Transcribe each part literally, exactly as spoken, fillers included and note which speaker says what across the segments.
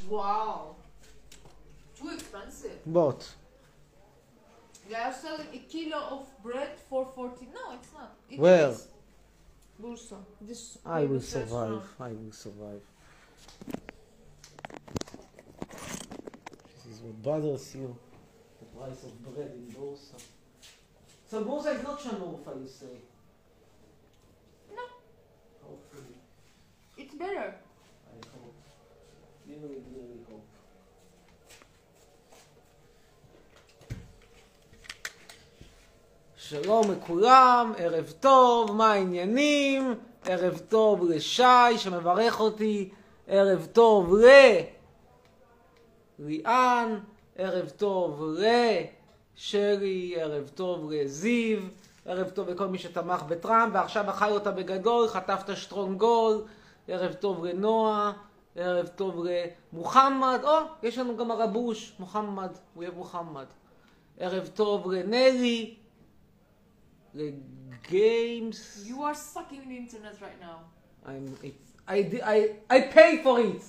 Speaker 1: Wow. Too expensive.
Speaker 2: What?
Speaker 1: They are selling a kilo of bread for forty. No, it's not. It
Speaker 2: Where?
Speaker 1: is. Bursa. This
Speaker 2: I will
Speaker 1: famous
Speaker 2: survive.
Speaker 1: restaurant.
Speaker 2: I will survive. This is what bothers you. The price of bread in Bursa. So Bursa is not Shanufa, you say?
Speaker 1: No,
Speaker 2: Hopefully.
Speaker 1: it's better.
Speaker 2: I hope. Really, really hope. שלום לכולם, ערב טוב, מה העניינים? ערב טוב לשי שמברך אותי, ערב טוב לליאן, ערב טוב לשרי, ערב טוב לזיו, ערב טוב לכל מי שתמך בטראמפ ועכשיו אכל אותה בגדול, חטף את השטרונגול, ערב טוב לנועה, ערב טוב למוחמד, או, יש לנו גם הרבוש, מוחמד, הוא יהיה מוחמד, ערב טוב לנלי, the games.
Speaker 1: You are sucking the internet right now.
Speaker 2: I'm. It's, I, I, I pay for it.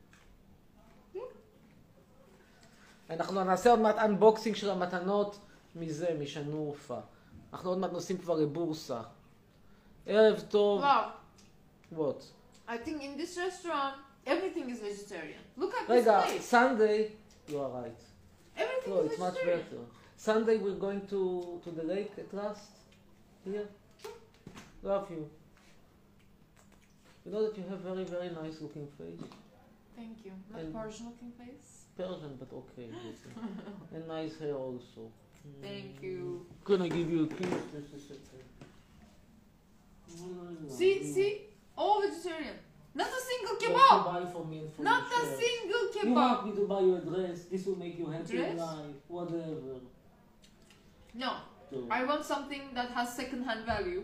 Speaker 2: אנחנו נעשה עוד מעט unboxing של המתנות מזה, משנופה. אנחנו עוד מעט נוסעים כבר לבורסה. ערב טוב.
Speaker 1: Wow.
Speaker 2: What?
Speaker 1: I think in this restaurant, everything is vegetarian. Look at
Speaker 2: רגע,
Speaker 1: this place.
Speaker 2: Sunday. You are right.
Speaker 1: Everything
Speaker 2: No,
Speaker 1: is
Speaker 2: it's much
Speaker 1: vegetarian.
Speaker 2: better. Sunday we're going to, to the lake at last. Here. Love you. You know that you have very, very nice looking face.
Speaker 1: Thank you. Not
Speaker 2: And-
Speaker 1: Persian looking face.
Speaker 2: Persian, but okay. And nice hair also.
Speaker 1: Thank you.
Speaker 2: Gonna give you a kiss. Just a second.
Speaker 1: See, see? All vegetarian. Not a single
Speaker 2: What you
Speaker 1: kebab.
Speaker 2: buy for me and for
Speaker 1: Not
Speaker 2: your
Speaker 1: a
Speaker 2: shirt.
Speaker 1: single
Speaker 2: You want
Speaker 1: kebab.
Speaker 2: me to buy you a dress? This will make you happy in
Speaker 1: Dress?
Speaker 2: life. Whatever.
Speaker 1: No.
Speaker 2: So,
Speaker 1: I want something that has second-hand value.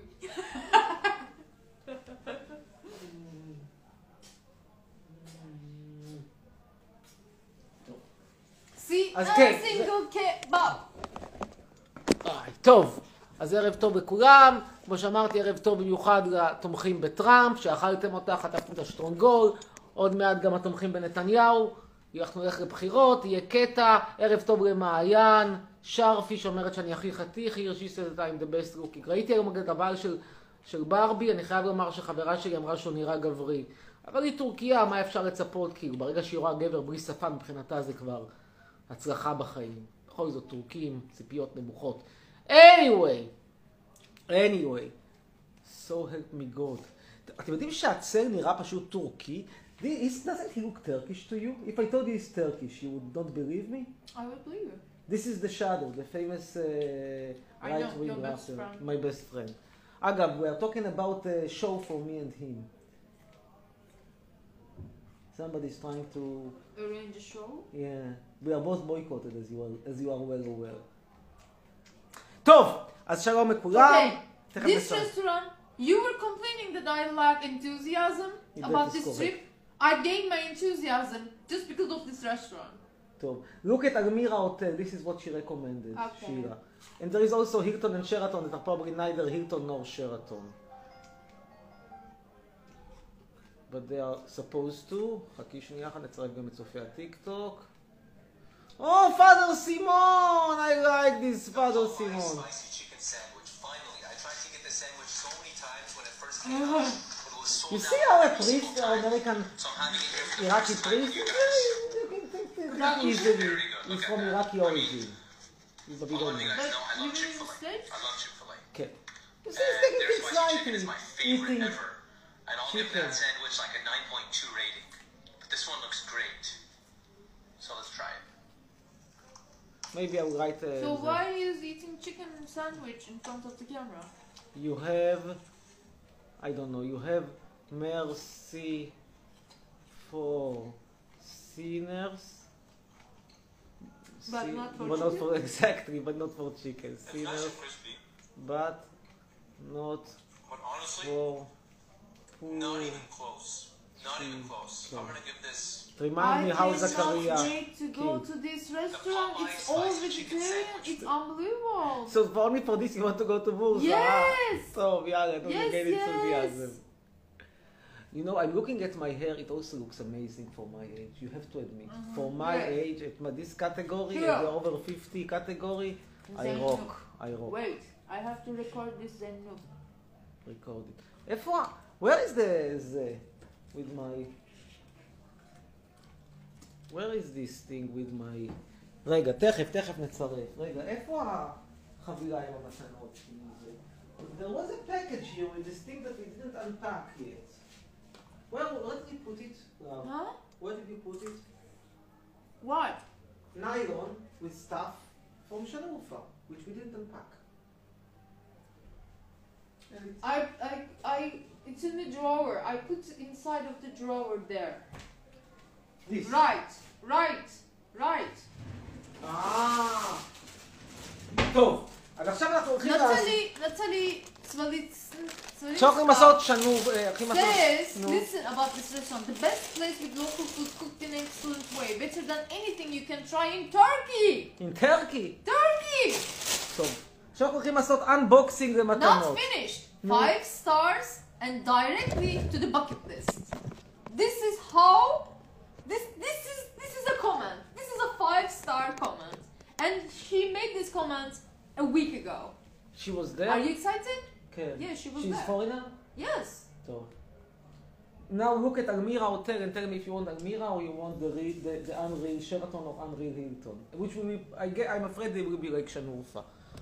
Speaker 1: See?
Speaker 2: אז
Speaker 1: Not
Speaker 2: כן,
Speaker 1: a single kebab.
Speaker 2: איי, טוב, אז ערב טוב לכולם. כמו שאמרתי, ערב טוב במיוחד לתומכים בטראמפ, שאכלתם אותה, חטפתם את השטרונגול. עוד מעט גם התומכים בנתניהו. אנחנו נלך לבחירות, יהיה קטע. ערב טוב למעיין. שרפי שאומרת שאני הכי חתיך, היא הרשיסה את עם the best looking. ראיתי היום את הבעל של, של ברבי, אני חייב לומר שחברה שלי אמרה שהוא נראה גברי. אבל היא טורקיה, מה אפשר לצפות? כאילו, ברגע שהיא רואה גבר בלי שפה, מבחינתה זה כבר הצלחה בחיים. בכל זאת, טורקים, ציפיות נמוכות. anyway, anyway, so help me God. אתם יודעים שהצל נראה פשוט טורקי? This doesn't he look Turkish to you? If I told you he's Turkish, you would not believe me?
Speaker 1: I would believe it.
Speaker 2: This is the shadow, the famous uh,
Speaker 1: I know,
Speaker 2: right-wing
Speaker 1: your best
Speaker 2: rapper,
Speaker 1: friend.
Speaker 2: my best friend. Agab, we are talking about a show for me and him. Somebody's trying to,
Speaker 1: Arrange a show.
Speaker 2: yeah, we are both boycotted as you are, as you are well aware. טוב, אז שלום לכולם.
Speaker 1: Okay,
Speaker 2: תכף
Speaker 1: this
Speaker 2: נסיים.
Speaker 1: restaurant, you were complaining that I lack enthusiasm
Speaker 2: You
Speaker 1: about
Speaker 2: bet
Speaker 1: this
Speaker 2: it's
Speaker 1: trip. I gained my enthusiasm just because of this restaurant.
Speaker 2: טוב, look at Almira Hotel, this is what she recommended,
Speaker 1: Okay.
Speaker 2: Sheila. And there is also Hilton and Sheraton that are probably neither Hilton nor Sheraton. But they are supposed to. חכי שנייה אחת, נצרף גם את צופי הטיק טוק. Oh, Father Simon! I like this Father
Speaker 3: Oh,
Speaker 2: Simon.
Speaker 3: nice spicy chicken sandwich. Finally, I tried to get the sandwich so many times when it first came out, but it was sold
Speaker 2: You
Speaker 3: out
Speaker 2: see how a
Speaker 3: every
Speaker 2: priest,
Speaker 3: single
Speaker 2: our
Speaker 3: time.
Speaker 2: American
Speaker 3: So I'm having it here for the
Speaker 2: Iraqi
Speaker 3: first time with
Speaker 2: priest,
Speaker 3: you guys.
Speaker 2: not easily.
Speaker 3: Very good.
Speaker 2: He's
Speaker 3: Look
Speaker 2: from
Speaker 3: at that.
Speaker 2: Iraqi
Speaker 3: I mean,
Speaker 2: origin. He's a
Speaker 3: Well, one thing
Speaker 2: Babylonian.
Speaker 3: I know, I
Speaker 1: But
Speaker 3: love
Speaker 1: living in the
Speaker 3: Chick-fil-A.
Speaker 1: States?
Speaker 3: I love Chick-fil-A.
Speaker 2: Okay. You see,
Speaker 3: And
Speaker 2: he's taking
Speaker 3: their
Speaker 2: things
Speaker 3: spicy chicken
Speaker 2: lightly.
Speaker 3: is my favorite
Speaker 2: Eating.
Speaker 3: ever. And I'll give
Speaker 2: chicken.
Speaker 3: that sandwich like a nine point two rating. But this one looks great. So let's try it.
Speaker 2: Maybe I will write. Uh,
Speaker 1: So
Speaker 2: the-
Speaker 1: why is eating chicken sandwich in front of the camera?
Speaker 2: You have, I don't know, you have mercy for sinners.
Speaker 1: But
Speaker 2: Sin-
Speaker 1: not for
Speaker 2: but not
Speaker 1: chicken?
Speaker 2: for exactly, but not for chicken.
Speaker 3: It's nice
Speaker 2: Sinners,
Speaker 3: and crispy,
Speaker 2: but not
Speaker 3: but honestly,
Speaker 2: for poor.
Speaker 3: not even close. Not even close. I'm
Speaker 2: Okay.
Speaker 3: gonna give this.
Speaker 2: Remind me
Speaker 1: I
Speaker 2: how
Speaker 1: cannot
Speaker 2: Zachariah
Speaker 1: wait to go
Speaker 2: killed.
Speaker 1: to this restaurant.
Speaker 3: Popeye
Speaker 1: It's all
Speaker 3: spicy chicken
Speaker 1: vegetarian.
Speaker 3: sandwich.
Speaker 1: It's unbelievable.
Speaker 2: So for only for this you want to go to Bursa?
Speaker 1: Yes!
Speaker 2: טוב, יאללה, נו,
Speaker 1: Yes,
Speaker 2: נגן
Speaker 1: yes.
Speaker 2: enthusiasm. You know, I'm looking at my hair, it also looks amazing for my age, you have to admit.
Speaker 1: Mhm.
Speaker 2: For my
Speaker 1: Yes.
Speaker 2: age, at my, this category,
Speaker 1: Sure.
Speaker 2: at the over fifty category, I
Speaker 1: Then
Speaker 2: rock,
Speaker 1: no.
Speaker 2: I rock.
Speaker 1: Wait, I have to record this then no.
Speaker 2: Record it. איפה, where is the, זה, with my, where is this thing with my, רגע, תכף, תכף נצרף. רגע, איפה החבילה עם המתנות? There was a package here with this thing that we didn't unpack yet. Where, where did you put it? Rav?
Speaker 1: Huh?
Speaker 2: Where did you put it?
Speaker 1: What?
Speaker 2: Nylon with stuff from Shanufa, which we didn't unpack. And it's-
Speaker 1: I, I, I, it's in the drawer. I put it inside of the drawer there.
Speaker 2: This.
Speaker 1: Right, right, right.
Speaker 2: אה, טוב, אז עכשיו אנחנו הולכים לעשות...
Speaker 1: Natalie, Natalie Svalitz-
Speaker 2: עכשיו הולכים
Speaker 1: Svalitska
Speaker 2: לעשות שנו... הולכים לעשות...
Speaker 1: says,
Speaker 2: נו.
Speaker 1: listen about this restaurant, the best place with local food cooked in an excellent way, better than anything you can try in Turkey.
Speaker 2: עם טרקי.
Speaker 1: Turkey!
Speaker 2: טוב, עכשיו הולכים לעשות אנבוקסינג
Speaker 1: Not
Speaker 2: למתנות.
Speaker 1: finished.
Speaker 2: No.
Speaker 1: Five stars and directly to the bucket list. This is how. This this is this is a comment. This is a five star comment, and she made this comment a week ago.
Speaker 2: She was there?
Speaker 1: Are you excited?
Speaker 2: כן.
Speaker 1: Yeah, she was
Speaker 2: She's
Speaker 1: there.
Speaker 2: foreigner?
Speaker 1: Yes.
Speaker 2: טוב. Now look at Almira Hotel and tell me if you want Almira or you want the, real, the, the Unreal Sheraton or Unreal Hilton. Which will be, I get, I'm afraid they will be like שנורפה.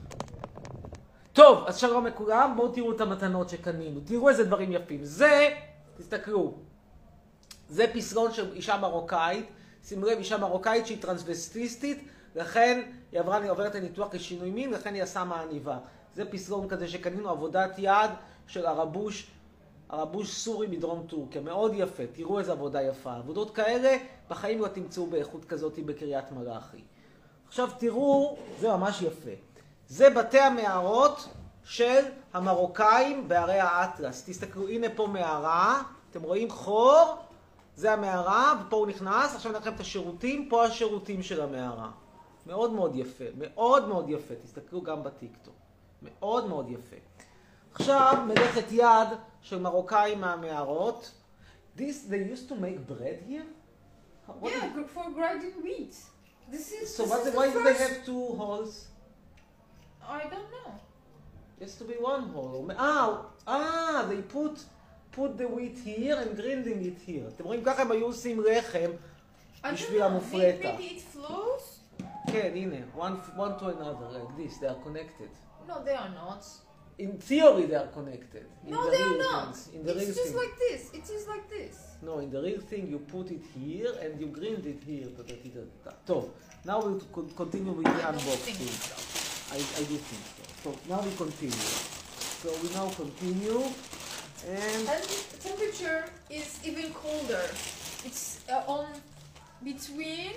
Speaker 2: טוב, אז שלום לכולם, בואו תראו את המתנות שקנינו. תראו איזה דברים יפים. זה, תסתכלו, זה פסלון של אישה מרוקאית. שימו לב, אישה מרוקאית שהיא טרנסווסטיסטית, לכן היא עברה, היא עוברת לניתוח לשינוי מין, לכן היא עשה מעניבה. זה פסלון כזה שקנינו, עבודת יד של הרבוש, הרבוש סורי מדרום טורקיה. מאוד יפה, תראו איזה עבודה יפה. עבודות כאלה בחיים לא תמצאו באיכות כזאת בקריית מלאכי. עכשיו תראו, זה ממש יפה. זה בתי המערות של המרוקאים בערי האטלס. תסתכלו, הנה פה מערה, אתם רואים חור, זה המערה, ופה הוא נכנס, עכשיו נראה לכם את השירותים, פה השירותים של המערה. מאוד מאוד יפה, מאוד מאוד יפה, תסתכלו גם בטיקטוק. מאוד מאוד יפה. עכשיו מלאכת יד של מרוקאים מהמערות. This, they used to make bread here? What
Speaker 1: Yeah,
Speaker 2: is-
Speaker 1: gr- for grinding wheat. This is.
Speaker 2: So
Speaker 1: this
Speaker 2: what,
Speaker 1: is
Speaker 2: the-
Speaker 1: the
Speaker 2: why do they
Speaker 1: first-
Speaker 2: have two holes?
Speaker 1: I don't know.
Speaker 2: It has to be one hole. Ah, ah, they put put the wheat here and grinding it here. אתם רואים ככה הם היו עושים לחם
Speaker 1: I
Speaker 2: בשביל
Speaker 1: don't know.
Speaker 2: המופרטה.
Speaker 1: Maybe it flows.
Speaker 2: כן, הנה, one, one to another, like this, they are connected.
Speaker 1: No, they are not.
Speaker 2: In theory they are connected. In
Speaker 1: No,
Speaker 2: the
Speaker 1: they are
Speaker 2: real
Speaker 1: not.
Speaker 2: things, in the real
Speaker 1: It's just
Speaker 2: thing.
Speaker 1: like this. It is like this.
Speaker 2: No, in the real thing you put it here and you grind it here. Da, da, da, da. טוב, now we co- continue with the
Speaker 1: I don't think
Speaker 2: unboxing.
Speaker 1: so.
Speaker 2: I, I do think so. So now we continue. So we now continue and
Speaker 1: And the temperature is even colder. It's uh, on between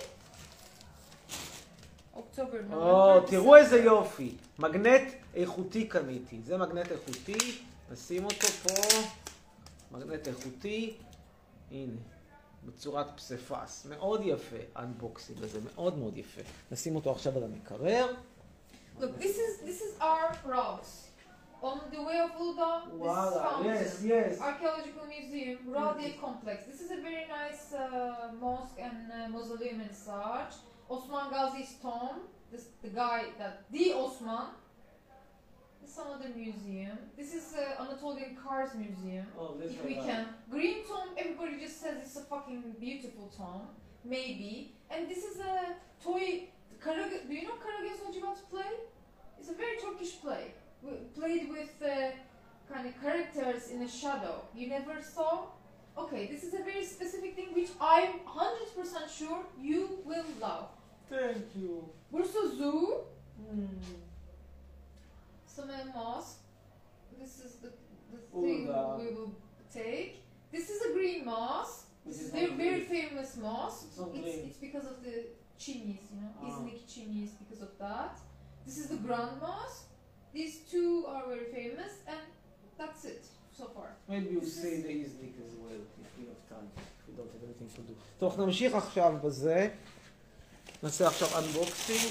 Speaker 1: October,
Speaker 2: או,
Speaker 1: November.
Speaker 2: תראו איזה יופי. מגנט איכותי קניתי. זה מגנט איכותי. נשים אותו פה. מגנט איכותי. הנה. בצורת פספס. מאוד יפה. אנבוקסינג הזה. מאוד מאוד יפה. נשים אותו עכשיו על המקרר.
Speaker 1: Look, this is this is our rocks. On the way of Uludağ, this is
Speaker 2: Voila.
Speaker 1: fountain.
Speaker 2: Yes, yes.
Speaker 1: Archaeological Museum, Radiye Complex. This is a very nice uh, mosque and uh, mausoleum and such. Osman Ghazi's tomb. This the guy that the Osman. This is another museum. This is uh, Anatolian Cars Museum.
Speaker 2: Oh, this
Speaker 1: If we can. Green tomb. Everybody just says it's a fucking beautiful tomb. Maybe. And this is a toy. Karag- Do you know Karagöz Hacivat play? It's a very Turkish play. W- played with uh, kind of characters in a shadow. You never saw? Okay, this is a very specific thing which I'm one hundred percent sure you will love.
Speaker 2: Thank you.
Speaker 1: Bursa Zoo,
Speaker 2: Mm.
Speaker 1: Samay Mosque. This is the, the thing
Speaker 2: Uludağ.
Speaker 1: we will take. This is a green mosque.
Speaker 2: This
Speaker 1: This
Speaker 2: is
Speaker 1: is very,
Speaker 2: not
Speaker 1: very
Speaker 2: green.
Speaker 1: famous mosque.
Speaker 2: It's not
Speaker 1: It's,
Speaker 2: green.
Speaker 1: it's because of the Chinis, you know,
Speaker 2: Ah.
Speaker 1: Iznik Chinis because of that. This is the Grand Mosque. These two are very famous, and that's it so far.
Speaker 2: Maybe you say the Iznik as well, if we have time, if we don't have anything to do. טוב, אנחנו נמשיך עכשיו בזה. נעשה עכשיו unboxing.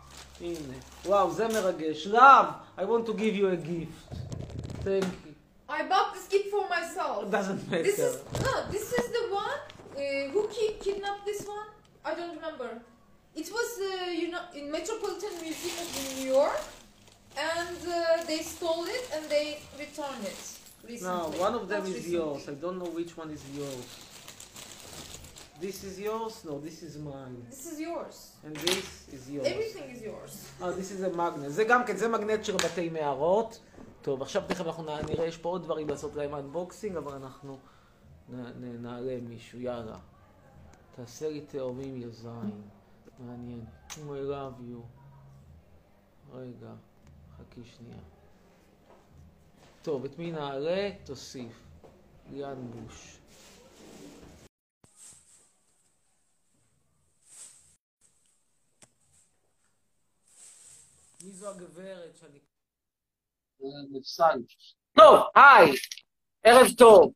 Speaker 2: הנה. וואו, זה מרגש. רב, I want to give you a gift. Thank you.
Speaker 1: I bought this gift for myself.
Speaker 2: Doesn't matter.
Speaker 1: This is no. This is the one. Uh, who ki- kidnapped this one? I don't remember. It was uh, you know in Metropolitan Museum of New York, and uh, they stole it and they returned it recently.
Speaker 2: No, one of them
Speaker 1: Not
Speaker 2: is
Speaker 1: recently.
Speaker 2: yours. I don't know which one is yours. This is yours? No, this is mine.
Speaker 1: This is yours.
Speaker 2: And this is yours.
Speaker 1: Everything is yours.
Speaker 2: Oh, this is a magnet. זה גם כן, זה מגנט של בתי מערות. טוב, עכשיו תכף אנחנו נראה, יש פה עוד דברים לעשות להם אנבוקסינג, אבל אנחנו נעלה מישהו, יאללה. תעשה לי תאומים יזיים. מעניין. I love you. רגע, חכי שנייה. טוב, את מי נעלה? תוסיף. ליאן בוש. מי זו הגברת שאני... נפסל. טוב, היי, ערב טוב.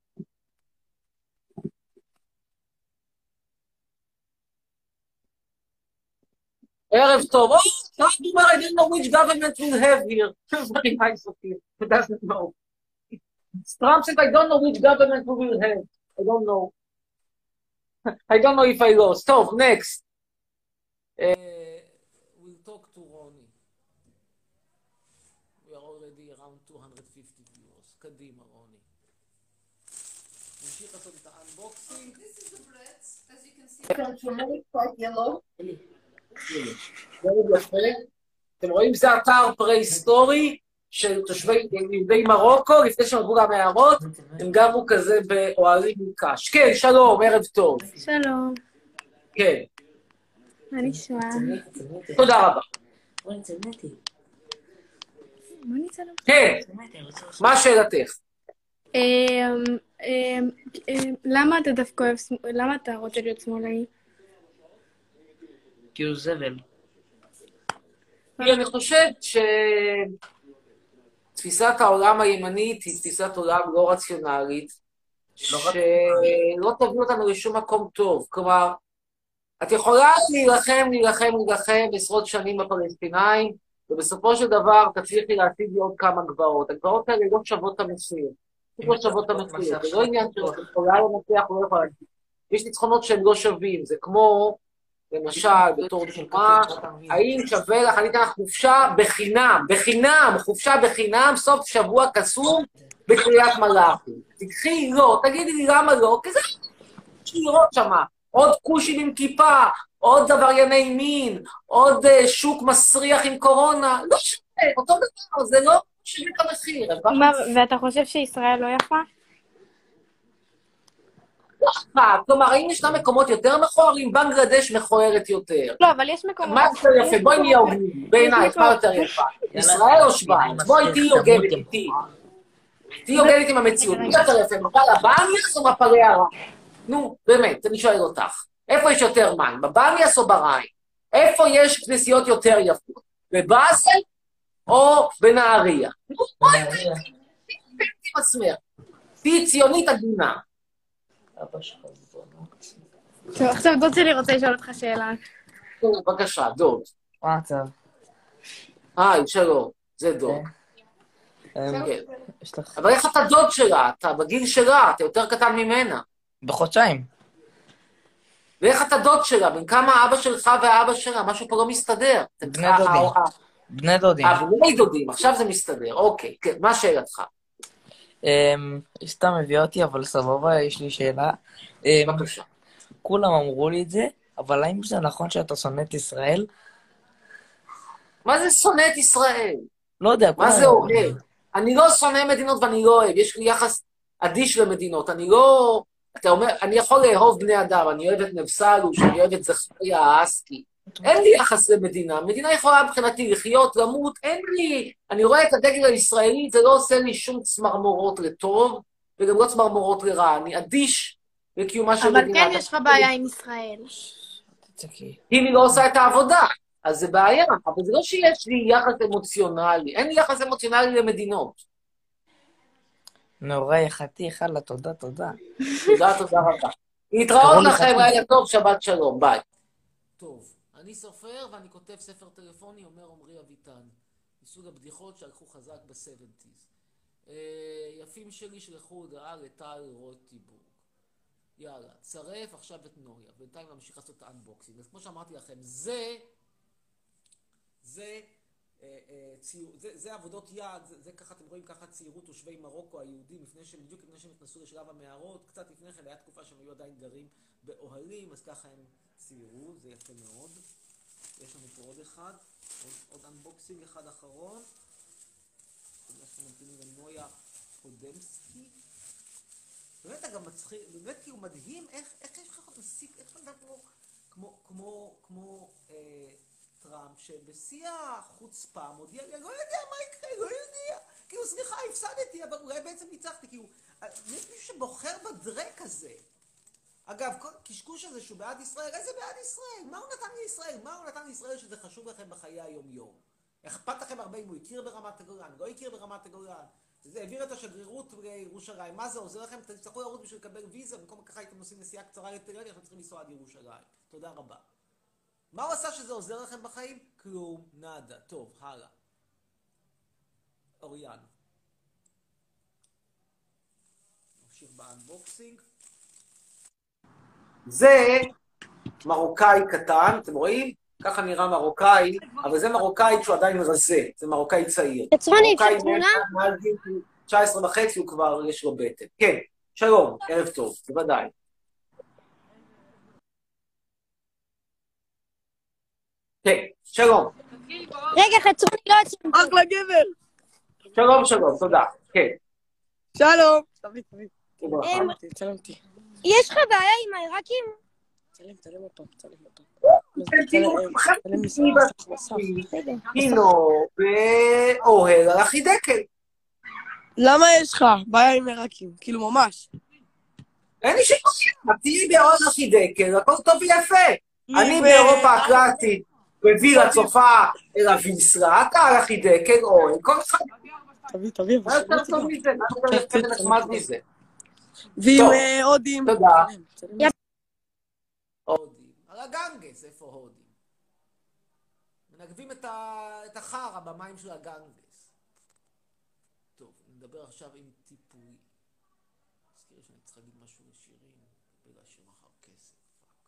Speaker 2: ערב טוב. Oh, Trump אומר, I don't know which government will have here. Very nice of you. He doesn't know. Trump said, I don't know which government we will have. I don't know. I don't know if I lost. טוב, next. Uh, we'll talk to Ronnie. We are already around two hundred fifty viewers. קדימה, רוני. נמשיך לעשות את האנבוקסינג.
Speaker 1: This is the bread, as you can see.
Speaker 4: quite yellow.
Speaker 2: מאוד יפה. אתם רואים, זה אתר פרה-היסטורי של תושבי יהודי מרוקו, לפני שהם עברו למערות, הם גרו כזה באוהלים מקש. כן, שלום, ערב טוב.
Speaker 4: שלום.
Speaker 2: כן.
Speaker 4: מה נשמע?
Speaker 2: תודה רבה.
Speaker 4: בוא נצלם.
Speaker 2: כן, מה שאלתך?
Speaker 4: אמ, אמ, אמ, למה אתה דווקא אוהב, שמאל- למה אתה רוצה להיות שמאלני?
Speaker 5: כי הוא זבל.
Speaker 2: כי אני חושבת שתפיסת העולם הימנית היא תפיסת עולם לא רציונלית, שלא תביא אותנו לשום מקום טוב. כלומר, את יכולה להילחם, להילחם, להילחם עשרות שנים בפלסטינאים, ובסופו של דבר תצליחי להשיג לי עוד כמה גבעות. הגבעות האלה לא שוות את המחיר. לא שוות את המחיר. זה לא עניין של יכולה לנצח או לא יכולה. יש ניצחונות שהם לא שווים. זה כמו, למשל, בתור דוגמה, האם שווה לך, אני אתן לך חופשה בחינם, בחינם, חופשה בחינם, סוף שבוע קסום בקריית מלאכי. תקחי, לא, תגידי לי למה לא, כי זה יש לראות שמה. עוד כושים עם כיפה, עוד עברייני מין, עוד uh, שוק מסריח עם קורונה, לא שווה, אותו דבר, זה לא שווה את המחיר.
Speaker 4: מה, ואתה חושב שישראל לא יפה?
Speaker 2: לא יפה, כלומר, האם ישנם מקומות יותר מכוערים? בנגלדש מכוערת יותר.
Speaker 4: לא, אבל יש מקומות...
Speaker 2: מה יותר יפה? בואי נהיה הוגנים, בעינייך, מה יותר יפה? ישראל או שווייץ? בואי תהיי הוגנת איתי. תהיי הוגנת עם המציאות. מה יותר יפה? מפל הבניאס או מפלי הרע? נו, באמת, אני שואל אותך. איפה יש יותר מים? בבניאס או בריין? איפה יש כנסיות יותר יפות? בבאזל או בנהריה? נו, בואי תהיי עם עצמך. תהיי ציונית הגונה.
Speaker 5: אבא שלך זבונות.
Speaker 4: טוב, עכשיו דוד שלי רוצה לשאול אותך שאלה.
Speaker 2: בבקשה, דוד.
Speaker 5: מה המצב?
Speaker 2: היי, שלום, זה דוד.
Speaker 5: אמ,
Speaker 2: כן.
Speaker 5: יש לך...
Speaker 2: אבל איך אתה דוד שלה? אתה בגיל שלה, אתה יותר קטן ממנה.
Speaker 5: בחודשיים.
Speaker 2: ואיך אתה דוד שלה? בין כמה אבא שלך והאבא שלה? משהו פה לא מסתדר.
Speaker 5: בני דודים. בני דודים.
Speaker 2: אה, בני דודים, עכשיו זה מסתדר. אוקיי, כן, מה שאלתך?
Speaker 5: אמ, סתם מביא אותי, אבל סבבה, יש לי שאלה. אמ,
Speaker 2: בבקשה.
Speaker 5: כולם אמרו לי את זה, אבל האם זה נכון שאתה שונא את ישראל?
Speaker 2: מה זה שונא את ישראל?
Speaker 5: לא יודע.
Speaker 2: מה
Speaker 5: כולם
Speaker 2: זה
Speaker 5: אמרו לי.
Speaker 2: אוהב? אני לא שונא מדינות ואני לא אוהב. יש לי יחס אדיש למדינות. אני לא... אתה אומר, אני יכול לאהוב בני אדם, אני אוהב את נבסלוש, אני אוהב את זכריה האסקי. אין לי יחס למדינה. מדינה יכולה מבחינתי לחיות, למות, אין לי... אני רואה את הדגל הישראלי, זה לא עושה לי שום צמרמורות לטוב, וגם לא צמרמורות לרע. אני אדיש לקיומה של
Speaker 4: אבל
Speaker 2: מדינה.
Speaker 4: כן יש לך בעיה עם ישראל.
Speaker 5: תצעקי.
Speaker 2: אם היא לא עושה את העבודה, אז זה בעיה. אבל זה לא שיש לי יחס אמוציונלי. אין לי יחס אמוציונלי למדינות.
Speaker 5: נורא יחתי, חלה, תודה, תודה.
Speaker 2: תודה, תודה רבה. להתראות לכם, לילה טוב, שבת שלום, ביי. טוב, אני סופר ואני כותב ספר טלפוני, אומר עמרי אביטן. מסוג הבדיחות שהלכו חזק ב-שבעים. יפים שלי שלחו הודעה לטל רוטיבורג. יאללה, צרף עכשיו את נויה, בינתיים נמשיך לעשות את האנבוקסינג. אז כמו שאמרתי לכם, זה, זה, אה, אה, ציור, זה, זה עבודות יד, זה, זה ככה, אתם רואים ככה ציירו תושבי מרוקו היהודים, לפני שהם, בדיוק לפני שהם נכנסו לשלב המערות, קצת לפני כן, היה תקופה שהם היו עדיין גרים באוהלים, אז ככה הם ציירו, זה יפה מאוד. יש לנו פה עוד אחד, עוד, עוד אנבוקסינג אחד אחרון. אנחנו נמתינים לנויה קודמסקי. באמת אתה גם מצחיק, באמת כאילו מדהים איך, איך יש לך מסיק, איך אתה כמו, כמו, כמו, כמו אה, טראמפ שבשיא החוצפה מודיע לי, אני לא יודע מה יקרה, לא יודע. כאילו סליחה, הפסדתי, אבל אולי בעצם ניצחתי, כאילו, יש מישהו שבוחר בדרק הזה. אגב, כל קשקוש הזה שהוא בעד ישראל, איזה בעד ישראל? מה הוא נתן לישראל? מה הוא נתן לישראל שזה חשוב לכם בחיי היום-יום? אכפת לכם הרבה אם הוא הכיר ברמת הגולן, לא הכיר ברמת הגולן. זה העביר את השגרירות לירושלים. מה זה עוזר לכם? אתם תצטרכו לרוץ בשביל לקבל ויזה, במקום ככה הייתם נוסעים נסיעה קצרה לתל אביב, אנחנו צריכים לנסוע עד ירושלים. תודה רבה. מה הוא עשה שזה עוזר לכם בחיים? כלום, נאדה. טוב, הלאה. אוריאן. נמשיך באנבוקסינג. זה מרוקאי קטן, אתם רואים? ככה נראה מרוקאי, אבל זה מרוקאי שהוא עדיין רזה, זה מרוקאי צעיר.
Speaker 6: יצרני, אפשר תמונה?
Speaker 2: מעל גיל תשע עשרה וחצי הוא כבר יש לו בטן. כן, שלום, ערב טוב, בוודאי. כן, שלום.
Speaker 6: רגע, חצרוני, לא יצרני.
Speaker 7: אחלה גבר.
Speaker 2: שלום, שלום, תודה. כן.
Speaker 7: שלום.
Speaker 6: אמ,
Speaker 7: צלם אותי.
Speaker 6: יש לך בעיה עם העיראקים?
Speaker 7: צלם, צלם אותו, צלם אותו.
Speaker 2: פינו באוהל על החידקל.
Speaker 7: למה יש לך בעיה עם עיראקים? כאילו ממש.
Speaker 2: אין לי שיקולים, תהיי באוהל על החידקל, הכל טוב ויפה. אני באירופה הקלטית, בווילה צופה אל הוויסלה, אתה על החידקל, אוהל, כל אחד.
Speaker 7: תביא, תביא.
Speaker 2: מה יותר טוב מזה? מה יותר נחמד מזה?
Speaker 7: ועם הודים.
Speaker 2: תודה. הודים. על הגנגס, איפה הודים? מנגבים את החרה במים של הגנגס. טוב, נדבר עכשיו עם טיפולי. נזכיר שאני צריך להגיד משהו לשירים, בגלל שמחר כסף.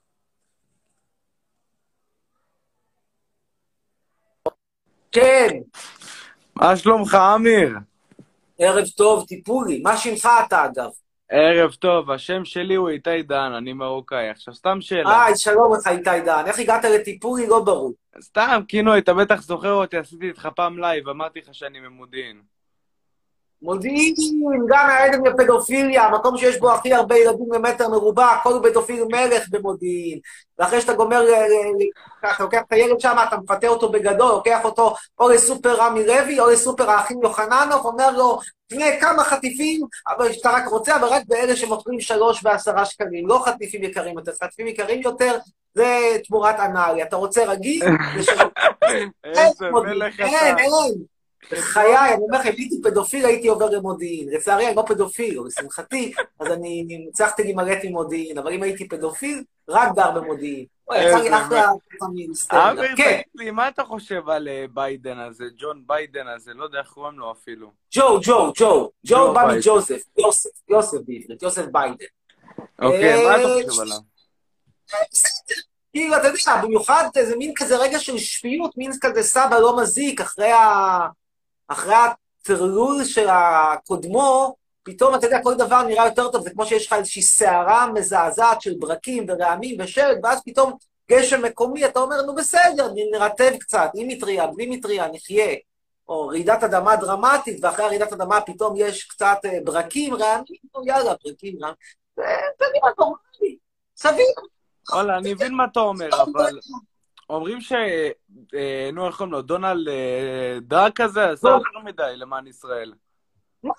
Speaker 2: כן.
Speaker 8: מה שלומך, אמיר?
Speaker 2: ערב טוב, טיפולי. מה שמך אתה, אגב?
Speaker 8: ערב טוב, השם שלי הוא איתי דן, אני מרוקאי. עכשיו, סתם שאלה.
Speaker 2: אה, שלום לך איתי דן. איך הגעת לטיפולי? לא ברור.
Speaker 8: סתם, כאילו, אתה בטח זוכר אותי, עשיתי איתך פעם לייב, אמרתי לך שאני ממודיעין.
Speaker 2: מודיעין, גם העדן לפדופיליה, המקום שיש בו הכי הרבה ילדים למטר מרובע, כל פדופיל מלך במודיעין. ואחרי שאתה גומר, אתה לוקח את הילד שם, אתה מפתה אותו בגדול, לוקח אותו או לסופר רמי לוי, או לסופר האחים יוחננוף, אומר לו, תראה כמה חטיפים, אבל שאתה רק רוצה, אבל רק באלה שמוכרים שלוש ועשרה שקלים, לא חטיפים יקרים יותר, חטיפים יקרים יותר, זה תמורת אנליה. אתה רוצה רגיל?
Speaker 8: איזה מלך אתה.
Speaker 2: אין, אין. בחיי, אני אומר לך, אם הייתי פדופיל, הייתי עובר למודיעין. לצערי, אני לא פדופיל, או לשמחתי, אז אני הצלחתי להימלט ממודיעין, אבל אם הייתי פדופיל, רק גר במודיעין. אוי, יצא לי אחלה תמיד סטנדאפ.
Speaker 8: אמיר, תגיד לי, מה אתה חושב על ביידן הזה, ג'ון ביידן הזה, לא יודע איך קוראים לו אפילו.
Speaker 2: ג'ו, ג'ו, ג'ו, ג'ו בא מג'וזף, יוסף, יוסף בעברית, יוסף ביידן.
Speaker 8: אוקיי, מה אתה חושב עליו?
Speaker 2: כאילו, אתה יודע, במיוחד זה מין כזה רגע של שפיות, מין כזה סבא לא מזיק, אחרי ה... אחרי הטרלול של הקודמו, פתאום, אתה יודע, כל דבר נראה יותר טוב, זה כמו שיש לך איזושהי שערה מזעזעת של ברקים ורעמים ושלג, ואז פתאום גשם מקומי, אתה אומר, נו בסדר, נרטב קצת, עם מטריה, בלי מטריה, נחיה. או רעידת אדמה דרמטית, ואחרי רעידת אדמה פתאום יש קצת ברקים, רעמים, יאללה, ברקים, רעמים. זה נראה נורמלי, סביר.
Speaker 8: וואלה, אני מבין מה אתה אומר, אבל... אומרים ש... נו, איך קוראים לו? דונלד דאק כזה, עשה יותר מדי למען ישראל.
Speaker 2: מה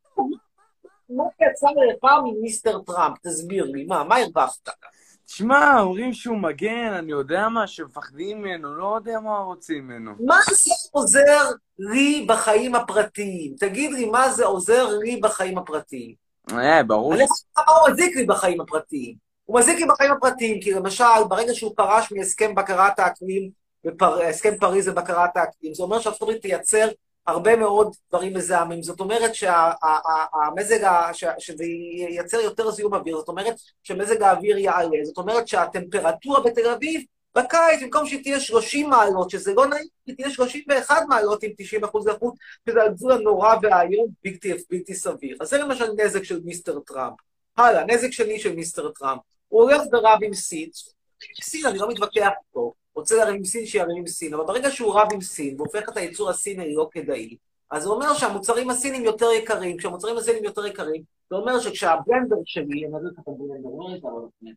Speaker 2: יצא לך ממיסטר טראמפ? תסביר לי, מה? מה הרווחת?
Speaker 8: תשמע, אומרים שהוא מגן, אני יודע מה, שמפחדים ממנו, לא יודע מה רוצים ממנו.
Speaker 2: מה זה עוזר לי בחיים הפרטיים? תגיד לי, מה זה עוזר לי בחיים הפרטיים?
Speaker 8: אה, ברור.
Speaker 2: אני חושב מה הוא מזיק לי בחיים הפרטיים. הוא מזיק לי בחיים הפרטיים, כי למשל, ברגע שהוא פרש מהסכם בקרת האקלים, הסכם פריז ובקרת האקלים, זה אומר שארצות הברית תייצר הרבה מאוד דברים מזהמים. זאת אומרת שהמזג, שזה ייצר יותר זיהום אוויר, זאת אומרת שמזג האוויר יעלה, זאת אומרת שהטמפרטורה בתל אביב, בקיץ, במקום שתהיה שלושים מעלות, שזה לא נעים, תהיה שלושים ואחת מעלות עם תשעים אחוז לחות, שזה הגבול הנורא והיום בלתי, בלתי סביר. אז זה למשל נזק של מיסטר טראמפ. הלאה, נזק שני של מיסטר טראמפ. הוא הולך ורב עם סין, סין, אני לא מתווכח פה, רוצה לרב עם סין שירב עם סין, אבל ברגע שהוא רב עם סין, והופך את הייצור הסיני לא כדאי, אז הוא אומר שהמוצרים הסינים יותר יקרים, כשהמוצרים הסינים יותר יקרים, זה אומר שכשהבלנדר שלי, אני אגיד לך את הבלנדר, לא רגע, אבל לפני.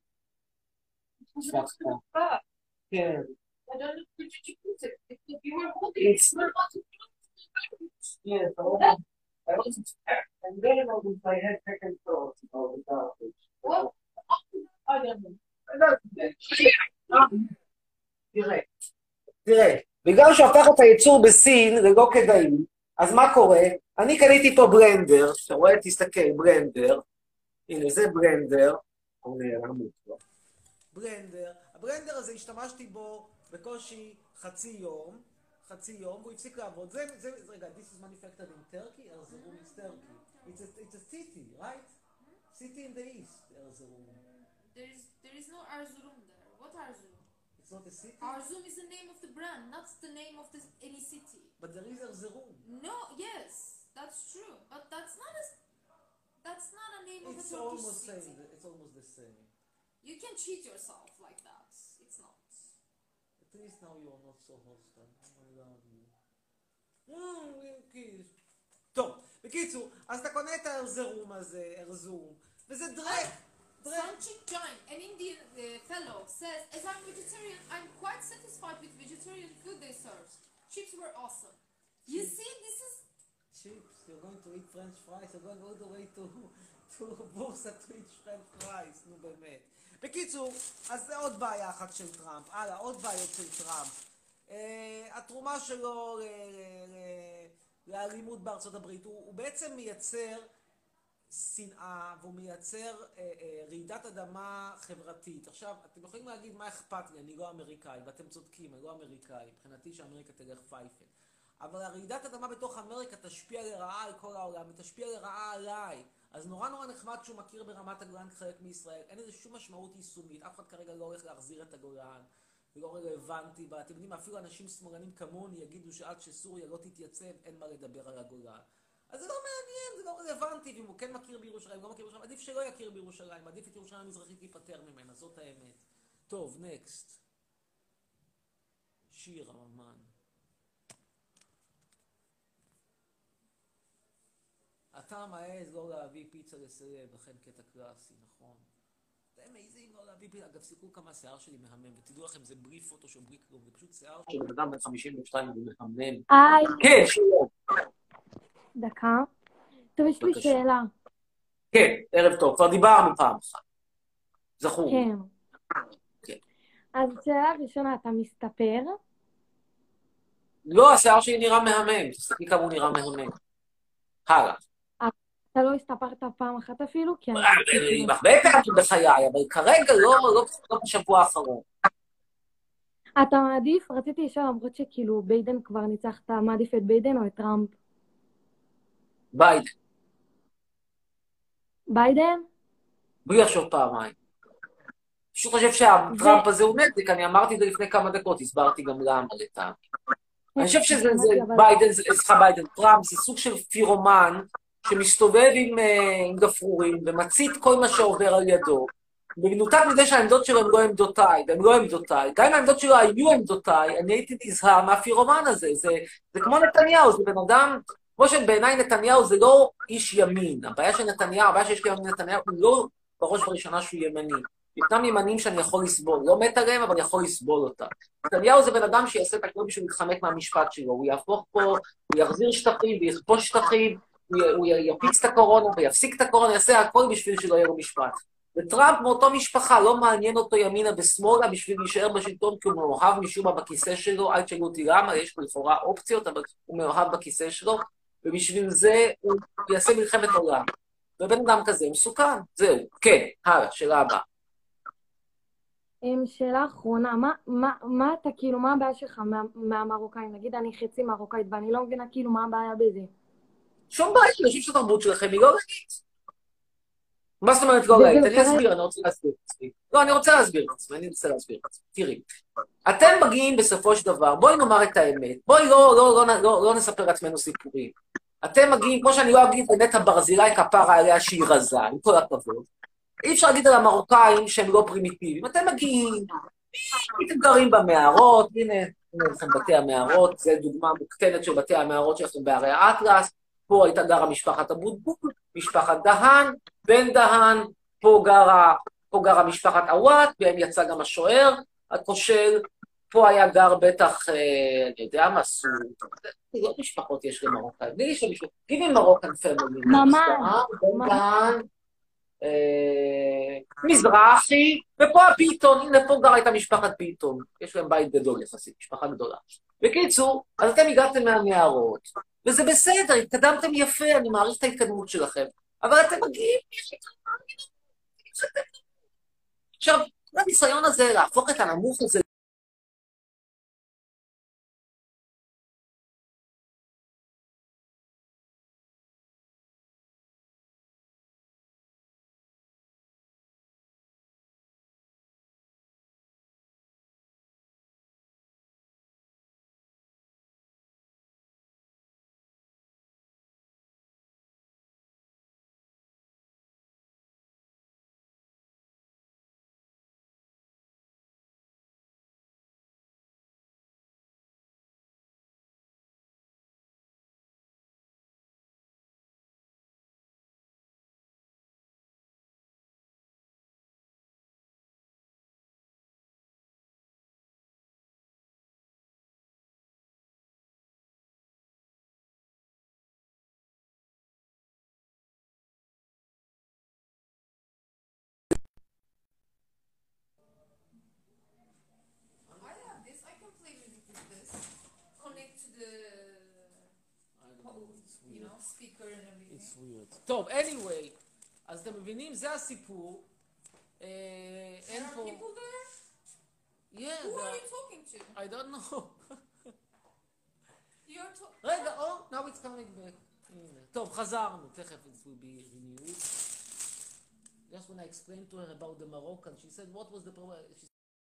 Speaker 2: כן.
Speaker 1: I don't know which you put it. It could be more holding.
Speaker 2: It's not. Yes, I want I want to check. And then I will I had second thoughts about the garbage.
Speaker 1: What? I don't know.
Speaker 2: תראה, תראה, בגלל שהפך את הייצור בסין ללא כדאי, אז מה קורה? אני קניתי פה בלנדר, אתה רואה? תסתכל, בלנדר, הנה זה בלנדר, בלנדר, הבלנדר הזה השתמשתי בו בקושי חצי יום, חצי יום, והוא הפסיק לעבוד. זה, זה, רגע, this is manufactured in Turkey, Erzurum is Turkey. It's a, it's a city, right? City in the east, Erzurum.
Speaker 1: There is there is no Erzurum there. What Erzurum?
Speaker 2: It's not a city?
Speaker 1: Erzurum is the name of the brand, not the name of the, any city.
Speaker 2: But there is Erzurum.
Speaker 1: No, yes, that's true. But that's not a that's not a name of a
Speaker 2: It's
Speaker 1: Turkish
Speaker 2: almost
Speaker 1: city.
Speaker 2: same. It's almost the same.
Speaker 1: You can cheat yourself like that. It's not.
Speaker 2: At least now you're not so hostile. I love you. Mm, טוב, בקיצור, אז אתה קונה את הארזרום הזה, ארזום, וזה דרק.
Speaker 1: Some chick joined, an Indian uh, fellow says, as I'm vegetarian, I'm quite satisfied with vegetarian food they serve. Chips were awesome. You see, this is...
Speaker 2: Chips, you're going to eat French fries, you're going all the way to, to בורסה to eat French fries, נו באמת. בקיצור, אז זה עוד בעיה אחת של טראמפ. הלאה, עוד בעיות של טראמפ. Uh, התרומה שלו לאלימות בארצות הברית, הוא, הוא בעצם מייצר שנאה, והוא מייצר uh, uh, רעידת אדמה חברתית. עכשיו, אתם יכולים להגיד מה אכפת לי, אני לא אמריקאי, ואתם צודקים, אני לא אמריקאי, מבחינתי שאמריקה תלך פייפן. אבל הרעידת אדמה בתוך אמריקה תשפיע לרעה על כל העולם, ותשפיע לרעה עליי. אז נורא נורא נחמד שהוא מכיר ברמת הגולן כחלק מישראל. אין לזה שום משמעות יישומית, אף אחד כרגע לא הולך להחזיר את הגולן. זה לא רלוונטי, ואתם יודעים, אפילו אנשים שמאלנים כמוני יגידו שעד שסוריה לא תתייצב, אין מה לדבר על הגולן. אז זה לא מעניין, זה לא רלוונטי, ואם הוא כן מכיר בירושלים, לא מכיר בירושלים, עדיף שלא יכיר בירושלים, עדיף את ירושלים המזרחית להיפטר ממנה, זאת האמת. טוב, נקסט. שיר הממן. אתה מעז לא להביא פיצה לסלב, לכן קטע קלאסי, נכון? אתם מעזים לא להביא פיצה, אגב, סיכו כמה שיער שלי מהמם, ותדעו לכם, זה בלי פוטושופ, בלי כלום, זה פשוט שיער של בן אדם בן חמישים ושתיים ומהמם.
Speaker 4: היי.
Speaker 2: כן, שלום.
Speaker 4: דקה. טוב, יש לי
Speaker 2: בבקשה.
Speaker 4: שאלה.
Speaker 2: כן, ערב טוב, כבר דיברנו פעם אחת. זכור.
Speaker 4: כן.
Speaker 2: כן.
Speaker 4: אז שאלה ראשונה, אתה מסתפר?
Speaker 2: לא, השיער שלי נראה מהמם, תסתכלי כמה הוא נראה מהמם. הלאה.
Speaker 4: אתה לא הסתפרת פעם אחת אפילו? כי אני...
Speaker 2: עם הרבה פעמים בחיי, אבל כרגע לא, לא, לא בשבוע האחרון.
Speaker 4: אתה מעדיף? רציתי לשאול, למרות שכאילו ביידן כבר ניצח, אתה מעדיף את ביידן או את טראמפ?
Speaker 2: ביידן.
Speaker 4: ביידן?
Speaker 2: בלי לחשוב פעמיים. פשוט חושב שהטראמפ הזה הוא נזק, אני אמרתי את זה לפני כמה דקות, הסברתי גם למה לטעם. אני חושב שזה ביידן, סליחה ביידן, טראמפ, זה סוג של פירומן שמסתובב עם, עם גפרורים ומצית כל מה שעובר על ידו. במנותק מזה שהעמדות שלו הן לא עמדותיי, והן לא עמדותיי. גם אם העמדות שלו היו עמדותיי, אני הייתי נזהר מהפירומן הזה. זה, זה כמו נתניהו, זה בן אדם, כמו שבעיניי נתניהו זה לא איש ימין. הבעיה של נתניהו, הבעיה שיש כיום נתניהו, הוא לא בראש בראשונה שהוא ימני. ישנם ימנים שאני יכול לסבול, לא מת עליהם, אבל אני יכול לסבול אותם. נתניהו זה בן אדם שיעשה את הכל בשביל להתחמק מהמשפט שלו, הוא יהפוך פה, הוא יחזיר שטחים ויכבוש שטחים, הוא יפיץ את הקורונה ויפסיק את הקורונה, יעשה הכל בשביל שלא יהיה לו משפט. וטראמפ מאותו משפחה, לא מעניין אותו ימינה ושמאלה בשביל להישאר בשלטון, כי הוא מאוהב משום מה בכיסא שלו, אל תשאלו אותי למה, יש פה לכאורה אופציות, אבל הוא מאוהב בכיסא שלו, ובשביל זה הוא יעשה מלחמת עולם. ובן אדם כזה מסוכן, זהו, כן, הלאה, שאלה הבאה.
Speaker 4: אמ, שאלה אחרונה, מה, מה, מה אתה, כאילו, מה הבעיה שלך מה, מהמרוקאים? נגיד אני חצי מרוקאית ואני לא מבינה כאילו מה הבעיה בזה.
Speaker 2: שום בעיה, אני חושב שהתרבות שלכם היא לא להיט. מה זאת אומרת לא
Speaker 4: וזה
Speaker 2: להיט? אני
Speaker 4: כרגע,
Speaker 2: אסביר, אני רוצה להסביר את עצמי. לא, אני רוצה להסביר את עצמי, אני רוצה להסביר את עצמי. תראי, אתם מגיעים בסופו של דבר, בואי נאמר את האמת, בואי לא, לא, לא, לא, לא נספר לעצמנו סיפורים. אתם מגיעים, כמו שאני לא אגיד לנטע ברזילי כפרה עליה שהיא רזה, עם כל הכבוד. אי אפשר להגיד על המרוקאים שהם לא פרימיטיביים. אתם מגיעים, אתם גרים במערות, הנה, הנה לכם בתי המערות, זו דוגמה מוקטנת של בתי המערות שלכם בערי האטלס, פה הייתה גרה משפחת אבוטבול, משפחת דהן, בן דהן, פה גרה, פה גרה משפחת עוואט, והם יצא גם השוער, הכושל, פה היה גר בטח, אה, אני יודע מה, סור, לא משפחות יש למרוקאים, בלי שמישהו, גיבי מרוקן פמילי,
Speaker 4: ממש,
Speaker 2: בן
Speaker 4: ממש.
Speaker 2: דהן, מזרחי, ופה הביטון, הנה פה גרה הייתה משפחת ביטון, יש להם בית גדול יחסית, משפחה גדולה. בקיצור, אז אתם הגעתם מהמערות, וזה בסדר, התקדמתם יפה, אני מעריך את ההתקדמות שלכם, אבל אתם מגיעים, עכשיו, הניסיון הזה להפוך את הנמוך הזה,
Speaker 1: I have this. I can play music with this. Connect to the, you know, speaker and everything.
Speaker 2: It's weird. טוב, anyway, אז אתם מבינים, זה הסיפור. אה,
Speaker 1: There
Speaker 2: אין
Speaker 1: are
Speaker 2: פה...
Speaker 1: people there?
Speaker 2: Yeah,
Speaker 1: Who
Speaker 2: there
Speaker 1: are
Speaker 2: are-
Speaker 1: you talking to?
Speaker 2: I don't know.
Speaker 1: You're talking.
Speaker 2: רגע, או, now it's coming back. הנה. טוב, חזרנו, תכף it will be renewed. Just when I explained to her about the Moroccan, she said, what was the problem? She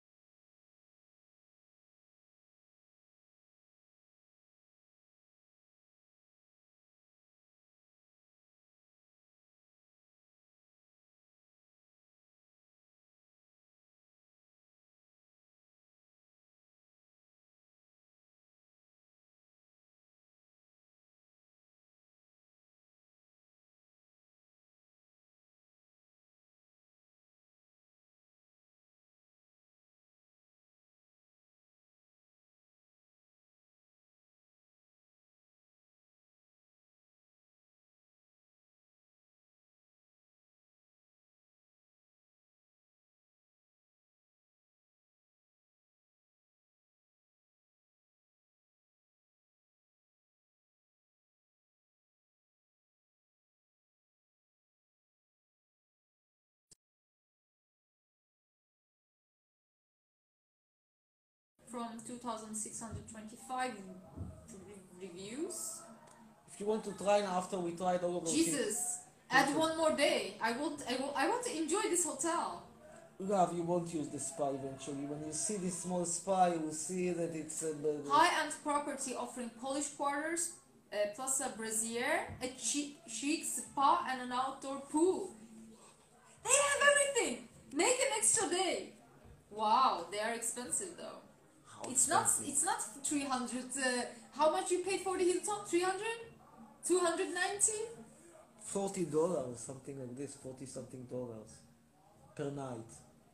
Speaker 1: From two thousand six hundred twenty-five reviews.
Speaker 2: If you want to try now after we tried all of those things.
Speaker 1: Jesus, add one more day. I want, I want, I want to enjoy this hotel.
Speaker 2: Love, you won't use the spa eventually. When you see this small spa, you will see that it's a...
Speaker 1: High-end property offering Polish quarters, uh, plus a brazier, a chic, chic spa, and an outdoor pool. They have everything. Make an extra day. Wow, they are expensive though.
Speaker 2: How
Speaker 1: It's not.
Speaker 2: expensive.
Speaker 1: It's not three hundred. Uh, how much you paid for the Hilton? Three hundred? Two hundred ninety?
Speaker 2: forty dollars, something like this, forty something dollars per night.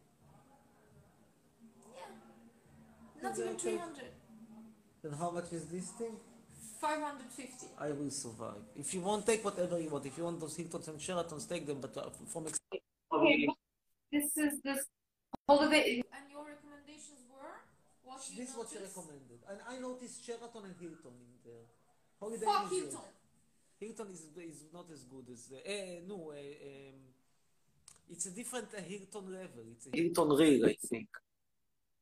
Speaker 1: Yeah. Not
Speaker 2: Okay,
Speaker 1: even
Speaker 2: okay.
Speaker 1: three hundred.
Speaker 2: Then how much is this thing?
Speaker 1: Five hundred fifty.
Speaker 2: I will survive. If you want, take whatever you want. If you want those Hiltons and Sheratons, take them, but uh, from experience.
Speaker 1: Okay. This is this holiday. And your recommendations were what you
Speaker 2: This is what she
Speaker 1: noticed?
Speaker 2: recommended. And I noticed Sheraton and Hilton in there. Holiday
Speaker 1: Fuck
Speaker 2: Inn is
Speaker 1: Hilton.
Speaker 2: good. Hilton is, is not as good as... Uh, uh, no, uh, um, it's a different uh, Hilton level. It's a Hilton real, I think.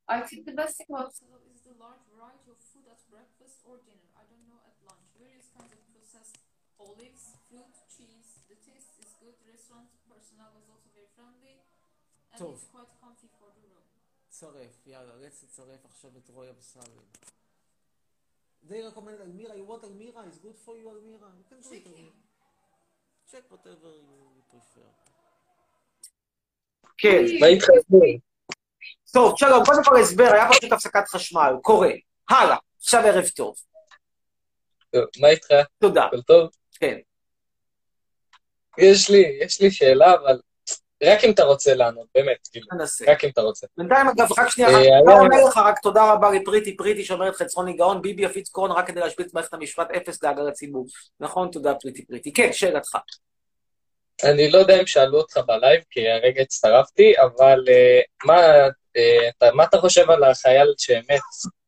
Speaker 1: I think the best thing about Seattle is the large variety of food at breakfast or dinner. I don't know at lunch. Various kinds of processed olives, fruit, cheese. The taste is good. The restaurant personnel was also very friendly, and
Speaker 2: טוב.
Speaker 1: it's quite comfy for the room.
Speaker 2: צרף, יאללה, let's תצרף עכשיו את רוי אבסרי. They recommend Almira, you want Almira? It's good for you, Almira. You can do it,
Speaker 1: Chicken.
Speaker 2: Almira. Check whatever you prefer.
Speaker 9: כן.
Speaker 5: מה איתך?
Speaker 9: טוב, שלום, קודם כל הסבר, היה פשוט הפסקת חשמל, קורה. הלאה, עכשיו ערב טוב.
Speaker 5: טוב, מה איתך?
Speaker 9: תודה.
Speaker 5: הכל טוב?
Speaker 9: כן.
Speaker 5: יש לי, יש לי שאלה, אבל רק אם אתה רוצה לענות, באמת, כאילו,
Speaker 9: ננסה.
Speaker 5: רק אם אתה רוצה.
Speaker 9: בינתיים אגב, רק שנייה,
Speaker 5: אה,
Speaker 9: אחת,
Speaker 5: היה-
Speaker 9: לא אומר לך, רק תודה רבה לפריטי פריטי שאומרת חצרוני גאון, ביבי יפיץ קורונה רק כדי להשבית מערכת המשפט אפס דאגה לציבור. נכון, תודה פריטי פריטי. כן, שאלתך.
Speaker 5: אני לא יודע אם שאלו אותך בלייב, כי הרגע הצטרפתי, אבל אה, מה, אה, אתה- מה אתה חושב על החייל שאמת?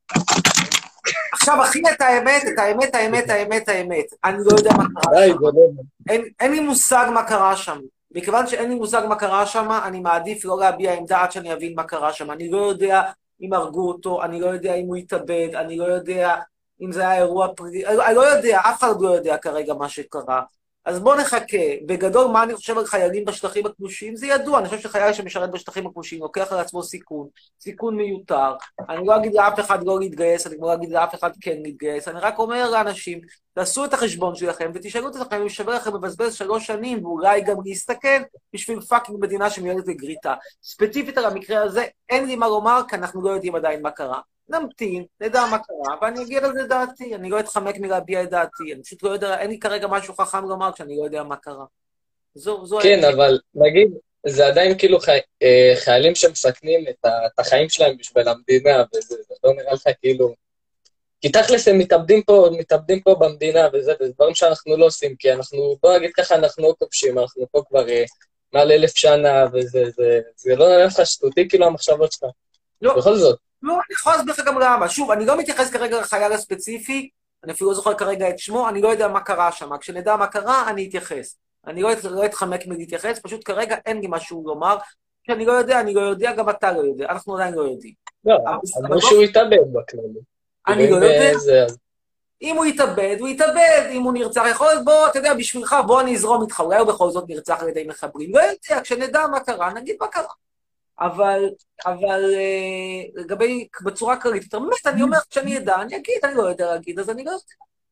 Speaker 9: עכשיו, אחי, את האמת, את האמת, האמת, האמת, האמת. אני לא יודע מה קרה
Speaker 5: די,
Speaker 9: שם.
Speaker 5: זה לא...
Speaker 9: אין, אין לי מושג מה קרה שם. מכיוון שאין לי מושג מה קרה שם, אני מעדיף לא להביע עמדה עד שאני אבין מה קרה שם. אני לא יודע אם הרגו אותו, אני לא יודע אם הוא התאבד, אני לא יודע אם זה היה אירוע פריטי, אני, אני לא יודע, אף אחד לא יודע כרגע מה שקרה. אז בוא נחכה. בגדול, מה אני חושב על חיילים בשטחים הכבושים? זה ידוע, אני חושב שחייל שמשרת בשטחים הכבושים לוקח על עצמו סיכון, סיכון מיותר. אני לא אגיד לאף אחד לא להתגייס, אני לא אגיד לאף אחד כן להתגייס, אני רק אומר לאנשים, תעשו את החשבון שלכם ותשאלו את עצמכם אם שווה לכם לבזבז שלוש שנים ואולי גם להסתכן בשביל פאקינג מדינה שמיועדת לגריטה. ספציפית על המקרה הזה, אין לי מה לומר, כי אנחנו לא יודעים עדיין מה קרה. נמתין, נדע מה קרה, ואני אגיד על זה דעתי, אני לא אתחמק מלהביע את דעתי, אני פשוט לא יודע, אין לי כרגע משהו חכם לומר כשאני לא יודע מה קרה. זו, זו
Speaker 5: כן,
Speaker 9: האמת.
Speaker 5: אבל נגיד, זה עדיין כאילו חי... אה, חיילים שמסכנים את, ה... את החיים שלהם בשביל המדינה, וזה זה לא נראה לך כאילו... כי תכלס הם מתאבדים פה, מתאבדים פה במדינה, וזה, וזה דברים שאנחנו לא עושים, כי אנחנו, בוא נגיד ככה, אנחנו לא כובשים, אנחנו פה כבר אה, מעל אלף שנה, וזה זה, זה לא נראה לך שטותי כאילו המחשבות שלך.
Speaker 9: לא.
Speaker 5: בכל זאת.
Speaker 9: לא, אני יכול להסביר לך גם למה. שוב, אני לא מתייחס כרגע לחייל הספציפי, אני אפילו לא זוכר כרגע את שמו, אני לא יודע מה קרה שם. כשנדע מה קרה, אני אתייחס. אני לא, לא אתחמק מלהתייחס, פשוט כרגע אין לי משהו לומר. כשאני לא יודע, אני לא יודע, גם אתה לא יודע. אנחנו עדיין לא יודעים.
Speaker 5: לא,
Speaker 9: אבל-
Speaker 5: אמרו
Speaker 9: אבל
Speaker 5: שהוא התאבד בכללי.
Speaker 9: אני לא
Speaker 5: אם,
Speaker 9: יודע.
Speaker 5: אה, זה-
Speaker 9: אם הוא יתאבד, הוא יתאבד. אם הוא נרצח, יכול להיות, בוא, אתה יודע, בשבילך, בוא אני אזרום איתך. אולי הוא בכל זאת נרצח על ידי מחברים. לא יודע, כשנדע מה קרה, נגיד מה קרה. אבל, אבל אה, לגבי, בצורה כללית, יותר באמת, אני אומר, כשאני אדע, אני אגיד, אני לא יודע להגיד, אז אני לא יודע.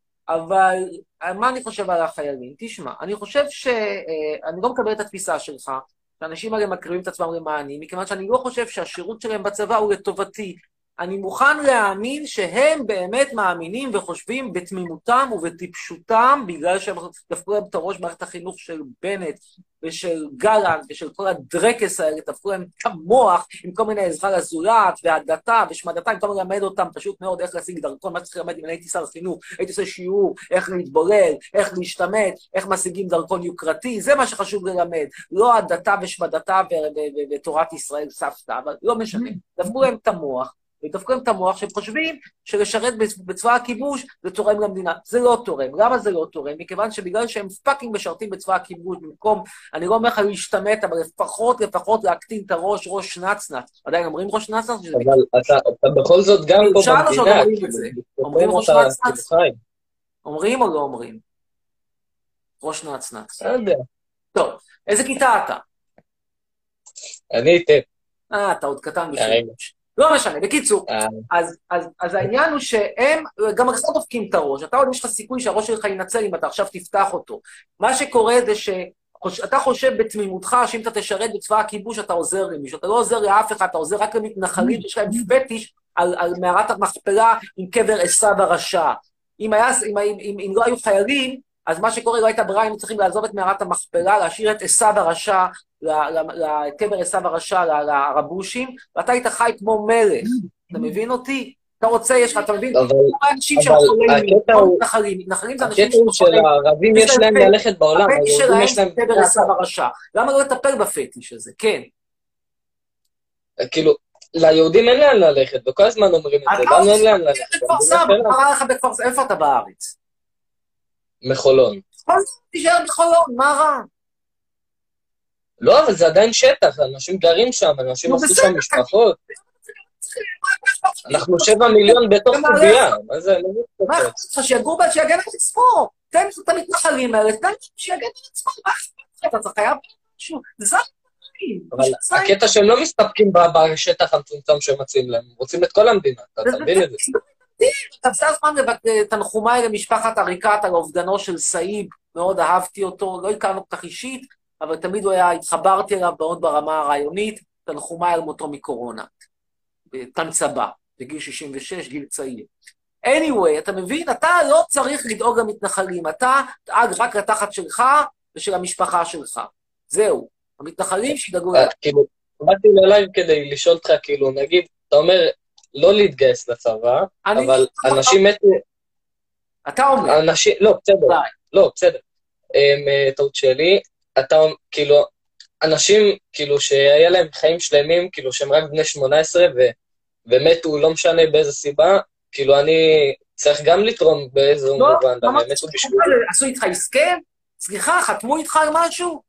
Speaker 9: אבל מה אני חושב על החיילים? תשמע, אני חושב ש... אה, אני לא מקבל את התפיסה שלך, שאנשים האלה מקריבים את עצמם למעני, מכיוון שאני לא חושב שהשירות שלהם בצבא הוא לטובתי. אני מוכן להאמין שהם באמת מאמינים וחושבים בתמימותם ובטיפשותם, בגלל שהם דפקו להם את הראש במערכת החינוך של בנט ושל גלנט ושל כל הדרקס האלה, דפקו להם את המוח עם כל מיני עזרה לזולת והדתה ושמדתה, במקום ללמד אותם פשוט מאוד איך להשיג דרכון, מה שצריך ללמד אם אני הייתי שר חינוך, הייתי עושה שיעור, איך להתבולל, איך להשתמט, איך משיגים דרכון יוקרתי, זה מה שחשוב ללמד, לא הדתה ושמדתה ו- ו- ו- ותורת ישראל סבתא, אבל לא משנה, דפקו להם את המוח, ודפקו להם את המוח שהם חושבים שלשרת בצבא הכיבוש זה תורם למדינה. זה לא תורם. למה זה לא תורם? מכיוון שבגלל שהם פאקינג משרתים בצבא הכיבוש, במקום, אני לא אומר לך להשתמט, אבל לפחות, לפחות להקטין את הראש, ראש נצנץ. עדיין אומרים ראש נצנץ?
Speaker 5: אבל אתה, אתה בכל זאת גם פה
Speaker 9: שאלנו שעוד
Speaker 5: במדינה,
Speaker 9: אומרים את זה.
Speaker 5: כאילו,
Speaker 9: אומרים ראש
Speaker 5: אתה
Speaker 9: נצנץ?
Speaker 5: כאילו חי.
Speaker 9: אומרים או לא אומרים? ראש נצנץ.
Speaker 5: לא יודע.
Speaker 9: טוב, איזה כיתה אתה?
Speaker 5: אני איתך.
Speaker 9: אה, אתה עוד קטן
Speaker 5: רגע.
Speaker 9: בשביל. לא משנה, בקיצור,
Speaker 5: אה,
Speaker 9: אז, אז, אז העניין הוא שהם גם עכשיו דופקים את הראש, אתה עוד יש לך סיכוי שהראש שלך ינצל אם אתה עכשיו תפתח אותו. מה שקורה זה שאתה חושב בתמימותך שאם אתה תשרת בצבא הכיבוש אתה עוזר למישהו, אתה לא עוזר לאף אחד, אתה עוזר רק למתנחלים שיש להם פטיש על, על מערת המכפלה עם קבר עשיו הרשע. אם, היה, אם, אם, אם, אם לא היו חיילים, אז מה שקורה, לא הייתה ברירה, היינו צריכים לעזוב את מערת המכפלה, להשאיר את עשיו הרשע, לקבר עשיו הרשע, לרבושים, ואתה היית חי כמו מלך. אתה מבין אותי? אתה רוצה, יש לך, אתה מבין?
Speaker 5: אבל
Speaker 9: אנשים שהם
Speaker 5: אבל
Speaker 9: חולים,
Speaker 5: הקטע
Speaker 9: לא
Speaker 5: הוא-
Speaker 9: מתנחלים, מתנחלים זה אנשים
Speaker 5: הקטע הוא
Speaker 9: שהם חולים.
Speaker 5: שלערבים
Speaker 9: יש
Speaker 5: יש
Speaker 9: להם
Speaker 5: להם
Speaker 9: פ-
Speaker 5: ללכת בעולם,
Speaker 9: הפטיש
Speaker 5: היהודים
Speaker 9: שלהם
Speaker 5: יש להם...
Speaker 9: זה קבר עשיו הרשע. למה לא לטפל בפטיש הזה? כן.
Speaker 5: כאילו, ליהודים אין לאן ללכת, וכל הזמן אומרים את זה,
Speaker 9: אתה
Speaker 5: לנו אין לאן
Speaker 9: רוצה
Speaker 5: ללכת.
Speaker 9: בכפר סבא, מה קרה לך בכפר סבא? איפה אתה בארץ?
Speaker 5: מחולון.
Speaker 9: תישאר בחולון, מה רע?
Speaker 5: לא, אבל זה עדיין שטח, אנשים גרים שם, אנשים
Speaker 9: נו,
Speaker 5: עשו
Speaker 9: בסדר,
Speaker 5: שם משפחות. אנחנו שבע מיליון בתוך קובייה, מה זה?
Speaker 9: מה אכפת לך שיגור בה, שיגן על עצמו? תן את המתנחלים האלה, תן שיגן על עצמו, מה אכפת לך? אתה חייב משהו, זה
Speaker 5: אבל הקטע שהם לא מסתפקים בשטח המצומצם שהם מציעים להם, הם רוצים את כל המדינה, אתה תבין את זה.
Speaker 9: אתה בסדר זמן תנחומיי למשפחת עריקאת על אובדנו של סעיב, מאוד אהבתי אותו, לא הכרנו כל כך אישית, אבל תמיד הוא היה, התחברתי אליו מאוד ברמה הרעיונית, תנחומיי על מותו מקורונה. בטנצבה, בגיל שישים ושש, גיל צעיר. anyway, אתה מבין? אתה לא צריך לדאוג למתנחלים, אתה דאג רק לתחת שלך ושל המשפחה שלך. זהו, המתנחלים שידאגו...
Speaker 5: כאילו, באתי ללייב כדי לשאול אותך, כאילו, נגיד, אתה אומר, לא להתגייס לצבא, אבל אנשים מתו...
Speaker 9: אתה אומר.
Speaker 5: אנשים, לא, בסדר, לא, בסדר. טעות שלי, אתה, כאילו, אנשים, כאילו, שהיה להם חיים שלמים, כאילו, שהם רק בני שמונה עשרה, ומתו, לא משנה באיזה סיבה, כאילו, אני צריך גם לתרום באיזה מובן, הם מתו בשביל...
Speaker 9: עשו איתך הסכם? סליחה, חתמו איתך על משהו?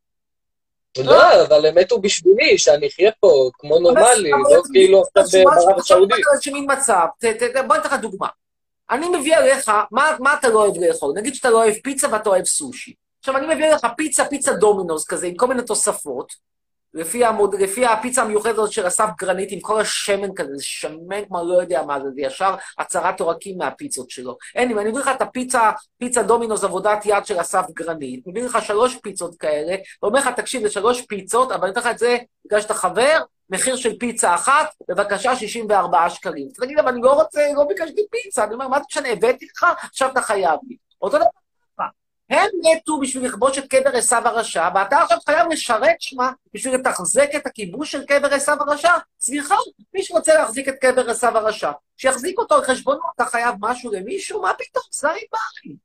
Speaker 5: לא, אבל הם מתו בשבילי, שאני אחיה פה כמו נורמלי, לא כאילו עכשיו בערב הסעודית.
Speaker 9: בוא ניתן לך דוגמה. אני מביא עליך, מה אתה לא אוהב לאכול? נגיד שאתה לא אוהב פיצה ואתה אוהב סושי. עכשיו, אני מביא לך פיצה, פיצה דומינוס כזה, עם כל מיני תוספות, לפי, המוד, לפי הפיצה המיוחדת של אסף גרנית, עם כל השמן כזה, זה שמן כמו לא יודע מה זה, זה ישר הצהרת עורקים מהפיצות שלו. אין, אם אני מביא לך את הפיצה, פיצה דומינוס עבודת יד של אסף גרנית, מביא לך שלוש פיצות כאלה, ואומר לך, תקשיב, זה שלוש פיצות, אבל אני אתן לך את זה, בגלל שאתה חבר, מחיר של פיצה אחת, בבקשה שישים וארבעה שקלים. אתה תגיד, אבל אני לא רוצה, לא ביקשתי פיצה, אני אומר, מה זה שאני הבאתי לך, עכשיו אתה חייב לי. אותו דבר, הם מתו בשביל לכבוש את קבר עשיו הרשע, ואתה עכשיו חייב לשרת שמה בשביל לתחזק את הכיבוש של קבר עשיו הרשע. סליחה, מי שרוצה להחזיק את קבר עשיו הרשע, שיחזיק אותו על חשבונו, אתה חייב משהו למישהו, מה פתאום? זה ריביים.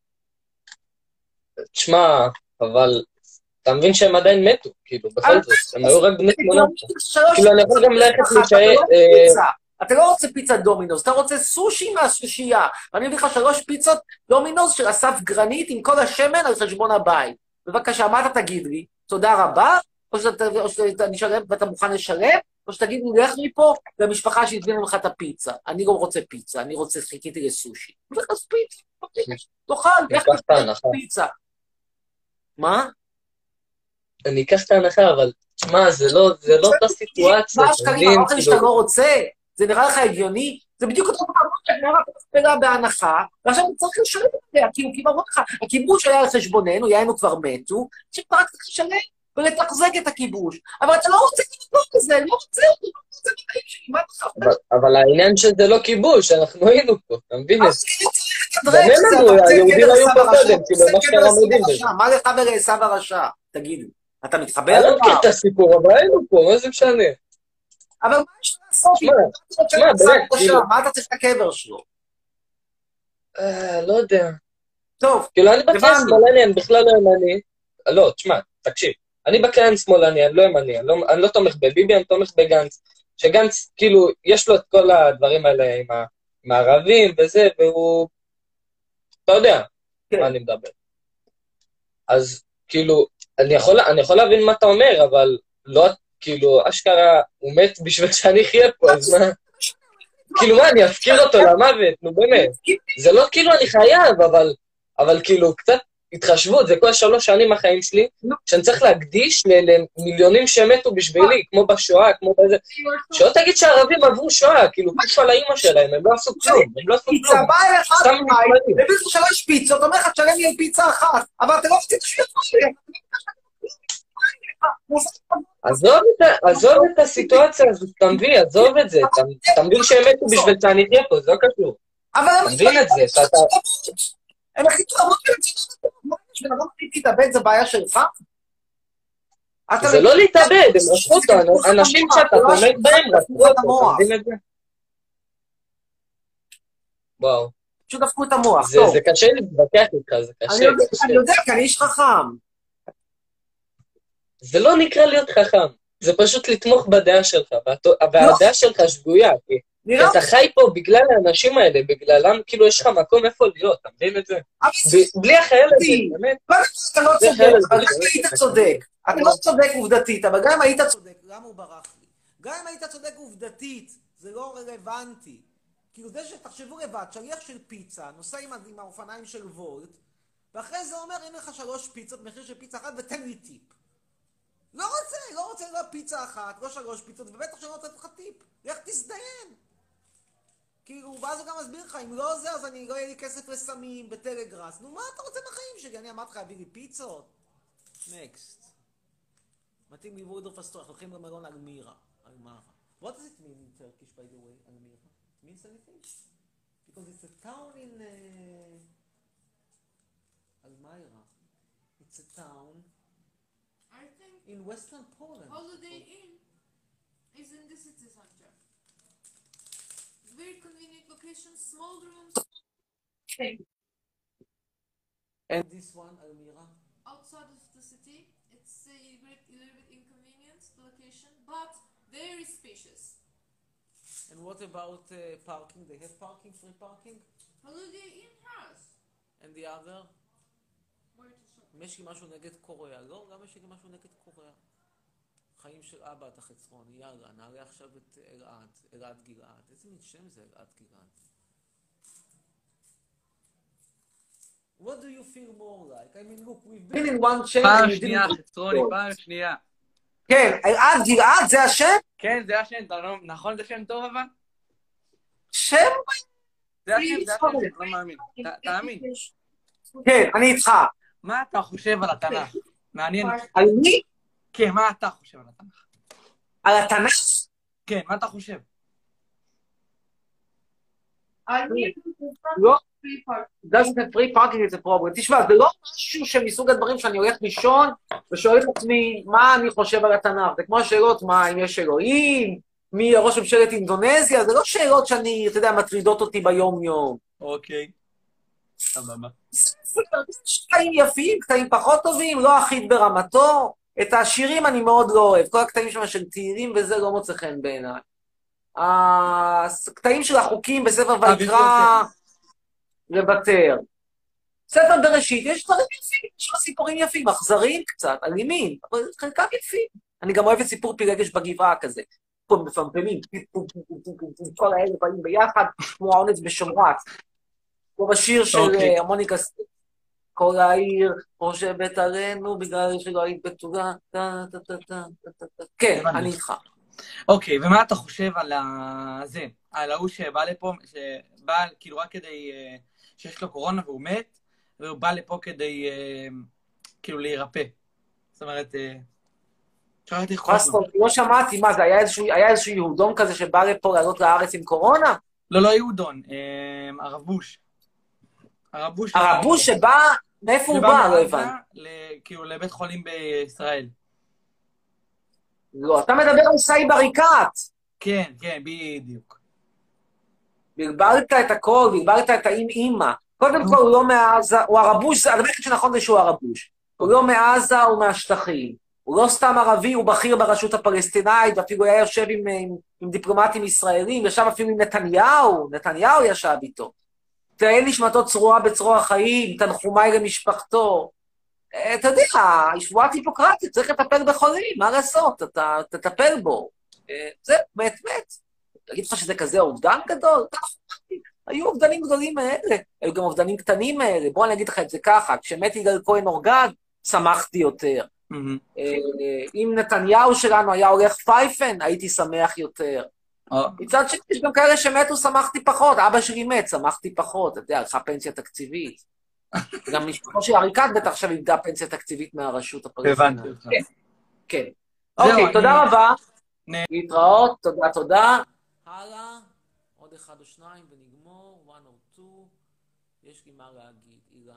Speaker 5: תשמע, אבל אתה מבין שהם עדיין מתו, כאילו, בכל זאת, הם היו רק בני תמונה. כאילו, אני יכול גם ללכת להישאר...
Speaker 9: אתה לא רוצה פיצה דומינוס, אתה רוצה סושי מהסושייה. ואני מביא לך שלוש פיצות דומינוס של אסף גרנית עם כל השמן על חשבון הבית. בבקשה, מה אתה תגיד לי? תודה רבה? או שאתה, או שאתה נשלם ואתה מוכן לשלם? או שתגיד לי, לך מפה למשפחה שהזמינה לך את הפיצה. אני לא רוצה פיצה, אני רוצה, חיכיתי לסושי. אז פיצה, תאכל, לך פיצה. מה?
Speaker 5: אני אקח את ההנחה, אבל תשמע, זה לא אותה סיטואציה.
Speaker 9: מה שקלים, האוכל שאתה לא רוצה? זה נראה לך הגיוני? זה בדיוק אותו דבר, נראה פתפלה בהנחה, ועכשיו אתה צריך לשלם את זה, כי הוא כיוון לך, הכיבוש היה על חשבוננו, יענו כבר מתו, שכבר רק צריך לשלם ולתחזק את הכיבוש. אבל אתה לא רוצה כיבוש כזה, לא רוצה אותו, לא רוצה בחיים שלי, מה אתה חפש?
Speaker 5: אבל העניין שזה לא כיבוש, אנחנו היינו פה, אתה מבין את זה?
Speaker 9: גם
Speaker 5: לנו, היהודים היו פה קודם, כאילו, מה שקרה מודים בזה.
Speaker 9: מה לך ולעשיו הרשע? תגידו, אתה מתחבר?
Speaker 5: אני לא מכיר את הסיפור, אבל היינו פה, מה זה משנה?
Speaker 9: אבל מה יש לעשות? מה אתה צריך את הקבר שלו?
Speaker 5: לא יודע.
Speaker 9: טוב,
Speaker 5: כאילו, אני בקרן שמאלני, אני בכלל לא ימני. לא, תשמע, תקשיב. אני בקרן שמאלני, אני לא ימני, אני לא תומך בביבי, אני תומך בגנץ. שגנץ, כאילו, יש לו את כל הדברים האלה עם הערבים וזה, והוא... אתה יודע מה אני מדבר. אז, כאילו, אני יכול להבין מה אתה אומר, אבל לא... כאילו, אשכרה, הוא מת בשביל שאני אחיה פה, אז מה? כאילו, מה, אני אפקיר אותו למוות, נו באמת. זה לא כאילו אני חייב, אבל, אבל כאילו, קצת התחשבות, זה כל שלוש שנים החיים שלי, שאני צריך להקדיש למיליונים שמתו בשבילי, כמו בשואה, כמו בזה. שלא תגיד שהערבים עברו שואה, כאילו, כיף על האמא שלהם, הם לא עשו כלום, הם לא עשו כלום.
Speaker 9: פיצה, בא אליך, מביא לך שלוש פיצות, אומר לך, תשלם לי על פיצה אחת, אבל אתה לא רוצה תשאיר אותי.
Speaker 5: עזוב את הסיטואציה הזאת, אתה מבין, עזוב את זה, אתה מבין שהם מתו בשביל שאני אחיה פה, זה לא קשור. אתה מבין את זה, אתה...
Speaker 9: הם החליטו לעמוד ולצאת, ולבוא להתאבד, זה בעיה שלך?
Speaker 5: זה לא להתאבד, הם רצו אותו, אנשים שאתה תומך בהם, רצו אותו, אתה מבין את זה? וואו.
Speaker 9: פשוט דפקו את המוח,
Speaker 5: טוב. זה קשה להתווכח איתך, זה קשה.
Speaker 9: אני יודע, כי אני איש חכם.
Speaker 5: זה לא נקרא להיות חכם, זה פשוט לתמוך בדעה שלך, והדעה שלך שגויה, כי אתה חי פה בגלל האנשים האלה, בגללם, כאילו יש לך מקום איפה להיות, אתה מבין את זה? בלי החייל הזה, באמת.
Speaker 9: אתה לא צודק, אבל גם היית צודק, אתה לא צודק עובדתית, אבל גם היית צודק, למה הוא ברח לי? גם אם היית צודק עובדתית, זה לא רלוונטי. כאילו זה שתחשבו לבד, שליח של פיצה, נוסע עם, עם האופניים של וולט, ואחרי זה אומר, אין לך שלוש פיצות, מחיר של פיצה אחת, ותן לי טיפ. לא רוצה, לא רוצה לא פיצה אחת, לא שלוש פיצות, ובטח שאני לא רוצה לך טיפ. לך תזדיין. כאילו, ואז הוא גם מסביר לך, אם לא זה, אז אני לא יהיה לי כסף לסמים, בטלגראס. נו, מה אתה רוצה בחיים שלי? אני אמרתי לך, להביא לי פיצות? נקסט. מתאים לי וולדורף אסטוריה, אנחנו הולכים למלון אלמירה. אלמרה. What does it mean in Turkish, by the way, אלמירה? It means anything? Because it's a town in... Uh... Almira. It's a town...
Speaker 1: I think
Speaker 9: in Western Poland.
Speaker 1: Holiday Inn is in the city center. Very convenient location, small rooms.
Speaker 9: And this one, Almira?
Speaker 1: Outside of the city, it's a great, a little bit inconvenient location, but very spacious.
Speaker 9: And what about uh, parking? They have parking, free parking?
Speaker 1: Holiday Inn has.
Speaker 9: And the other?
Speaker 1: Where to shop?
Speaker 9: אם יש לי משהו נגד קוריאה, לא? גם יש לי משהו נגד קוריאה. חיים של אבא את החצרוני, יאללה, נעלה עכשיו את אלעד, אלעד גלעד. איזה מין שם זה אלעד גלעד? What do you feel more like? I mean, look, we've been in one chair...
Speaker 8: פעם שנייה, חצרוני, פעם שנייה.
Speaker 9: כן, אלעד גלעד, זה השם?
Speaker 8: כן, זה השם, נכון זה שם טוב אבל?
Speaker 9: שם?
Speaker 8: זה השם, זה השם, לא מאמין. תאמין.
Speaker 9: כן, אני איתך.
Speaker 8: מה אתה חושב על התנ"ך? מעניין.
Speaker 9: על מי?
Speaker 8: כן, מה אתה חושב על התנ"ך?
Speaker 9: על התנ"ך?
Speaker 8: כן, מה אתה חושב?
Speaker 9: לא. doesn't have free parking is a problem. תשמע, זה לא משהו שמסוג הדברים שאני הולך לישון ושואל את עצמי מה אני חושב על התנ"ך. זה כמו השאלות מה, אם יש אלוהים, מי ראש ממשלת אינדונזיה, זה לא שאלות שאני, אתה יודע, מטרידות אותי ביום יום.
Speaker 8: אוקיי. סבבה.
Speaker 9: קטעים יפים, קטעים פחות טובים, לא אחיד ברמתו. את השירים אני מאוד לא אוהב. כל הקטעים שם של צעירים וזה לא מוצא חן בעיניי. הקטעים של החוקים בספר ויקרא לוותר. ספר בראשית, יש דברים יפים, יש לו סיפורים יפים, אכזריים קצת, אלימים, אבל חלקם יפים. אני גם אוהב את סיפור פילגש בגבעה כזה. פה מפמפמים, כל האלה באים ביחד, כמו העונץ בשומרת. כמו בשיר של מוניקה סטייק. כל העיר חושבת עלינו בגלל שלא היית בתורה. כן, אני איתך.
Speaker 8: אוקיי, ומה אתה חושב על זה? על ההוא שבא לפה, שבא כאילו רק כדי שיש לו קורונה והוא מת, והוא בא לפה כדי כאילו להירפא. זאת אומרת, שואלת איך קוראים לו.
Speaker 9: לא שמעתי, מה זה, היה איזשהו יהודון כזה שבא לפה לעלות לארץ עם קורונה?
Speaker 8: לא, לא יהודון, הרב בוש. הרב בוש.
Speaker 9: הרב בוש שבא, מאיפה הוא בא? לא הבנתי.
Speaker 8: כאילו לבית חולים בישראל.
Speaker 9: לא, אתה מדבר על סאיב עריקאת.
Speaker 8: כן, כן, בדיוק.
Speaker 9: בלבלת את הכל, בלבלת את האם אימא. קודם כל הוא לא מעזה, הוא הרבוש, הדבר שנכון זה שהוא הרבוש. הוא לא מעזה, הוא מהשטחים. הוא לא סתם ערבי, הוא בכיר ברשות הפלסטינאית, ואפילו היה יושב עם, עם, עם דיפלומטים ישראלים, ישב אפילו עם נתניהו, נתניהו ישב איתו. תראה נשמתו צרועה בצרוע חיים, תנחומיי למשפחתו. אתה יודע, שבועת היפוקרטית, צריך לטפל בחולים, מה לעשות? אתה תטפל בו. זה, מת, מת. תגיד לך שזה כזה אובדן גדול? היו אובדנים גדולים מאלה, היו גם אובדנים קטנים מאלה. בוא אני אגיד לך את זה ככה, כשמת יגאל כהן אורגד, שמחתי יותר. אם נתניהו שלנו היה הולך פייפן, הייתי שמח יותר. מצד שני, יש גם כאלה שמתו, שמחתי פחות. אבא שלי מת, שמחתי פחות. אתה יודע, הלכה פנסיה תקציבית. גם משפחו של עריקאת בטח עכשיו יבדה פנסיה תקציבית מהרשות הפלסטינאית.
Speaker 8: הבנתי.
Speaker 9: כן. אוקיי, תודה רבה. להתראות, תודה, תודה. הלאה, עוד אחד או שניים ונגמור, one or two. יש לי מה להגיד, אילן.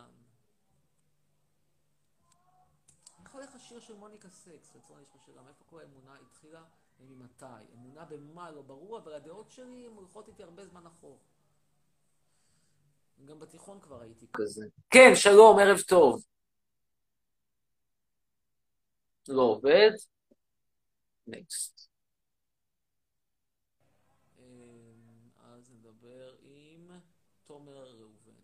Speaker 9: איך הולך השיר של מוניקה סקס? רצון יש לך שאלה, מאיפה כל האמונה התחילה וממתי? אמונה במה לא ברור, אבל הדעות שלי הן הולכות איתי הרבה זמן אחורה. גם בתיכון כבר הייתי כזה. כן, שלום, ערב טוב. לא עובד. נקסט. אז נדבר עם תומר ראובן.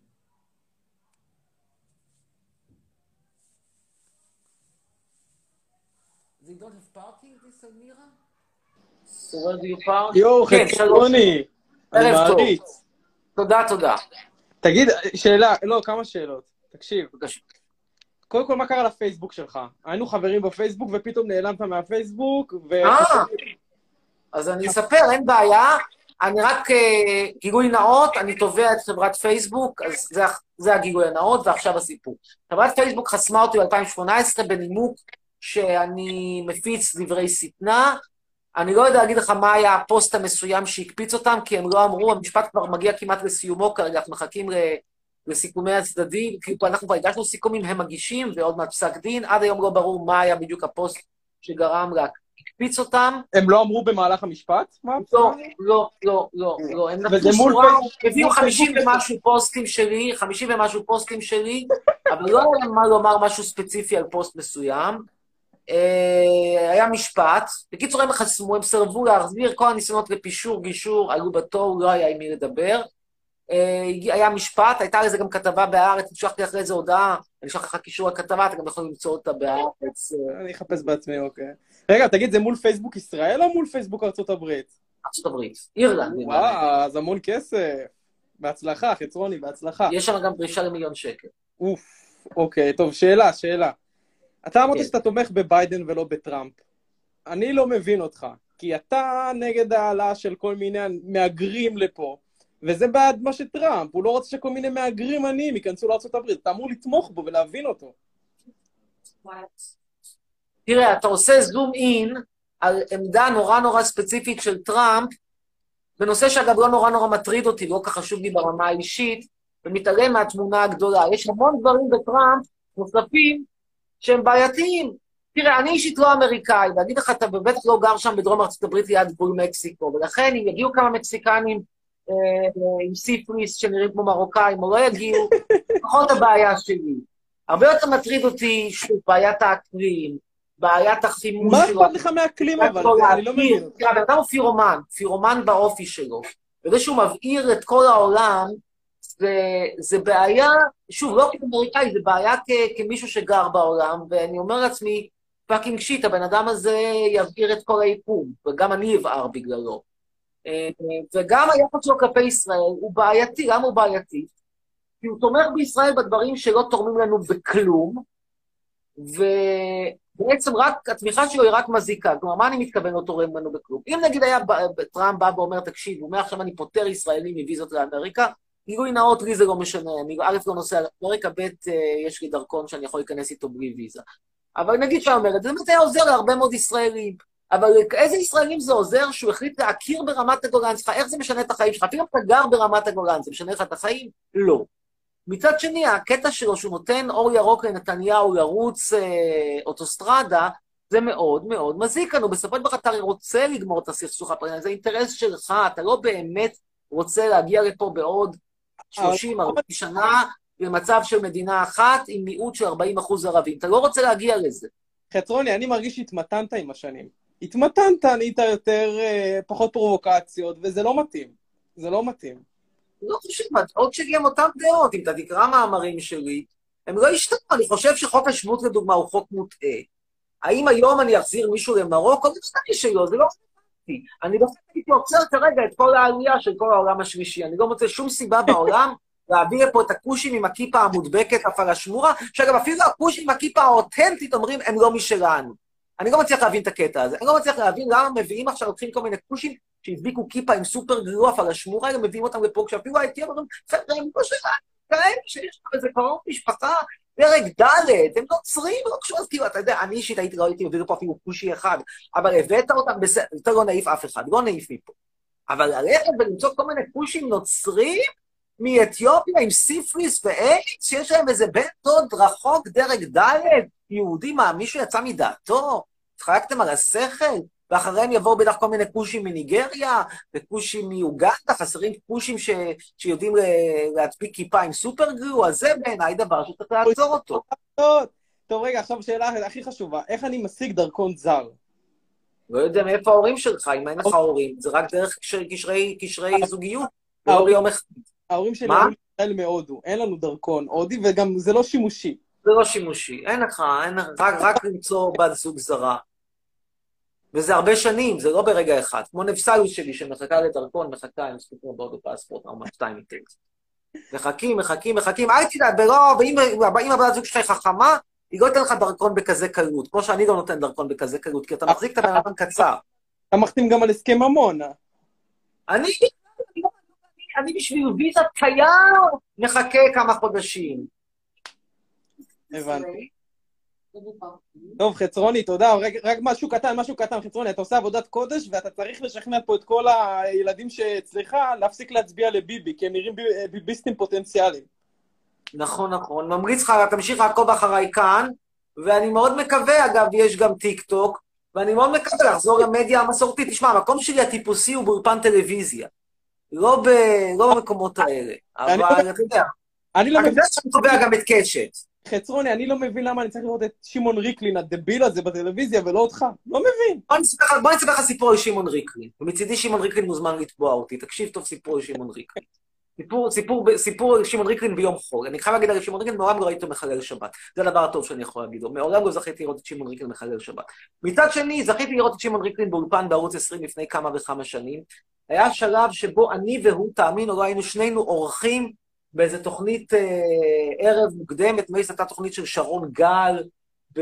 Speaker 9: They don't have parking, this Almira? So where do you park?
Speaker 10: יואו,
Speaker 9: כן, שלום.
Speaker 10: חצרוני. אני
Speaker 9: ערב טוב.
Speaker 10: מעריץ.
Speaker 9: תודה, תודה.
Speaker 10: תגיד, שאלה, לא, כמה שאלות. תקשיב.
Speaker 9: בבקשה.
Speaker 10: קודם כל, מה קרה לפייסבוק שלך? היינו חברים בפייסבוק, ופתאום נעלמת מהפייסבוק, ו...
Speaker 9: אה, אז אני אספר, אין בעיה. אני רק אה, גילוי נאות, אני תובע את חברת פייסבוק, אז זה, זה הגילוי הנאות, ועכשיו הסיפור. חברת פייסבוק חסמה אותי ב-אלפיים שמונה עשרה בנימוק שאני מפיץ דברי שטנה. אני לא יודע להגיד לך מה היה הפוסט המסוים שהקפיץ אותם, כי הם לא אמרו, המשפט כבר מגיע כמעט לסיומו כרגע, אנחנו מחכים לסיכומי הצדדים, כי אנחנו כבר הגשנו סיכומים, הם מגישים, ועוד מעט פסק דין, עד היום לא ברור מה היה בדיוק הפוסט שגרם להקפיץ אותם.
Speaker 10: הם לא אמרו במהלך המשפט? מה?
Speaker 9: לא, לא, לא, לא, לא. הם
Speaker 10: וזה
Speaker 9: נתנו
Speaker 10: מול
Speaker 9: שורה,
Speaker 10: פייסבוק-
Speaker 9: הביאו
Speaker 10: מול
Speaker 9: חמישים
Speaker 10: פייסבוק-
Speaker 9: ומשהו פוסטים שלי, חמישים ומשהו פוסטים שלי, אבל לא היה להם מה לומר משהו ספציפי על פוסט מסוים. אה, היה משפט, בקיצור הם חסמו, הם סרבו להחזיר, כל הניסיונות לפישור, גישור, עלו בתור, לא היה עם מי לדבר. אה, הגיע- היה משפט, הייתה לזה גם כתבה בהארץ, נשלחתי אחרי זה הודעה, אני אשלח לך קישור לכתבה, אתה גם יכול למצוא אותה בהארץ. אה,
Speaker 10: אני אחפש בעצמי, אוקיי. רגע, תגיד, זה מול פייסבוק ישראל או מול פייסבוק ארצות הברית?
Speaker 9: ארצות הברית, אירלנד. אני מאמין.
Speaker 10: וואו, אז המון כסף. בהצלחה, חצרוני, בהצלחה.
Speaker 9: יש שם גם דרישה למיליון שקל.
Speaker 10: אוף, אוקיי, טוב, שאלה, שאלה. אתה אמרת
Speaker 9: כן.
Speaker 10: שאתה תומך בביידן ולא בטראמפ. אני לא מבין אותך, כי אתה נגד העלאה של כל מיני מהגרים לפה, וזה בעד מה שטראמפ, הוא לא רוצה שכל מיני מהגרים עניים ייכנסו לארצות הברית, אתה אמור לתמוך בו ולהבין אותו.
Speaker 9: תראה, אתה עושה זום אין על עמדה נורא נורא ספציפית של טראמפ, בנושא שאגב לא נורא נורא מטריד אותי, לא כך חשוב לי ברמה האישית, ומתעלם מהתמונה הגדולה. יש המון דברים בטראמפ נוספים שהם בעייתיים. תראה, אני אישית לא אמריקאי, ואגיד לך, אתה בבטח לא גר שם בדרום ארצות הברית ליד גבול מקסיקו, ולכן אם יגיעו כמה מקסיקנים אה, עם סיפריס שנראים כמו מרוקאים, או לא יגיעו, פחות הבעיה שלי. הרבה יותר מטריד אותי, שוב, בעיית האקלים, בעיית החימוש
Speaker 10: מה
Speaker 9: שלו.
Speaker 10: אכפת לך מהאקלים אבל? אני לא מבין.
Speaker 9: תראה, הבן אדם הוא פירומן, פירומן באופי שלו. וזה שהוא מבעיר את כל העולם, זה, זה בעיה, שוב, לא כאמריקאי, זה בעיה כ, כמישהו שגר בעולם, ואני אומר לעצמי, פאקינג שיט, הבן אדם הזה יבעיר את כל היקום, וגם אני אבער בגללו. וגם היחס שלו כלפי ישראל הוא בעייתי. למה הוא בעייתי? כי הוא תומך בישראל בדברים שלא תורמים לנו בכלום, ובעצם רק, התמיכה שלו היא רק מזיקה. כלומר, מה אני מתכוון לא תורם לנו בכלום? אם נגיד היה טראמפ בא ואומר, תקשיב, ומעכשיו אני פותר ישראלים מוויזות לאמריקה, גילוי נאות, לי זה לא משנה, אני א' לא נוסע לאמריקה, ב' יש לי דרכון שאני יכול להיכנס איתו בלי ויזה. אבל נגיד שאני אומר את זה, זה באמת היה עוזר להרבה מאוד ישראלים. אבל איזה ישראלים זה עוזר שהוא החליט להכיר ברמת הגולן שלך? איך זה משנה את החיים שלך? אפילו אם אתה גר ברמת הגולן, זה משנה לך את החיים? לא. מצד שני, הקטע שלו שהוא נותן אור ירוק לנתניהו לרוץ אה, אוטוסטרדה, זה מאוד מאוד מזיק לנו. בסופו של דבר אתה רוצה לגמור את הסכסוך הפרטי, זה אינטרס שלך, אתה לא באמת רוצה להגיע לפה בעוד שלושים ארבעים שנה במצב של מדינה אחת עם מיעוט של ארבעים אחוז ערבים. אתה לא רוצה להגיע לזה.
Speaker 10: חצרוני, אני מרגיש שהתמתנת עם השנים. התמתנת, נהיית יותר, פחות פרובוקציות, וזה לא מתאים. זה לא מתאים.
Speaker 9: לא חושב, עוד שלי הם אותם דעות, אם אתה תקרא מאמרים שלי, הם לא השתנו. אני חושב שחוק השבות לדוגמה הוא חוק מוטעה. האם היום אני אחזיר מישהו למרוקו? זה סתם שלו, זה לא חשבתי. אני לא הייתי עוצר כרגע את כל העלייה של כל העולם השלישי. אני לא מוצא שום סיבה בעולם להביא לפה את הכושים עם הכיפה המודבקת אף על השמורה, שאגב, אפילו הכושים עם הכיפה האותנטית אומרים, הם לא משלנו. אני לא מצליח להבין את הקטע הזה. אני לא מצליח להבין למה מביאים עכשיו, לוקחים כל מיני כושים שהדביקו כיפה עם סופר גלו אף על השמורה, הם מביאים אותם לפה, כשאפילו הייתי אומרים, חבר'ה, הם לא שלנו, כאלה שיש שם איזה קרוב משפחה, דרג ד', הם נוצרים, לא קשור, אז כאילו, אתה יודע, אני אישית הייתי לא הייתי מביא לפה אפילו כושי אחד, אבל הבאת אותם, בסדר, יותר לא נעיף אף אחד, לא נעיף מפה. אבל ללכת ולמצוא כל מיני כושים נוצרים, מאתיופיה עם סיפריס ואיידס, שיש להם איזה בן דוד רחוק דרג ד', יהודי, מה, מישהו יצא מדעתו? התחלקתם על השכל? ואחריהם יבואו בטח כל מיני כושים מניגריה, וכושים מאוגנדה, חסרים כושים ש... שיודעים להדביק כיפה עם סופר גלו, אז זה בעיניי דבר שצריך לעצור אותו.
Speaker 10: טוב, טוב, רגע, עכשיו שאלה הכי חשובה, איך אני משיג דרכון זר?
Speaker 9: לא יודע מאיפה ההורים שלך, אם אין לך הורים, זה רק דרך קשרי זוגיות, לא ביום אחד.
Speaker 10: ההורים שלי עולים ישראל מהודו, אין לנו דרכון הודי, וגם זה לא שימושי.
Speaker 9: זה לא שימושי, אין לך, אין, רק, רק למצוא בת זוג זרה. וזה הרבה שנים, זה לא ברגע אחד. כמו נפסלוס שלי שמחכה לדרכון, מחכה עם ספיקור בעוד בפספורט, ארבע שתיים איטקס. מחכים, מחכים, מחכים, אל תדעת, ולא, ואם אם הבת זוג שלך היא חכמה, היא לא תיתן לך דרכון בכזה קלות, כמו שאני לא נותן דרכון בכזה קלות, כי אתה מחזיק את הבן אדם קצר.
Speaker 10: אתה מחתים גם על הסכם ממון.
Speaker 9: אני, אני בשביל ויזת תייר מחכה כמה חודשים.
Speaker 10: הבנתי. טוב, חצרוני, תודה. רק, רק משהו קטן, משהו קטן, חצרוני, אתה עושה עבודת קודש, ואתה צריך לשכנע פה את כל הילדים שאצלך להפסיק להצביע לביבי, כי הם נראים ביביסטים פוטנציאליים.
Speaker 9: נכון, נכון. ממריץ לך, תמשיך לעקוב אחריי כאן, ואני מאוד מקווה, אגב, יש גם טיק טוק, ואני מאוד מקווה לחזור למדיה המסורתית. תשמע, המקום שלי הטיפוסי הוא באולפן טלוויזיה. לא, ב... לא במקומות האלה. אבל אתה יודע,
Speaker 10: אני לא מבין...
Speaker 9: אני קובע גם את קשת.
Speaker 10: חצרוני, אני לא מבין למה אני צריך לראות את שמעון ריקלין, הדביל הזה בטלוויזיה, ולא אותך. לא מבין.
Speaker 9: בוא אני אספר לך סיפור על שמעון ריקלין. ומצידי שמעון ריקלין מוזמן לתבוע אותי. תקשיב טוב סיפור על שמעון ריקלין. סיפור, סיפור, סיפור על שמעון ריקלין ביום חול. אני חייב להגיד על שמעון ריקלין, מעולם לא ראיתי אותו מחלל שבת. זה הדבר הטוב שאני יכול להגיד. מעולם לא זכיתי לראות את שמעון ריקלין מחלל שבת. מצד שני, זכיתי לראות את שמעון ריקלין באולפן בערוץ עשרים לפני כמה וכמה שנים. היה שלב שבו אני והוא, תאמין או לא, היינו שנינו אורחים באיזו תוכנית אה, ערב מוקדמת, מי הייתה תוכנית של שרון גל ב...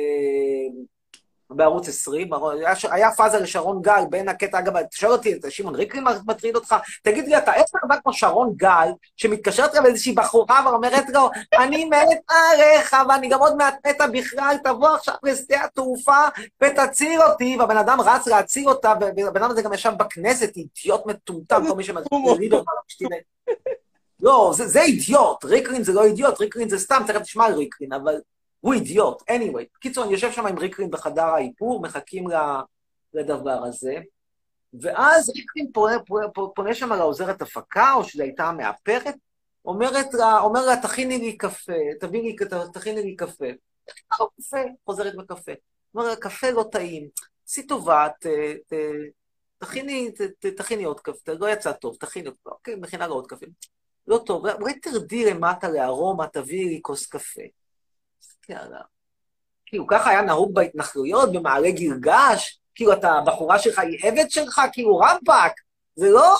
Speaker 9: בערוץ עשרים, היה, היה פאזה לשרון גל, בין הקטע, אגב, תשאל אותי, את שמעון ריקלין מטריד אותך, תגיד לי, אתה איפה אדם כמו שרון גל, שמתקשרת לה באיזושהי בחורה ואומרת לו, אני מתה עליך, ואני גם עוד מעט מתה בכלל, תבוא עכשיו לשדה התעופה ותציל אותי, והבן אדם רץ להציל אותה, והבן אדם הזה גם ישב בכנסת, אידיוט מטומטם, כל מי שמטריד אותה, לא, זה, זה אידיוט, ריקלין זה לא אידיוט, ריקלין זה סתם, תכף תשמע על ריקלין, אבל הוא אידיוט. anyway, קיצור, אני יושב שם עם ריקלין בחדר האיפור, מחכים לדבר הזה, ואז ריקלין פונה, פונה, פונה שם לעוזרת הפקה, או שזו הייתה המאפרת, אומרת לה, אומר לה, תכיני לי קפה, תביא לי, תכיני לי קפה. תכיני קפה, חוזרת בקפה. אומר לה, קפה לא טעים, עשי טובה, ת, ת, תכיני, ת, ת, תכיני עוד קפה, לא יצא טוב, תכיני עוד קפה, אוקיי, מכינה לו עוד קפה. לא טוב, אולי תרדי למטה לארומה, תביאי לי כוס קפה. יאללה. כאילו, ככה היה נהוג בהתנחלויות, במעלה גרגש, כאילו, אתה, הבחורה שלך היא עבד שלך, כאילו, רמפק. זה לא...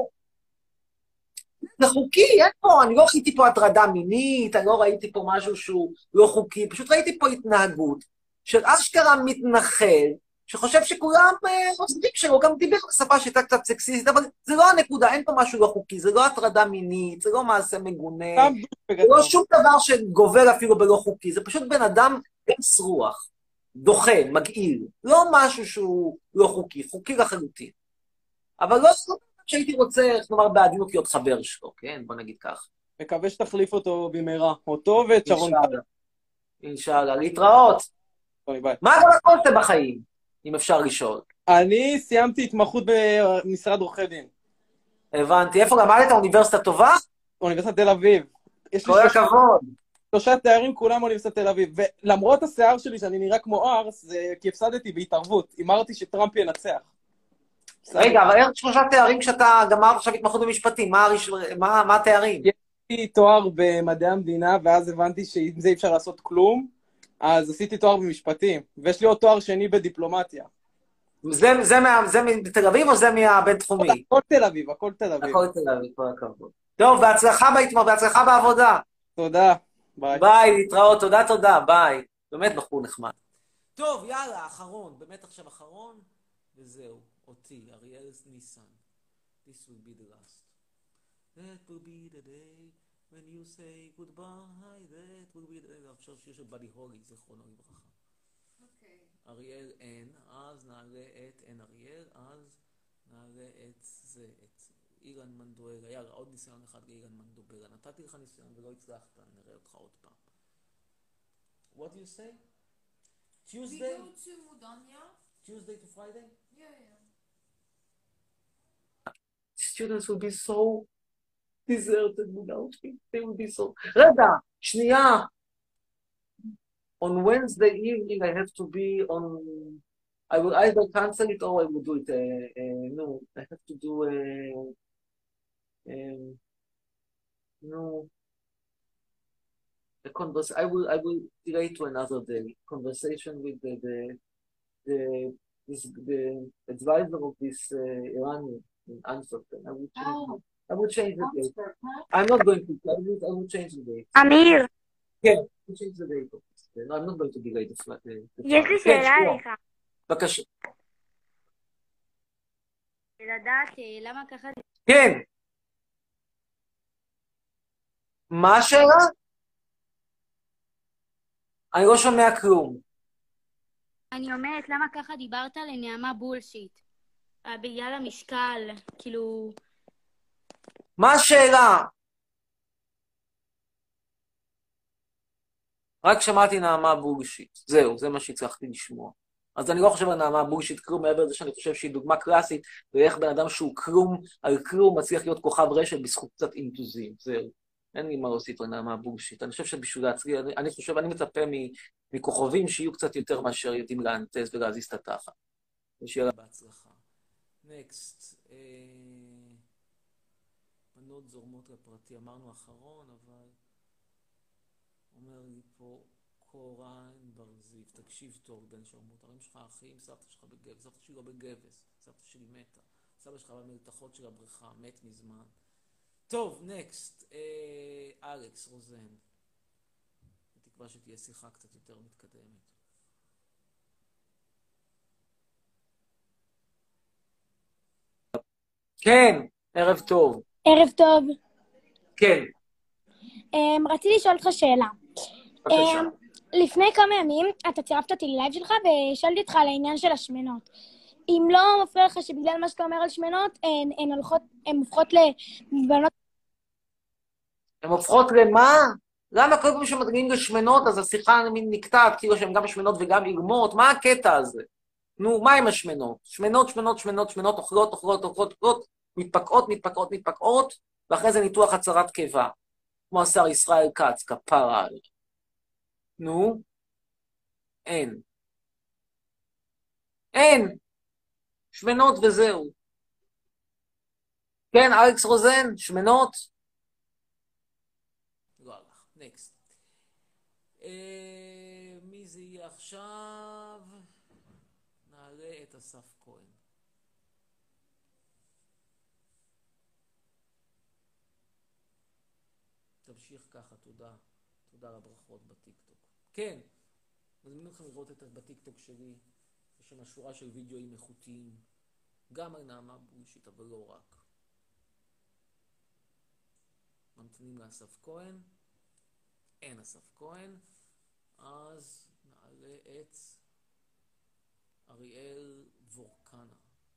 Speaker 9: זה חוקי, אין פה, אני לא ראיתי פה הטרדה מינית, אני לא ראיתי פה משהו שהוא לא חוקי, פשוט ראיתי פה התנהגות של אשכרה מתנחל, שחושב שכולם עוזרים שלו, גם דיבר בשפה שהייתה קצת סקסיסטית, אבל זה לא הנקודה, אין פה משהו לא חוקי, זה לא הטרדה מינית, זה לא מעשה מגונה, זה לא שום דבר שגובל אפילו בלא חוקי, זה פשוט בן אדם גס רוח, דוחה, מגעיל, לא משהו שהוא לא חוקי, חוקי לחלוטין. אבל לא שהייתי רוצה, איך נאמר בעדינות, להיות חבר שלו, כן? בוא נגיד כך.
Speaker 10: מקווה שתחליף אותו במהרה, אותו ואת שרון.
Speaker 9: אינשאללה, להתראות. מה אתה עושה בחיים, אם אפשר לשאול?
Speaker 10: אני סיימתי התמחות במשרד עורכי דין.
Speaker 9: הבנתי. איפה למדת? אוניברסיטה טובה?
Speaker 10: אוניברסיטת תל אביב.
Speaker 9: כל הכבוד.
Speaker 10: שלושה תארים, כולם אוניברסיטת תל אביב. ולמרות השיער שלי, שאני נראה כמו ארס, זה כי הפסדתי בהתערבות. אמרתי שטראמפ ינצח.
Speaker 9: רגע, אבל איך שלושה תארים כשאתה גמר עכשיו התמחות במשפטים? מה התארים?
Speaker 10: יש לי תואר במדעי המדינה, ואז הבנתי שעם זה אי אפשר לעשות כלום, אז עשיתי תואר במשפטים, ויש לי עוד תואר שני בדיפלומטיה.
Speaker 9: זה מתל אביב או זה מהבית תחומי?
Speaker 10: הכל תל אביב, הכל תל אביב.
Speaker 9: הכל תל אביב, כל הכבוד. טוב, בהצלחה בעבודה.
Speaker 10: תודה, ביי.
Speaker 9: ביי, להתראות, תודה, תודה, ביי. באמת בחור נחמד. טוב, יאללה, אחרון, באמת עכשיו אחרון, וזהו, אותי, אריאל ניסן. This will be the last. That will be the day when you say goodbye, that will be the day. עכשיו שיר של בדי הולי, זכרונו לברכה. אריאל אין, אז נעלה את אין אריאל, אז נעלה את זה, את אילן מנדואלה. יאללה, עוד ניסיון אחד לאילן מנדואלה. נתתי לך ניסיון ולא הצלחת, נראה אותך עוד פעם. What do you say? Tuesday?
Speaker 1: We go to Mudanya.
Speaker 9: Tuesday to Friday?
Speaker 1: Yeah, yeah.
Speaker 9: Students will be so deserted without me. They will be so... רגע, שנייה. On Wednesday evening, I have to be on... I will either cancel it or I will do it. Uh, uh, no, I have to do... Uh, um, no. The converse. I will. I will delay to another day. Conversation with the the, the this the advisor of this uh, Iranian uncertain. I would change.
Speaker 1: Oh,
Speaker 9: I would change the date.
Speaker 1: Oxford, huh?
Speaker 9: I'm not going to. I would, I would change the date.
Speaker 6: אמיר,
Speaker 9: כן, I would change the date of this. No, I'm not going to delay the flight. the- the
Speaker 6: יש לי
Speaker 9: flight. כן,
Speaker 6: שאלה
Speaker 9: שנייה.
Speaker 6: אליך.
Speaker 9: בבקשה.
Speaker 6: לדעת אה, למה ככה...
Speaker 9: כן. מה השאלה? אני לא שומע כלום.
Speaker 6: אני אומרת, למה ככה דיברת לנעמה בולשיט? אה, בגלל המשקל, כאילו...
Speaker 9: מה השאלה? רק שמעתי נעמה בולשיט. זהו, זה מה שהצלחתי לשמוע. אז אני לא חושב על נעמה בולשיט כלום, מעבר לזה שאני חושב שהיא דוגמה קלאסית, ואיך בן אדם שהוא כלום על כלום מצליח להיות כוכב רשת בזכות קצת אינטוזים. זהו. אין לי מה להוסיף על נעמה בולשיט. אני חושב שבשביל להצליח, אני, אני חושב, אני מצפה מ- מכוכבים שיהיו קצת יותר מאשר יודעים לאנטז ולהזיז את התחת. ושיהיה לה בהצלחה. נקסט. בנות זורמות לפרטי, אמרנו אחרון, אבל אומר לי פה קורן ברזיף, תקשיב טוב בן שרמוט, הרים שלך אחים, סבתא שלך בגבס, סבתא שלי לא בגבס, סבתא שלי מתה, סבא שלך במלתחות של הבריכה, מת מזמן. טוב, נקסט, אה, אלכס רוזן. בתקווה שתהיה שיחה קצת יותר מתקדמת. כן, ערב טוב.
Speaker 6: ערב טוב.
Speaker 9: כן,
Speaker 6: אמ, רציתי לשאול אותך שאלה.
Speaker 9: בבקשה.
Speaker 6: אמ, לפני כמה ימים אתה צירפת אותי ללייב שלך ושאלתי אותך על העניין של השמנות. אם לא מפריע לך שבגלל מה שאתה אומר על שמנות, הן, הן הולכות, הן הופכות לבנות...
Speaker 9: הן הופכות למה? למה כל פעם שמדגים לשמנות, אז השיחה נקטעת, כאילו שהן גם שמנות וגם עירומות? מה הקטע הזה? נו, מה עם השמנות? שמנות, שמנות, שמנות, שמנות, אוכלות, אוכלות, אוכלות, אוכלות, מתפקעות, מתפקעות, מתפקעות, ואחרי זה ניתוח הצהרת קיבה. כמו השר ישראל כץ, כפרה. נו, אין. אין. שמנות וזהו. כן, אלכס רוזן, שמנות. לא הלך, נקסט. מי זה יהיה עכשיו? נעלה את אסף כהן. תמשיך ככה, תודה. תודה על הברכות בטיקטוק. כן, מזמין אתכם לראות את בטיקטוק שלי. יש שם שורה של וידאוים איכותיים. גם על נעמה בולשיט, אבל לא רק. ממתנים לאסף כהן. אין אסף כהן. אז נעלה את אריאל וורקנה.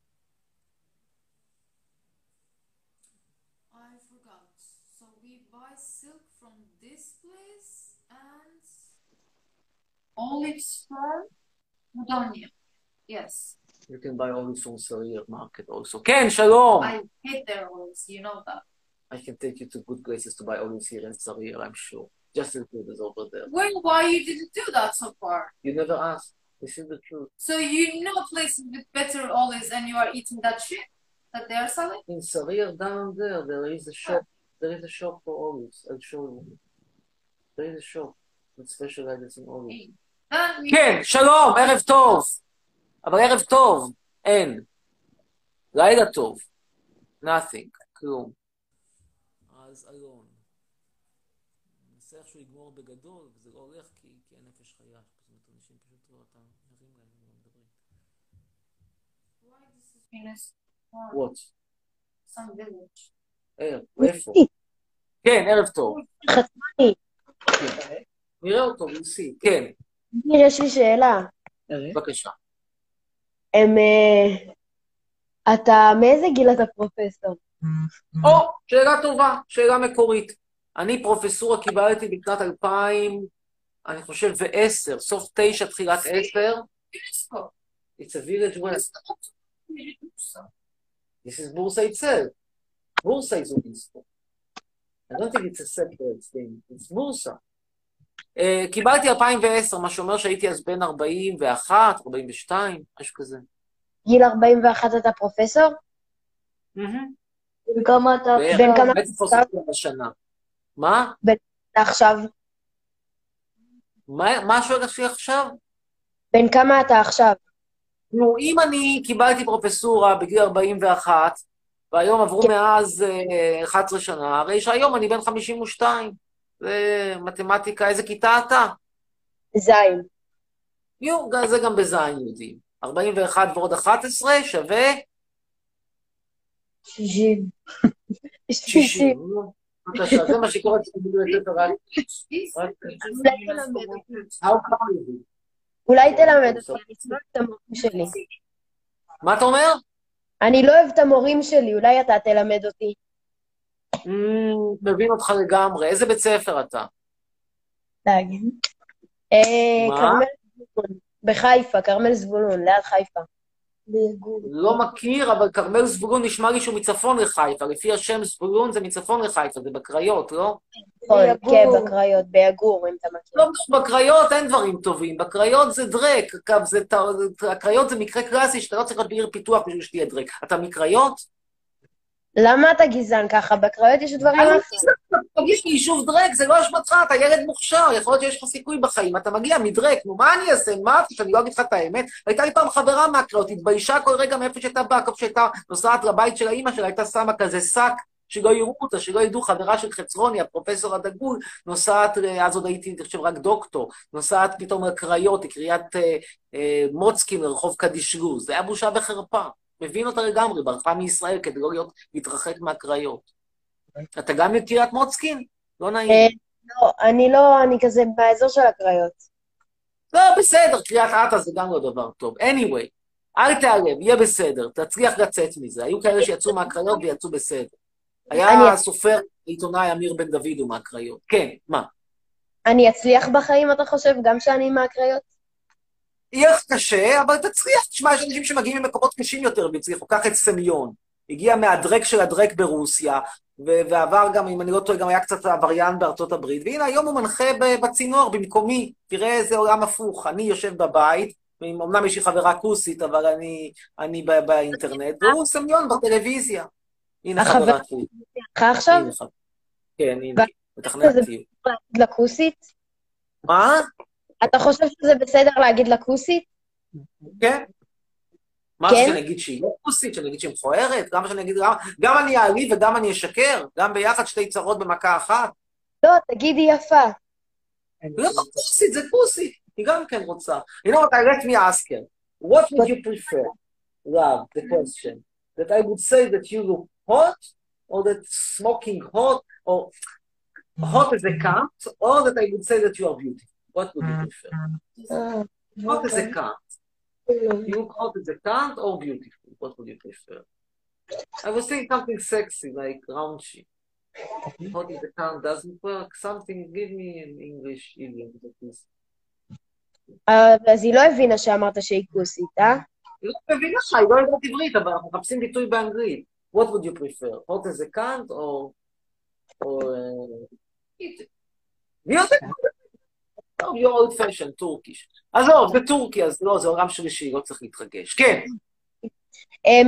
Speaker 1: I forgot. So we buy silk from this place and olives from Mudonia. Yes.
Speaker 9: You can buy olives from Sarir market also. כן, שלום!
Speaker 1: I hate their olives, you know that.
Speaker 9: I can take you to good places to buy olives here in Sarir, I'm sure. Just as good as over there.
Speaker 1: Well, why you didn't do that so far?
Speaker 9: You never asked. This is the truth.
Speaker 1: So you know places with better olives and you are eating that shit that they are selling?
Speaker 9: In Sarir, down there, there is a shop. There is a shop for olives. I'll show you. There is a shop that specializes in olives.
Speaker 1: Then we
Speaker 9: כן, שלום, ערב טוב. אבל ערב טוב, אין. לילה טוב. Nothing, כלום. אז אלון. ננסה איכשהו לגמור בגדול, וזה לא הולך כי, כי אין נפש חיה. זאת אומרת, אנשים פשוט לא, אתה מרים להם, הם לא מדברים.
Speaker 1: why this is Venus?
Speaker 9: What?
Speaker 1: Some village.
Speaker 9: ערב, איפה? כן, ערב טוב.
Speaker 4: חצי.
Speaker 9: כן. נראה אותו, ניסי, כן.
Speaker 4: יש לי שאלה.
Speaker 9: בבקשה.
Speaker 4: הם... אה, אתה, מאיזה גיל אתה פרופסור?
Speaker 9: או, שאלה טובה, שאלה מקורית. אני פרופסורה קיבלתי בשנת אלפיים, אני חושב, ועשר, סוף תשע, תחילת עשר.
Speaker 1: UNESCO.
Speaker 9: It's a village west. This is Bursa itself. Bursa is UNESCO. I don't think it's a separate thing. It's Bursa. Uh, קיבלתי אלפיים ועשר, מה שאומר שהייתי אז בין ארבעים ואחת, ארבעים ושתיים, משהו כזה.
Speaker 4: גיל ארבעים ואחת אתה פרופסור? בן כמה אתה... בן כמה
Speaker 9: הייתי פרופסור בשנה. מה?
Speaker 4: בן כמה אתה עכשיו?
Speaker 9: מה, מה השואל שלי עכשיו?
Speaker 4: בן כמה אתה עכשיו?
Speaker 9: נו, אם אני קיבלתי פרופסורה בגיל ארבעים ואחת, והיום עברו מאז אה, אחת עשרה שנה, הרי שהיום אני בן חמישים ושתיים. זה מתמטיקה, איזה כיתה אתה?
Speaker 11: זין.
Speaker 9: יו, זה גם בזין יודעים. ארבעים ואחת ועוד אחת עשרה שווה?
Speaker 11: שישים.
Speaker 9: שישים. בבקשה, זה מה שקורה כשתגידו את זה רק.
Speaker 11: אולי תלמד אותי, אני לא אוהב את המורים שלי.
Speaker 9: מה אתה אומר?
Speaker 11: אני לא אוהב את המורים שלי, אולי אתה תלמד אותי.
Speaker 9: מבין אותך לגמרי. איזה בית ספר אתה?
Speaker 11: להגיד.
Speaker 9: מה?
Speaker 11: כרמל זבולון. בחיפה, כרמל זבולון, ליד חיפה.
Speaker 9: לא מכיר, אבל כרמל זבולון נשמע לי שהוא מצפון לחיפה. לפי השם זבולון זה מצפון לחיפה, זה בקריות, לא?
Speaker 11: נכון, כן, בקריות, ביגור, אם אתה מכיר.
Speaker 9: לא, בקריות אין דברים טובים. בקריות זה דרק. הקריות זה מקרה קלאסי שאתה לא צריך להיות בעיר פיתוח בשביל שתהיה דרק. אתה מקריות?
Speaker 11: למה אתה גזען ככה? בקריות יש דברים אחרים.
Speaker 9: תגיש לי יישוב דרק, זה לא אשמתך, אתה ילד מוכשר, יכול להיות שיש לך סיכוי בחיים, אתה מגיע מדרק, נו מה אני אעשה? מה אתה שאני לא אגיד לך את האמת? הייתה לי פעם חברה מהקריות, התביישה כל רגע מאיפה שהייתה באה, כל שהייתה נוסעת לבית של האמא שלה, הייתה שמה כזה שק, שלא יראו אותה, שלא ידעו, חברה של חצרוני, הפרופסור הדגול, נוסעת, אז עוד הייתי, אני חושב, רק דוקטור, נוסעת פתאום לקריות, לקריית אה, אה, מוצקין, לרחוב קדישלו, זה היה בושה וחרפה. מבין אותה לגמרי, ברחה מישראל כדי לא להיות, להתרחק מהקריות. אתה גם מקריית מוצקין? לא נעים.
Speaker 11: לא, אני לא, אני כזה באזור של הקריות.
Speaker 9: לא, בסדר, קריית אתא זה גם לא דבר טוב. anyway, אל תעלב, יהיה בסדר, תצליח לצאת מזה. היו כאלה שיצאו מהקריות ויצאו בסדר. היה סופר, עיתונאי אמיר בן דוד הוא מהקריות. כן, מה?
Speaker 11: אני אצליח בחיים, אתה חושב, גם שאני מהקריות?
Speaker 9: יהיה קשה, אבל תצליח. תשמע, יש אנשים שמגיעים ממקומות קשים יותר והצליחו. קח את סמיון. הגיע מהדרק של הדרק ברוסיה, ועבר גם, אם אני לא טועה, גם היה קצת עבריין בארצות הברית. והנה, היום הוא מנחה בצינור, במקומי. תראה איזה עולם הפוך. אני יושב בבית, אמנם יש לי חברה כוסית, אבל אני, אני באינטרנט, והוא סמיון בטלוויזיה. הנה חברה כוסית.
Speaker 11: עכשיו?
Speaker 9: כן, הנה. בתכנתיות.
Speaker 11: לכוסית?
Speaker 9: מה?
Speaker 11: אתה חושב שזה בסדר להגיד לכוסית?
Speaker 9: כן. מה שאני אגיד שהיא לא כוסית, שאני אגיד שהיא מכוערת, גם שאני אגיד, גם אני אעליב וגם אני אשקר, גם ביחד שתי צרות במכה אחת.
Speaker 11: לא, תגידי יפה.
Speaker 9: לא, כוסית, זה כוסית. היא גם כן רוצה. You know what, I let me ask her. What would you prefer? Love, the question. That I would say that you look hot, or that smoking hot, or hot as a cat, or that I would say that you are beautiful. What would you prefer?
Speaker 11: Uh,
Speaker 9: hot as a cat. You look hot as a cat or beautiful? What would you prefer? I was saying something sexy, like raunchy. Hot as a cat doesn't work. Something, give me an English idiom that is.
Speaker 11: אז היא לא הבינה שאמרת שהיא כוסית, אה?
Speaker 9: היא לא מבינה לך, היא לא יודעת עברית, אבל אנחנו מחפשים ביטוי באנגלית. What would you prefer? Hot as a cat or... or... מי יודע? טוב, you're old fashion, טורקיש. אז לא, זה טורקי, אז לא, זה עולם שלישי, לא צריך להתרגש. כן.
Speaker 11: הם...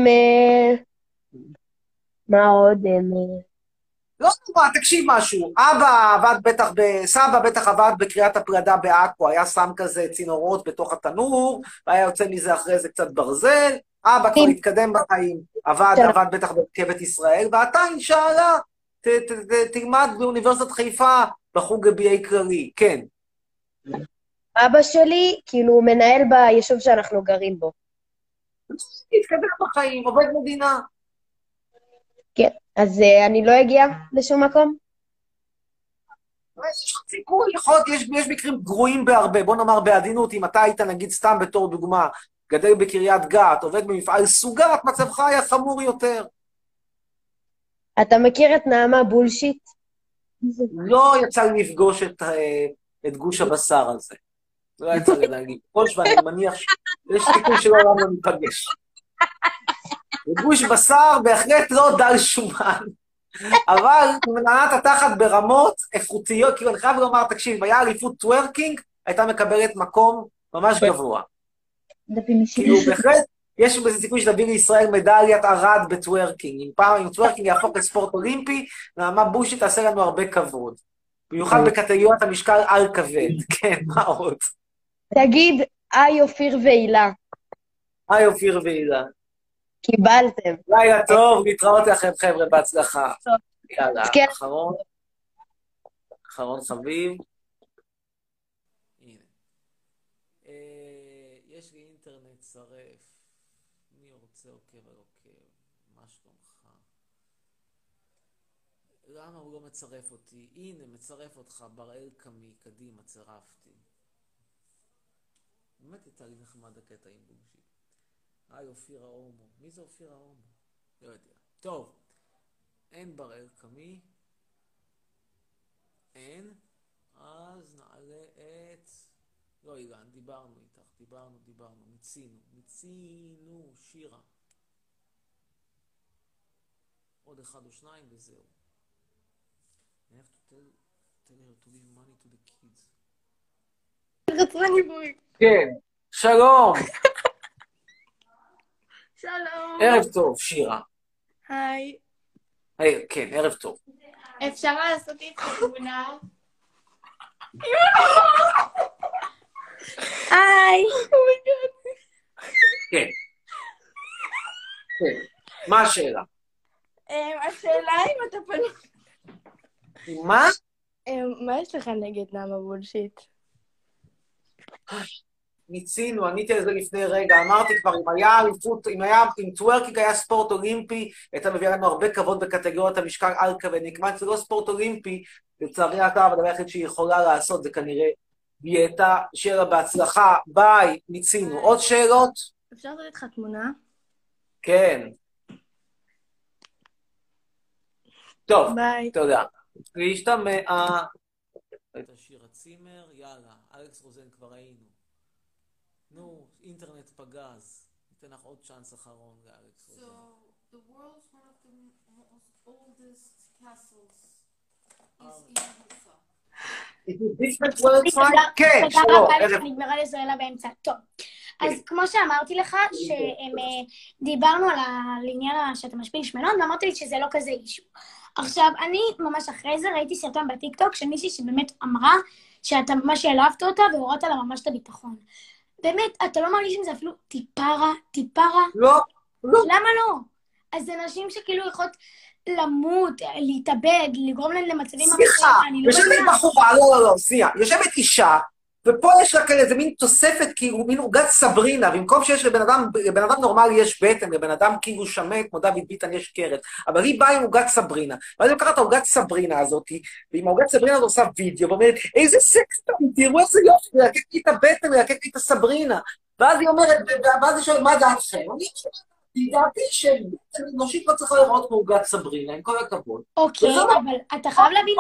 Speaker 11: מה עוד? הם...
Speaker 9: לא, תקשיב משהו. אבא עבד בטח, סבא בטח עבד בקריאת הפלדה בעכו, היה שם כזה צינורות בתוך התנור, והיה יוצא מזה אחרי זה קצת ברזל, אבא כבר התקדם בחיים, עבד, עבד בטח ברכבת ישראל, ואתה אינשאללה, תלמד באוניברסיטת חיפה בחוג בי איי כללי, כן.
Speaker 11: אבא שלי, כאילו, הוא מנהל ביישוב שאנחנו גרים בו.
Speaker 9: התקדם בחיים, עובד מדינה.
Speaker 11: כן, אז אני לא אגיע לשום מקום?
Speaker 9: יש סיכוי, יכול להיות, יש, יש מקרים גרועים בהרבה. בוא נאמר בעדינות, אם אתה היית, נגיד, סתם בתור דוגמה, גדל בקריית גת, עובד במפעל סוגת, מצבך היה חמור יותר.
Speaker 11: אתה מכיר את נעמה בולשיט?
Speaker 9: לא יצא לי לפגוש את, את גוש הבשר הזה. לא יצא לי להגיד. כל שבא, אני מניח שיש סיכוי שלא עולם לא ניפגש. גוש בשר בהחלט לא דל שומן, אבל מנעת התחת ברמות איכותיות, כאילו אני חייב לומר, תקשיב, היה אליפות טוורקינג, הייתה מקבלת מקום ממש גבוה. כאילו בהחלט, יש בזה סיכוי שתביא לישראל מדליית ערד בטוורקינג. אם פעם, אם טוורקינג יהפוך לספורט אולימפי, נעמה בושי תעשה לנו הרבה כבוד. במיוחד בקטגוריית המשקל על כבד. כן, מה עוד?
Speaker 11: תגיד, איי אופיר ואילה.
Speaker 9: היי, אופיר ואילן.
Speaker 11: קיבלתם.
Speaker 9: לילה טוב, נתראות לכם, חבר'ה, בהצלחה. יאללה,
Speaker 11: כן.
Speaker 9: אחרון. אחרון חביב.
Speaker 2: הנה. אה, יש לי אינטרנט שרף. מי רוצה עוקב על עוקב? מה שלומך? למה הוא לא מצרף אותי? הנה, מצרף אותך, בראל קמי, קדימה, צירפתי. באמת הייתה לי נחמד הקטע עם בוג'י. היי, אופיר ההומו. מי זה אופיר ההומו? לא יודע. טוב, אין בראל קמי. אין. אז נעלה את... לא, אילן, דיברנו איתך. דיברנו, דיברנו. מיצינו. מיצינו, שירה. עוד אחד או שניים וזהו. I have to tell, tell her to give money to the kids.
Speaker 9: כן, שלום.
Speaker 12: שלום.
Speaker 9: ערב טוב, שירה.
Speaker 12: היי.
Speaker 9: היי, כן, ערב טוב.
Speaker 12: אפשר לעשות איתך תמונה?
Speaker 6: היי.
Speaker 9: כן. כן. מה השאלה?
Speaker 12: השאלה אם אתה פנוי...
Speaker 9: מה?
Speaker 12: מה יש לך נגד נעמה בולשיט?
Speaker 9: מיצינו, עניתי על זה לפני רגע, אמרתי כבר, אם היה אליפות, אם היה, אם טוורקינג היה ספורט אולימפי, הייתה מביאה לנו הרבה כבוד בקטגוריית המשקל על כבד, מכיוון שזה לא ספורט אולימפי, לצערי הרב, הדבר היחיד שהיא יכולה לעשות זה כנראה דיאטה. שיהיה לה בהצלחה, ביי, מיצינו. עוד שאלות?
Speaker 12: אפשר לעשות איתך תמונה?
Speaker 9: כן. טוב,
Speaker 12: ביי.
Speaker 9: תודה. להשתמע.
Speaker 2: את השיר הצימר, יאללה, אלכס רוזן כבר היינו. נו, אינטרנט פגז. ניתן לך עוד צ'אנס אחרון לאלכס רוזן.
Speaker 1: So, the world's one of the most oldest castles is in Busa.
Speaker 9: Is it different world time? כן, שלום.
Speaker 6: נגמרה לישראלה באמצע. טוב. אז כמו שאמרתי לך, שדיברנו על העניין שאתה משפיל שמנות, ואמרתי לי שזה לא כזה אישו. עכשיו, אני ממש אחרי זה ראיתי סרטון בטיקטוק של מישהי שבאמת אמרה שאתה ממש העלבת אותה והורדת לה ממש את הביטחון. באמת, אתה לא מרגיש עם זה אפילו טיפה רע, טיפה רע?
Speaker 9: לא, לא.
Speaker 6: למה לא? אז זה נשים שכאילו יכולות למות, להתאבד, לגרום להן למצבים...
Speaker 9: סליחה, יושבת בחורה, לא, לא, לא, סליחה, יושבת אישה, ופה יש לה כאלה, זה מין תוספת, כאילו, מין עוגת סברינה, במקום שיש לבן אדם, לבן אדם נורמלי יש בטן, לבן אדם כאילו שמת, כמו דוד ביטן יש קרת, אבל היא באה עם עוגת סברינה, ואז היא לוקחת את העוגת סברינה הזאת, ועם העוגת סברינה הזאת עושה וידאו, ואומרת, איזה סקס, תראו איזה יופי, להקק לי את הבטן, להקק לי את הסברינה, ואז היא אומרת, ואז היא שואלת, מה דעתכם? אני דעתי שנושית לא צריכה לראות כמו עוגת סברינה, עם כל הכבוד.
Speaker 6: אוקיי, אבל אתה חייב להבין...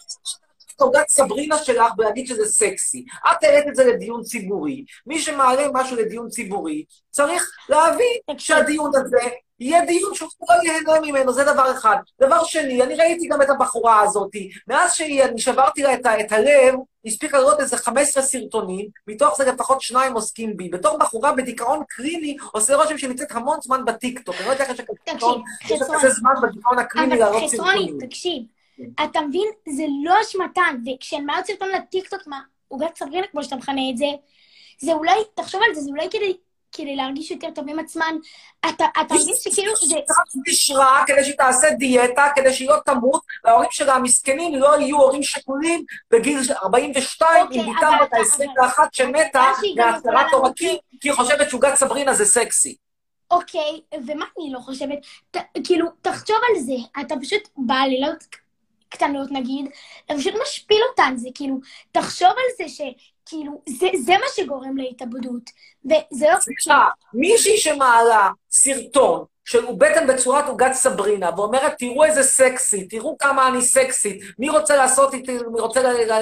Speaker 9: עוגת סברינה שלך ולהגיד שזה סקסי. את העלית את זה לדיון ציבורי. מי שמעלה משהו לדיון ציבורי, צריך להבין שהדיון הזה יהיה דיון שהוא לא ייהנה ממנו, זה דבר אחד. דבר שני, אני ראיתי גם את הבחורה הזאת, מאז שאני שברתי לה את, את הלב, הספיקה לראות איזה חמישה עשר סרטונים, מתוך זה לפחות שניים עוסקים בי. בתור בחורה בדיכאון קליני, עושה רושם שנמצאת המון זמן בטיקטוק. אני לא יודע איך יש כזה זמן בדיכאון הקליני להראות סרטונים.
Speaker 6: חסרוני, תקשיב. אתה מבין? זה לא אשמתן, וכשהן מעלות סרטון לטיקטוק, מה, עוגת סברינה, כמו שאתה מכנה את זה, זה אולי, תחשוב על זה, זה אולי כדי, כדי להרגיש יותר טוב עם עצמן, אתה, אתה מבין שכאילו זה...
Speaker 9: היא צריכה בשרה כדי שהיא תעשה דיאטה, כדי שהיא לא תמות, וההורים שלה המסכנים לא יהיו הורים שכולים בגיל ארבעים ושתיים, עם ביתה בת ה-עשרים ואחת שמתה מהצהרת עורקים, כי היא חושבת שעוגת סברינה זה סקסי.
Speaker 6: אוקיי, ומה אני לא חושבת? כאילו, תחשוב על זה, אתה פשוט בא לילות קטנות נגיד, אתה פשוט משפיל אותן, זה כאילו, תחשוב על זה שכאילו, זה, זה מה שגורם להתאבדות, וזה לא...
Speaker 9: סליחה, מישהי שמעלה סרטון של בטן בצורת עוגת סברינה, ואומרת, תראו איזה סקסי, תראו כמה אני סקסית, מי רוצה לעשות איתי, מי רוצה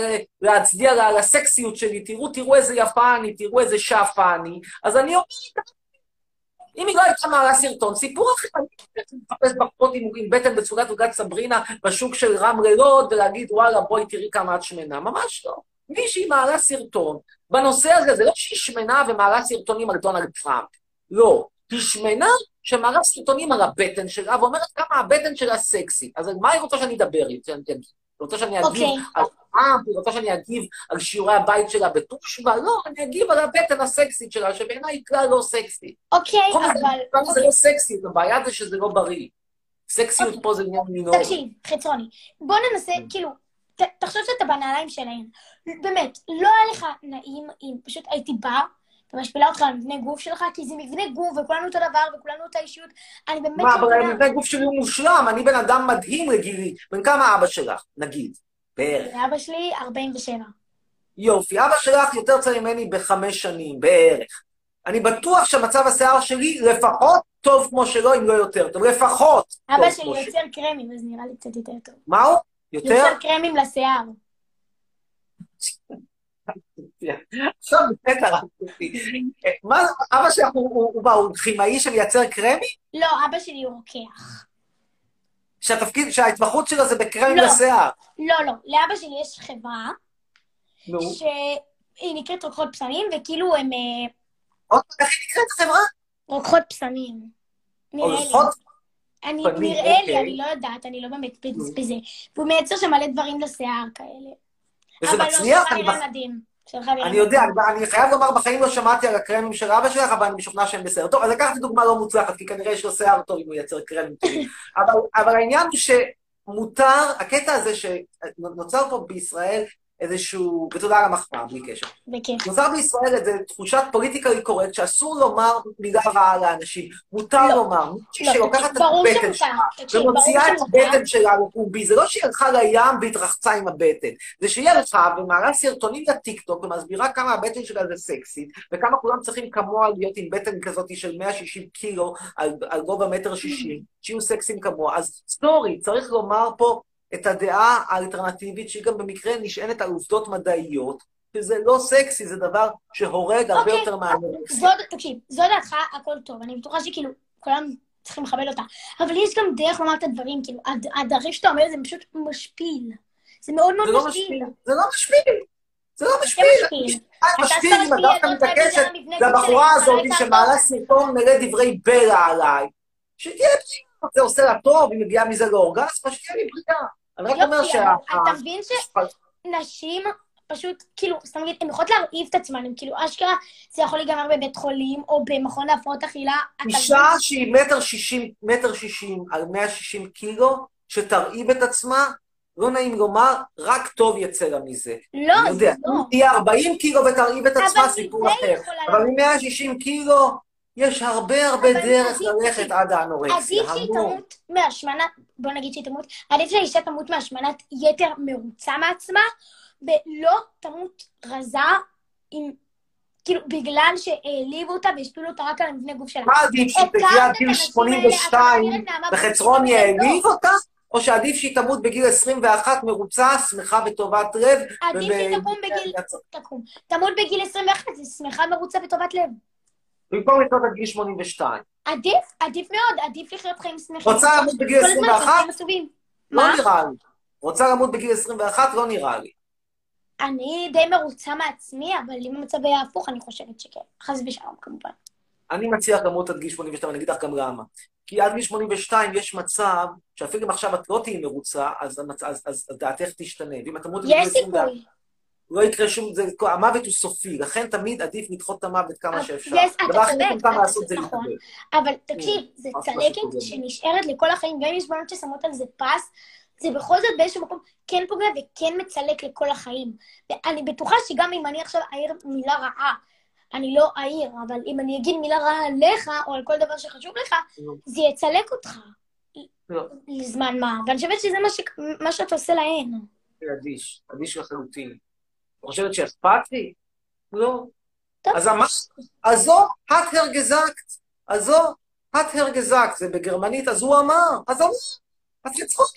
Speaker 9: להצדיע לסקסיות שלי, תראו, תראו איזה יפה אני, תראו איזה שפה אני, אז אני אומרת, אם היא לא הייתה מעלה סרטון, סיפור אחר, אני מחפש בחורות עם בטן בצורת עוגת סברינה בשוק של רמלה לוד, ולהגיד, וואלה, בואי תראי כמה את שמנה. ממש לא. מישהי מעלה סרטון. בנושא הזה, זה לא שהיא שמנה ומעלה סרטונים על דונלד טראמפ. לא. היא שמנה שמעלה סרטונים על הבטן שלה, ואומרת כמה הבטן שלה סקסי. אז מה היא רוצה שאני אדבר? היא רוצה שאני אגיד? טראמפ, היא רוצה שאני אגיב על שיעורי הבית שלה בתושבע, לא, אני אגיב על הבטן הסקסית שלה, שבעיניי היא כלל לא סקסית.
Speaker 6: אוקיי,
Speaker 9: כל
Speaker 6: אבל...
Speaker 9: זה לא סקסי, הבעיה זה שזה לא בריא. סקסיות פה זה עניין מינורי.
Speaker 6: תקשיב, חצרוני, בוא ננסה, כאילו, תחשוב שאתה בנעליים שלהם. באמת, לא היה לך נעים אם פשוט הייתי באה ומשפילה אותך על מבנה גוף שלך, כי זה מבנה גוף וכולנו אותו דבר וכולנו אותה אישיות. אני באמת...
Speaker 9: מה, אבל המבנה גוף שלי הוא מושלם, אני בן אדם מדהים לגילי. בן כמה אבא שלך, נגיד, בערך.
Speaker 6: אבא שלי ארבעים ושבע.
Speaker 9: יופי, אבא שלך יותר צעיר ממני בחמש שנים, בערך. אני בטוח שמצב השיער שלי לפחות טוב כמו שלו, אם לא יותר טוב. לפחות
Speaker 6: אבא שלי יוצר קרמים, אז נראה לי קצת יותר טוב.
Speaker 9: מה הוא? יותר?
Speaker 6: יוצר קרמים לשיער.
Speaker 9: עכשיו באמת הרמת אותי. מה, אבא שלך הוא מה, הוא כימאי שמייצר קרמי?
Speaker 6: לא, אבא שלי הוא רוקח.
Speaker 9: שהתפקיד, שההתמחות שלו זה בקרמים לשיער.
Speaker 6: לא, לא. לאבא שלי יש חברה, שהיא נקראת רוקחות פסמים, וכאילו הם...
Speaker 9: עוד פעם, איך היא נקראת החברה?
Speaker 6: רוקחות פסמים.
Speaker 9: רוקחות
Speaker 6: אני נראה לי, אני לא יודעת, אני לא באמת בזה. והוא מייצר שם מלא דברים לשיער כאלה.
Speaker 9: וזה מצליח? אני יודע, אני חייב לומר, בחיים לא שמעתי על הקרמים של אבא שלך, אבל אני משוכנע שהם בסדר. טוב, אז לקחתי דוגמה לא מוצלחת, כי כנראה יש לו שיער טוב אם הוא ייצר קרמים טובים. אבל העניין הוא שמותר, הקטע הזה שנוצר פה בישראל, איזשהו, ותודה על המחמאה, בלי קשר.
Speaker 6: בכיף.
Speaker 9: נוצר בישראל איזו תחושת פוליטיקלי קורקט, שאסור לומר מילה רעה לאנשים. מותר לומר, מישהי שלוקחת את הבטן שלה, ומוציאה את הבטן שלה לפומבי, זה לא שהיא הלכה לים והתרחצה עם הבטן, זה שהיא הלכה ומעלה סרטונים לטיקטוק, ומסבירה כמה הבטן שלה זה סקסית, וכמה כולם צריכים כמוה להיות עם בטן כזאת של מאה ושישים קילו, על גובה מטר שישים, שיהיו סקסים כמוה. אז סטורי, צריך לומר פה, את הדעה האלטרנטיבית, שהיא גם במקרה נשענת על עובדות מדעיות, שזה לא סקסי, זה דבר שהורג הרבה יותר מהאנורקסיה.
Speaker 6: תקשיב, זו דעתך, הכל טוב, אני בטוחה שכאילו, כולם צריכים לכבד אותה, אבל יש גם דרך לומר את הדברים, כאילו, הדברים שאתה אומר זה פשוט משפיל. זה מאוד מאוד משפיל.
Speaker 9: זה לא משפיל. זה לא משפיל. משפיל, אם אתה דווקא מתעקשת, זה הבחורה הזאת שמעלה סרטון מלא דברי בלע עליי, שתהיה פשיעה, זה עושה לה טוב, היא מגיעה מזה לאורגסמה, שתהיה לי בריאה. אני רק אומר שה...
Speaker 6: אתה מבין שנשים פשוט, כאילו, סתם נגיד, הן יכולות להרעיב את עצמן, הם כאילו, אשכרה, זה יכול להיגמר בבית חולים, או במכון להפרעות אכילה.
Speaker 9: אישה שהיא מטר שישים, מטר שישים על מאה ושישים קילו, שתרעיב את עצמה, לא נעים לומר, רק טוב יצא לה מזה.
Speaker 6: לא, זה לא.
Speaker 9: אם תהיה ארבעים קילו ותרעיב את עצמה, סיפור אחר. אבל מ-מאה ושישים קילו... יש הרבה הרבה דרך ללכת עד האנורקסיה.
Speaker 6: עדיף שהיא תמות מהשמנת, בוא נגיד שהיא תמות, עדיף שהאישה תמות מהשמנת יתר מרוצה מעצמה, ולא תמות רזה, כאילו בגלל שהעליבו אותה והשפילו אותה רק על המבנה גוף שלה.
Speaker 9: מה עדיף שתגיע עד גיל שמונים ושתיים וחצרוני העליב אותה? או שעדיף שהיא תמות בגיל עשרים ואחת מרוצה, שמחה וטובת לב?
Speaker 6: עדיף שהיא תקום בגיל... תקום. תמות בגיל עשרים ואחת, זה שמחה מרוצה וטובת לב.
Speaker 9: במקום לחיות עד גיל שמונים ושתיים.
Speaker 6: עדיף, עדיף מאוד, עדיף לחיות חיים שמחים.
Speaker 9: רוצה למות בגיל עשרים ואחת? לא נראה לי. רוצה למות בגיל עשרים ואחת? לא נראה לי.
Speaker 6: אני די מרוצה מעצמי, אבל אם המצב היה הפוך, אני חושבת שכן. חס ושלום, כמובן.
Speaker 9: אני מציע למות עד גיל שמונים ושתיים, אני אגיד לך גם למה. כי עד גיל שמונים ושתיים יש מצב, שאפילו אם עכשיו את לא תהיי מרוצה, אז דעתך תשתנה. ואם את תמות בגיל עשרים ואחת... לא יקרה שום, זה, המוות הוא סופי, לכן תמיד עדיף לדחות את המוות כמה שאפשר.
Speaker 6: אתה צודק, נכון, אבל תקשיב, זה צלקת שנשארת לכל החיים, גם אם יש בנות ששמות על זה פס, זה בכל זאת באיזשהו מקום כן פוגע וכן מצלק לכל החיים. ואני בטוחה שגם אם אני עכשיו אעיר מילה רעה, אני לא אעיר, אבל אם אני אגיד מילה רעה עליך, או על כל דבר שחשוב לך, זה יצלק אותך לזמן מה, ואני חושבת שזה מה שאתה עושה להן.
Speaker 9: זה אדיש, אדיש לחלוטין. את חושבת שאכפת לי? לא. אז אמרת, הזו, את הרגזקת. הזו, את הרגזקת. זה בגרמנית, אז הוא אמר. אז אמר. אז יצחוני.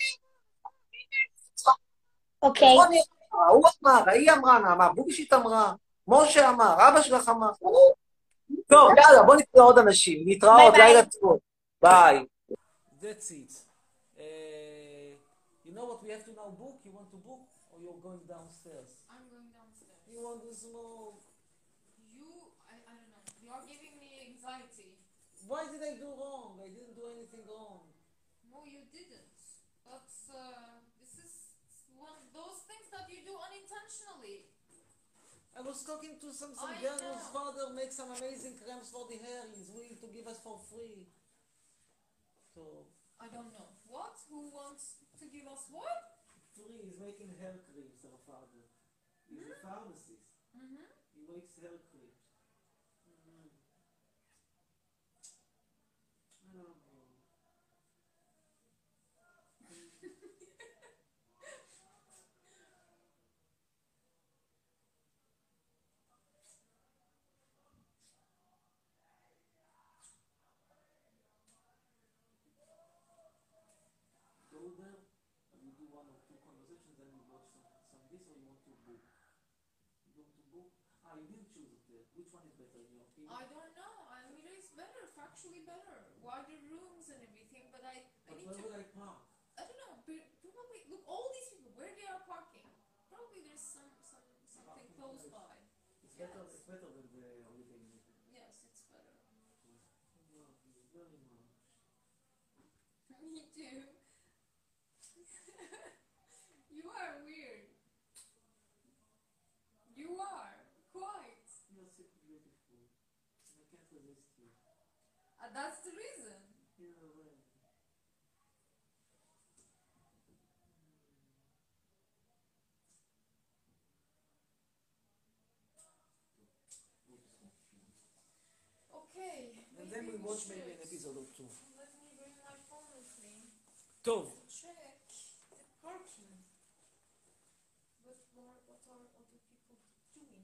Speaker 6: אוקיי.
Speaker 9: הוא אמר, היא אמרה, נעמה, בוגישית אמרה, משה אמר, אבא שלך אמר. טוב, יאללה, בוא נתראה עוד אנשים. נתראות, לילה טוב. ביי.
Speaker 2: That's it. You know what we have to now book? You want to book? Or you're going downstairs?
Speaker 1: I'm going downstairs.
Speaker 2: You want to smoke?
Speaker 1: You, I, I don't know. You are giving me anxiety.
Speaker 2: Why did I do wrong? I didn't do anything wrong.
Speaker 1: No, you didn't. But uh, this is one of those things that you do on Exactly.
Speaker 2: I was talking to some, some
Speaker 1: I
Speaker 2: girl
Speaker 1: know.
Speaker 2: whose father makes some amazing creams for the hair. He's willing to give us for free. So,
Speaker 1: I don't know. What? Who wants to give us what?
Speaker 2: free. He's making hair creams, her father. He's a pharmacist.
Speaker 1: Mm-hmm.
Speaker 2: He makes hair creams. Mm-hmm. I don't know. Go there, and you do one or two conversations, then you watch some, some this, or you want to book? You want to book? Ah, you didn't choose it there. Which one is better in your opinion?
Speaker 1: I don't know. Almira is better, factually better. Wider rooms and everything, but I, I
Speaker 2: But
Speaker 1: need
Speaker 2: where
Speaker 1: to.
Speaker 2: would I park?
Speaker 1: I don't know. But probably look all these people where they are parking. Probably there's some some something close by.
Speaker 2: It's better, it's better than the holiday inn.
Speaker 1: Yes, it's better.
Speaker 2: Well, very much.
Speaker 1: Me too. You are weird. You are quite.
Speaker 2: You're so beautiful. I can't resist you.
Speaker 1: Uh, that's the reason.
Speaker 2: You're away.
Speaker 1: Okay.
Speaker 2: And then we watch maybe an episode or two.
Speaker 1: Let me bring my phone with me.
Speaker 2: טוב.
Speaker 1: Check the parking. What more? What are other people doing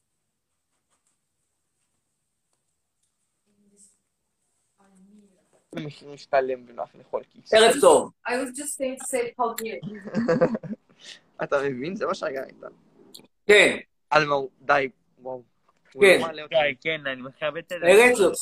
Speaker 1: in this Almira?
Speaker 13: במחיר משתלם ונוח לכל כיס.
Speaker 9: ערב טוב.
Speaker 1: I was just going to say Palmyra.
Speaker 13: אתה מבין? זה מה שהיה איתה.
Speaker 9: כן.
Speaker 13: על מה הוא... די, וואו.
Speaker 9: כן.
Speaker 14: די, כן, אני מכבד את זה.
Speaker 9: הראיתי אותך.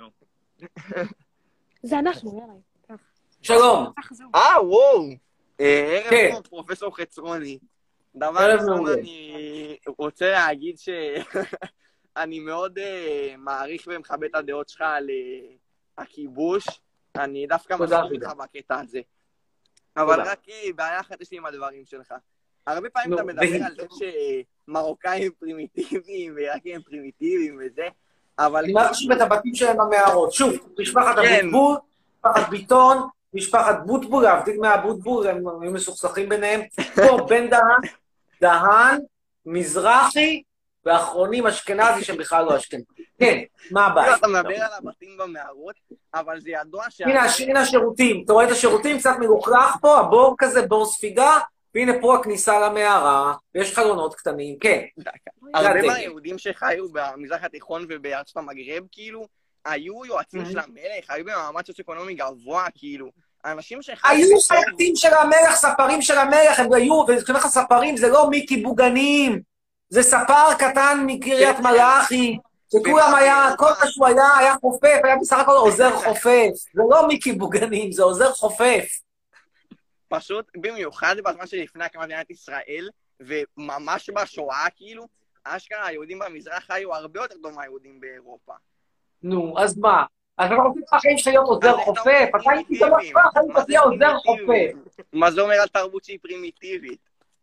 Speaker 4: זה אנחנו, יאללה.
Speaker 9: שלום.
Speaker 13: אה, וואו. ערב
Speaker 9: כן.
Speaker 13: טוב, פרופסור חצרוני. דבר
Speaker 9: ערב
Speaker 13: ראשון,
Speaker 9: מעולה.
Speaker 13: אני רוצה להגיד שאני מאוד אה, מעריך ומכבד את הדעות שלך על אה, הכיבוש. אני דווקא
Speaker 9: תודה,
Speaker 13: מסכים איתך
Speaker 9: תודה.
Speaker 13: בקטע הזה. אבל
Speaker 9: תודה.
Speaker 13: רק אה, בעיה אחת יש לי עם הדברים שלך. הרבה פעמים
Speaker 9: נו,
Speaker 13: אתה מדבר
Speaker 9: והיא-
Speaker 13: על זה שמרוקאים פרימיטיביים ועיראקים הם פרימיטיביים וזה, אבל...
Speaker 9: אני מחשיב את הבתים שלהם במערות. שוב, משפחת
Speaker 13: כן.
Speaker 9: אבוטבול, משפחת ביטון, משפחת בוטבול, להבדיל מהבוטבול, הם היו מסוכסכים ביניהם. פה בן דהן, דהן, מזרחי, ואחרונים אשכנזי שהם בכלל לא אשכנזי. כן, מה הבעיה?
Speaker 13: אתה מדבר על הבתים במערות, אבל זה ידוע שה...
Speaker 9: הנה, הנה השירותים. אתה רואה את השירותים? קצת מלוכלך פה, הבור כזה, בור ספיגה, והנה פה הכניסה למערה, ויש חלונות קטנים, כן.
Speaker 13: הרבה
Speaker 9: זה
Speaker 13: מהיהודים שחיו במזרח התיכון ובארצות המגרב, כאילו, היו יועצים של המלך, היו במעמד סוציו-אקונומי גבוה, כאילו. אנשים שחיו...
Speaker 9: היו חייטים של המלך, ספרים של המלך, הם היו, ואני אומר לך ספרים, זה לא מיקי בוגנים, זה ספר קטן מקריית מלאכי, שכולם היה, כל מה שהוא היה, היה חופף, היה בסך הכל עוזר חופף. זה לא מיקי בוגנים, זה עוזר חופף.
Speaker 13: פשוט במיוחד בזמן שלפני הקמת מדינת ישראל, וממש בשואה, כאילו, אשכרה היהודים במזרח היו הרבה יותר טוב מהיהודים באירופה.
Speaker 9: נו, אז מה? אז אתה רוצה לך חיים שלך להיות עוזר חופף? אתה הייתי גם לך חיים שלך תהיה עוזר חופף.
Speaker 13: מה זה אומר על תרבות שהיא פרימיטיבית?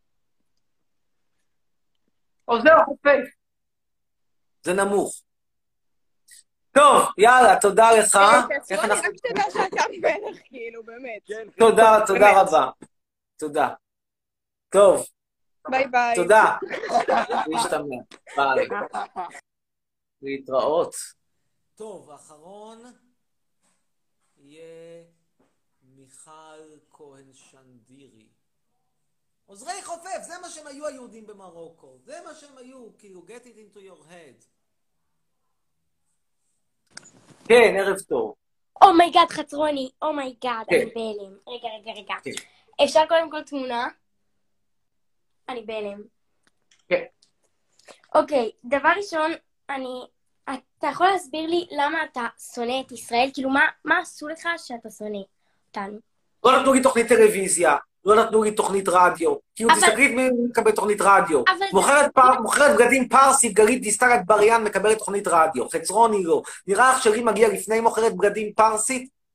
Speaker 9: עוזר חופף. זה נמוך. טוב, יאללה, תודה לך. איך אנחנו...
Speaker 12: רק תדע שאתה מלך, כאילו, באמת.
Speaker 9: תודה, תודה רבה. תודה. טוב.
Speaker 12: ביי ביי.
Speaker 9: תודה. להשתמע. ביי. להתראות.
Speaker 2: טוב, האחרון יהיה מיכל כהן שנדירי. עוזרי חופף, זה מה שהם היו היהודים במרוקו. זה מה שהם היו, כאילו, get it into your head.
Speaker 9: כן, ערב טוב.
Speaker 6: אומייגאד חצרוני, אומייגאד,
Speaker 9: כן.
Speaker 6: אני בהלם. רגע, רגע, רגע.
Speaker 9: כן.
Speaker 6: אפשר קודם כל תמונה? אני בהלם.
Speaker 9: כן.
Speaker 6: אוקיי, דבר ראשון, אני... אתה יכול להסביר לי למה אתה שונא את ישראל? כאילו, מה, מה עשו לך שאתה שונא אותנו?
Speaker 9: לא נתנו לי תוכנית טלוויזיה, לא נתנו לי תוכנית רדיו. כאילו,
Speaker 6: אבל-
Speaker 9: תסתכלי מי מקבל תוכנית רדיו.
Speaker 6: אבל-
Speaker 9: מוכרת פר- מוכרת בגדים פרסית, גלית דיסטל אטבריאן מקבלת תוכנית רדיו. חצרוני לא. נראה לך שלי מגיע לפני מוכרת בגדים פרסית?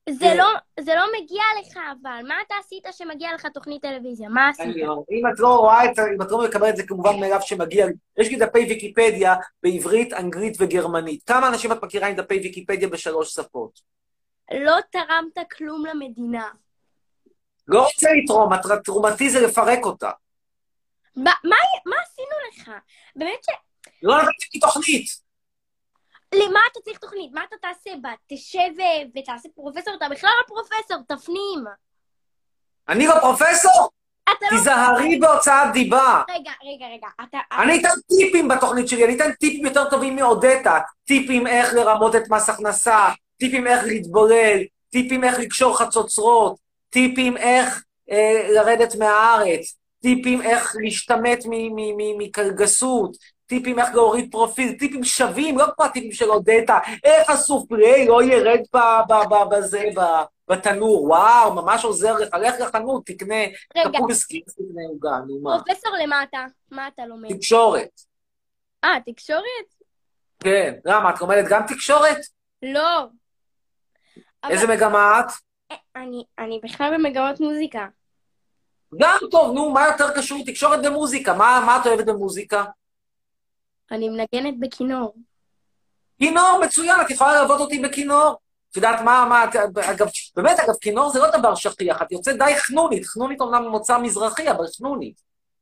Speaker 6: זה לא, זה לא מגיע לך, אבל מה אתה עשית שמגיע לך תוכנית טלוויזיה? מה עשית?
Speaker 9: אם את לא רואה את זה, אם את לא מקבלת את זה כמובן מאליו שמגיע, יש לי דפי ויקיפדיה בעברית, אנגלית וגרמנית. כמה אנשים את מכירה עם דפי ויקיפדיה בשלוש שפות?
Speaker 6: לא תרמת כלום למדינה.
Speaker 9: לא רוצה לתרום, תרומתי זה לפרק אותה.
Speaker 6: מה, מה, מה עשינו לך? באמת ש...
Speaker 9: לא נתתי לי תוכנית.
Speaker 6: למה אתה צריך תוכנית? מה אתה תעשה בה? תשב ותעשה פרופסור? אתה בכלל לא פרופסור, תפנים.
Speaker 9: אני לא פרופסור? תיזהרי בהוצאת דיבה.
Speaker 6: רגע, רגע, רגע. אתה...
Speaker 9: אני אתן טיפים בתוכנית שלי, אני אתן טיפים יותר טובים מאודטה. טיפים איך לרמות את מס הכנסה, טיפים איך להתבולל, טיפים איך לקשור חצוצרות, טיפים איך אה, לרדת מהארץ, טיפים איך להשתמט מקלגסות, טיפים איך להוריד פרופיל, טיפים שווים, לא כמו הטיפים של אודטה, איך הסופרי לא ירד בזה, בתנור, וואו, ממש עוזר לך, לך לחנות, תקנה קפוסקי, תקנה עוגה, נו מה.
Speaker 6: פרופסור למה אתה? מה אתה לומד?
Speaker 9: תקשורת.
Speaker 6: אה, תקשורת?
Speaker 9: כן, למה, את לומדת גם תקשורת?
Speaker 6: לא.
Speaker 9: איזה מגמה את?
Speaker 6: אני, אני בכלל במגמת מוזיקה.
Speaker 9: גם טוב, נו, מה יותר קשור? תקשורת ומוזיקה, מה, מה את אוהבת במוזיקה?
Speaker 6: אני מנגנת בכינור.
Speaker 9: כינור, מצוין, את יכולה לעבוד אותי בכינור. את יודעת מה, מה, אגב, באמת, אגב, כינור זה לא דבר שכיח, את יוצאת די חנונית, חנונית אומנם מוצא מזרחי, אבל חנונית.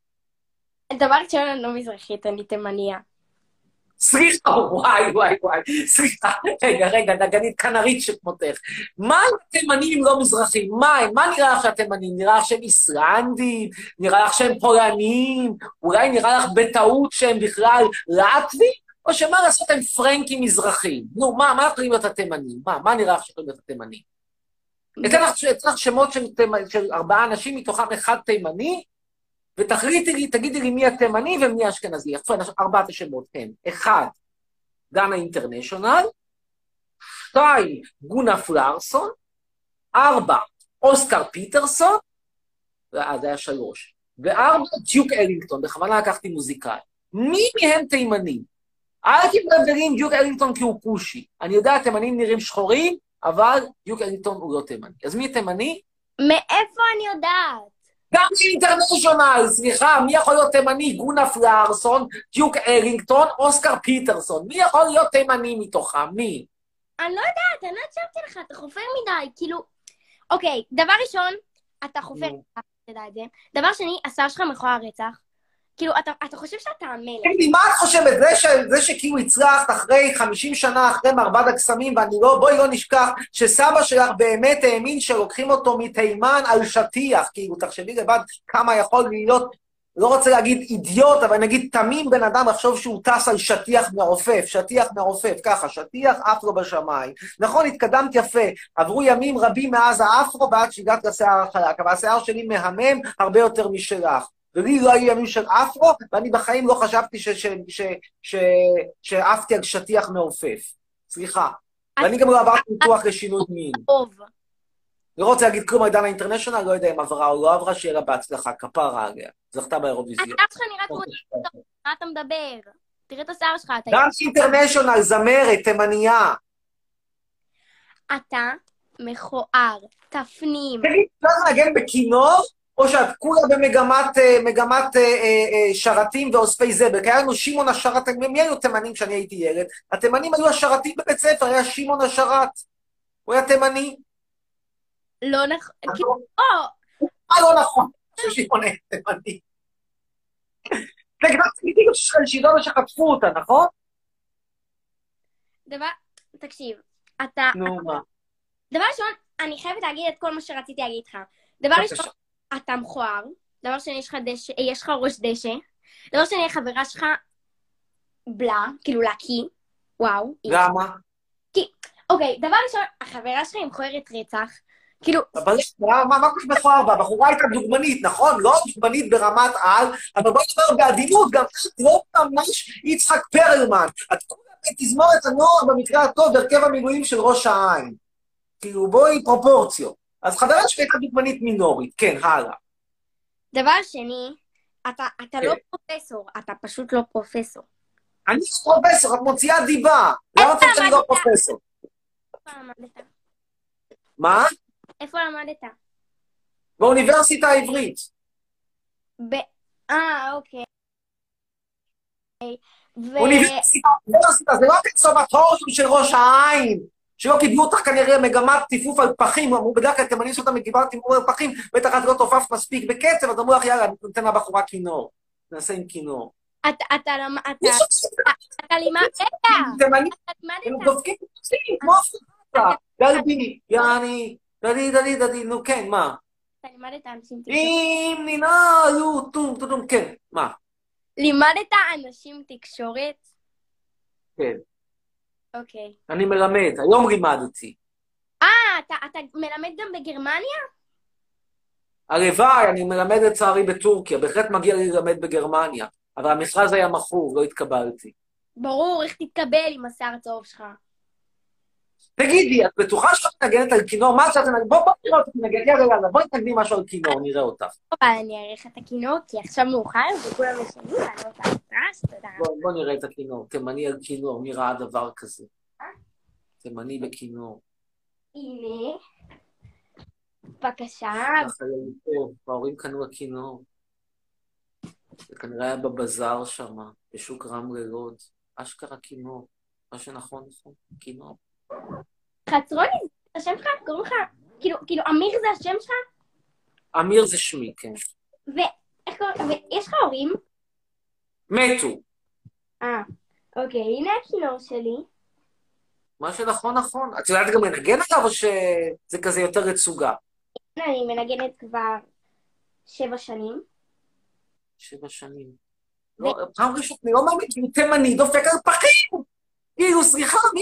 Speaker 6: דבר ראשון, אני לא מזרחית, אני תימניה.
Speaker 9: סליחה, וואי, וואי, וואי, סליחה, רגע, רגע, נגנית כנרית שכמותך. מה התימנים לא מזרחים? מה הם? מה נראה לך שהתימנים? נראה לך שהם איסלנדים? נראה לך שהם פולנים? אולי נראה לך בטעות שהם בכלל לטבים? או שמה לעשות הם פרנקים מזרחים? נו, מה, מה יכולים להיות התימנים? מה, מה נראה לך שיכולים להיות התימנים? אתן לך שמות של, של ארבעה אנשים, מתוכם אחד תימני, ותחליטי לי, תגידי לי מי התימני ומי האשכנזי. יפה, ארבעת השמות הם. אחד, דנה אינטרנשיונל, שתיים, גונה פלרסון, ארבע, אוסקר פיטרסון, ואז זה היה שלוש, וארבע, דיוק אלינגטון, בכוונה לקחתי מוזיקאי. מי מהם תימנים? אל תתבלבלי דיוק אלינגטון כי הוא כושי. אני יודע, התימנים נראים שחורים, אבל דיוק אלינגטון הוא לא תימני. אז מי תימני?
Speaker 6: מאיפה אני יודעת?
Speaker 9: גם אינטרנשיונל, סליחה, מי יכול להיות תימני? גונה פלרסון, דיוק אלינגטון, אוסקר פיטרסון. מי יכול להיות תימני מתוכם? מי?
Speaker 6: אני לא יודעת, אני לא הקשבתי לך, אתה חופר מדי, כאילו... אוקיי, דבר ראשון, אתה חופר, אתה יודע את זה. דבר שני, השיער שלך מכוער רצח. כאילו, אתה, אתה חושב שאתה המלך.
Speaker 9: תגידי, מה את חושבת? זה, ש, זה שכאילו הצלחת אחרי חמישים שנה, אחרי מרבד הקסמים, ואני לא, בואי לא נשכח שסבא שלך באמת האמין שלוקחים אותו מתימן על שטיח, כאילו, תחשבי לבד כמה יכול להיות, לא רוצה להגיד אידיוט, אבל נגיד תמים בן אדם לחשוב שהוא טס על שטיח מעופף, שטיח מעופף, ככה, שטיח אפרו בשמיים. נכון, התקדמת יפה, עברו ימים רבים מאז האפרו, ועד שהגעת לשיער החלק, אבל השיער שלי מהמם הרבה יותר משלך. ולי לא היו ימים של אפרו, ואני בחיים לא חשבתי שאפתי על שטיח מעופף. סליחה. ואני גם לא עברתי ניתוח לשינוי מין. לא רוצה להגיד כלום על דנה אינטרנשיונל, לא יודע אם עברה או לא עברה, שיהיה לה בהצלחה, כפרה עליה. זכתה באירוויזיון.
Speaker 6: השיער שלך נראה כמו... מה אתה מדבר? תראה את השיער שלך.
Speaker 9: דנה אינטרנשיונל, זמרת, תימניה.
Speaker 6: אתה מכוער, תפנים.
Speaker 9: תגיד, אתה נגן בכינור? או שאת כולה במגמת מגמת, שרתים ואוספי זבל, כי היה לנו שמעון השרת, מי היו תימנים כשאני הייתי ילד? התימנים היו השרתים בבית ספר, היה שמעון השרת. הוא היה תימני.
Speaker 6: לא נכון.
Speaker 9: מה לא נכון? ששמעון היה תימני. תגידו, תגידו שידעו שחטפו אותה, נכון?
Speaker 6: דבר, תקשיב, אתה...
Speaker 9: נו, מה?
Speaker 6: דבר ראשון, אני חייבת להגיד את כל מה שרציתי להגיד לך. דבר ראשון, אתה מכוער, דבר שני, יש לך דשא, יש לך ראש דשא, דבר שני, החברה שלך בלה, כאילו לקי, וואו.
Speaker 9: למה?
Speaker 6: כי, אוקיי, דבר ראשון, החברה שלך היא מכוערת רצח, כאילו...
Speaker 9: אבל מה, מה כל כך מכוער בה? הבחורה הייתה דוגמנית, נכון? לא דוגמנית ברמת על, אבל בואי נדבר בעדינות, גם את לא ממש יצחק פרלמן. את כולה תזמורת הנוער במקרה הטוב, הרכב המילואים של ראש העין. כאילו, בואי פרופורציות. אז חברה שהייתה דוגמנית מינורית, כן, הלאה.
Speaker 6: דבר שני, אתה, אתה כן. לא פרופסור, אתה פשוט לא פרופסור.
Speaker 9: אני לא פרופסור, את מוציאה דיבה. למה אתה שאני לא פרופסור? מה?
Speaker 6: איפה למדת?
Speaker 9: באוניברסיטה העברית.
Speaker 6: ב... אה, אוקיי. ו...
Speaker 9: אוניברסיטה, אוניברסיטה, זה לא הקונסרבטוריום של ראש העין, שלא קיבלו אותך כנראה מגמת טיפוף על פחים, אמרו בדרך כלל תימנים שאתה מגיבה טיפוף על פחים, בטח את לא תופפת מספיק בקצב, אז אמרו לך יאללה, ניתן לבחורה כינור, נעשה עם כינור.
Speaker 6: אתה, אתה, אתה, אתה לימדת?
Speaker 9: תימנים, הם דופקים פחים, כמו פחתה, דלבי, יעני, דדי, דדי, דדי, נו כן, מה?
Speaker 6: אתה לימדת אנשים תקשורת?
Speaker 9: אם נינה, יו, טום, טום, טום, כן, מה?
Speaker 6: לימדת אנשים תקשורת?
Speaker 9: כן.
Speaker 6: אוקיי.
Speaker 9: אני מלמד, היום לימדתי.
Speaker 6: אה, אתה, אתה מלמד גם בגרמניה?
Speaker 9: הלוואי, אני מלמד לצערי בטורקיה, בהחלט מגיע לי ללמד בגרמניה, אבל המכרז היה מכור, לא התקבלתי.
Speaker 6: ברור, איך תתקבל עם השיער הצהוב שלך?
Speaker 9: תגידי, את בטוחה שאת מנגנת על כינור? מה שאת מנגנת? בוא, בוא נראה אותך מנגנת, יאללה, יאללה, בואי תנגני משהו על כינור, נראה אותך.
Speaker 6: אבל אני אעריך את הכינור, כי עכשיו מאוחר וכולם ישנים, ואני לא רוצה להתרעש, תודה.
Speaker 9: בוא נראה את הכינור, תימני על כינור, מי ראה דבר כזה? תימני בכינור.
Speaker 6: הנה, בבקשה.
Speaker 9: ההורים קנו הכינור. זה כנראה היה בבזאר שם, בשוק רמלה לוד. אשכרה כינור. מה שנכון, נכון, כינור.
Speaker 6: חצרוני, זה השם שלך? קוראים לך? כאילו, כאילו, אמיר זה השם שלך?
Speaker 9: אמיר זה שמי, כן.
Speaker 6: ואיך קוראים? ויש לך הורים?
Speaker 9: מתו.
Speaker 6: אה, אוקיי, הנה הכינור שלי.
Speaker 9: מה שנכון, נכון. את יודעת גם לנגן עליו, או שזה כזה יותר רצוגה?
Speaker 6: אני מנגנת כבר שבע שנים.
Speaker 9: שבע שנים. לא, פעם ראשונה, אני לא מאמין, כאילו תימני דופק על פחים! כאילו, סליחה, מי...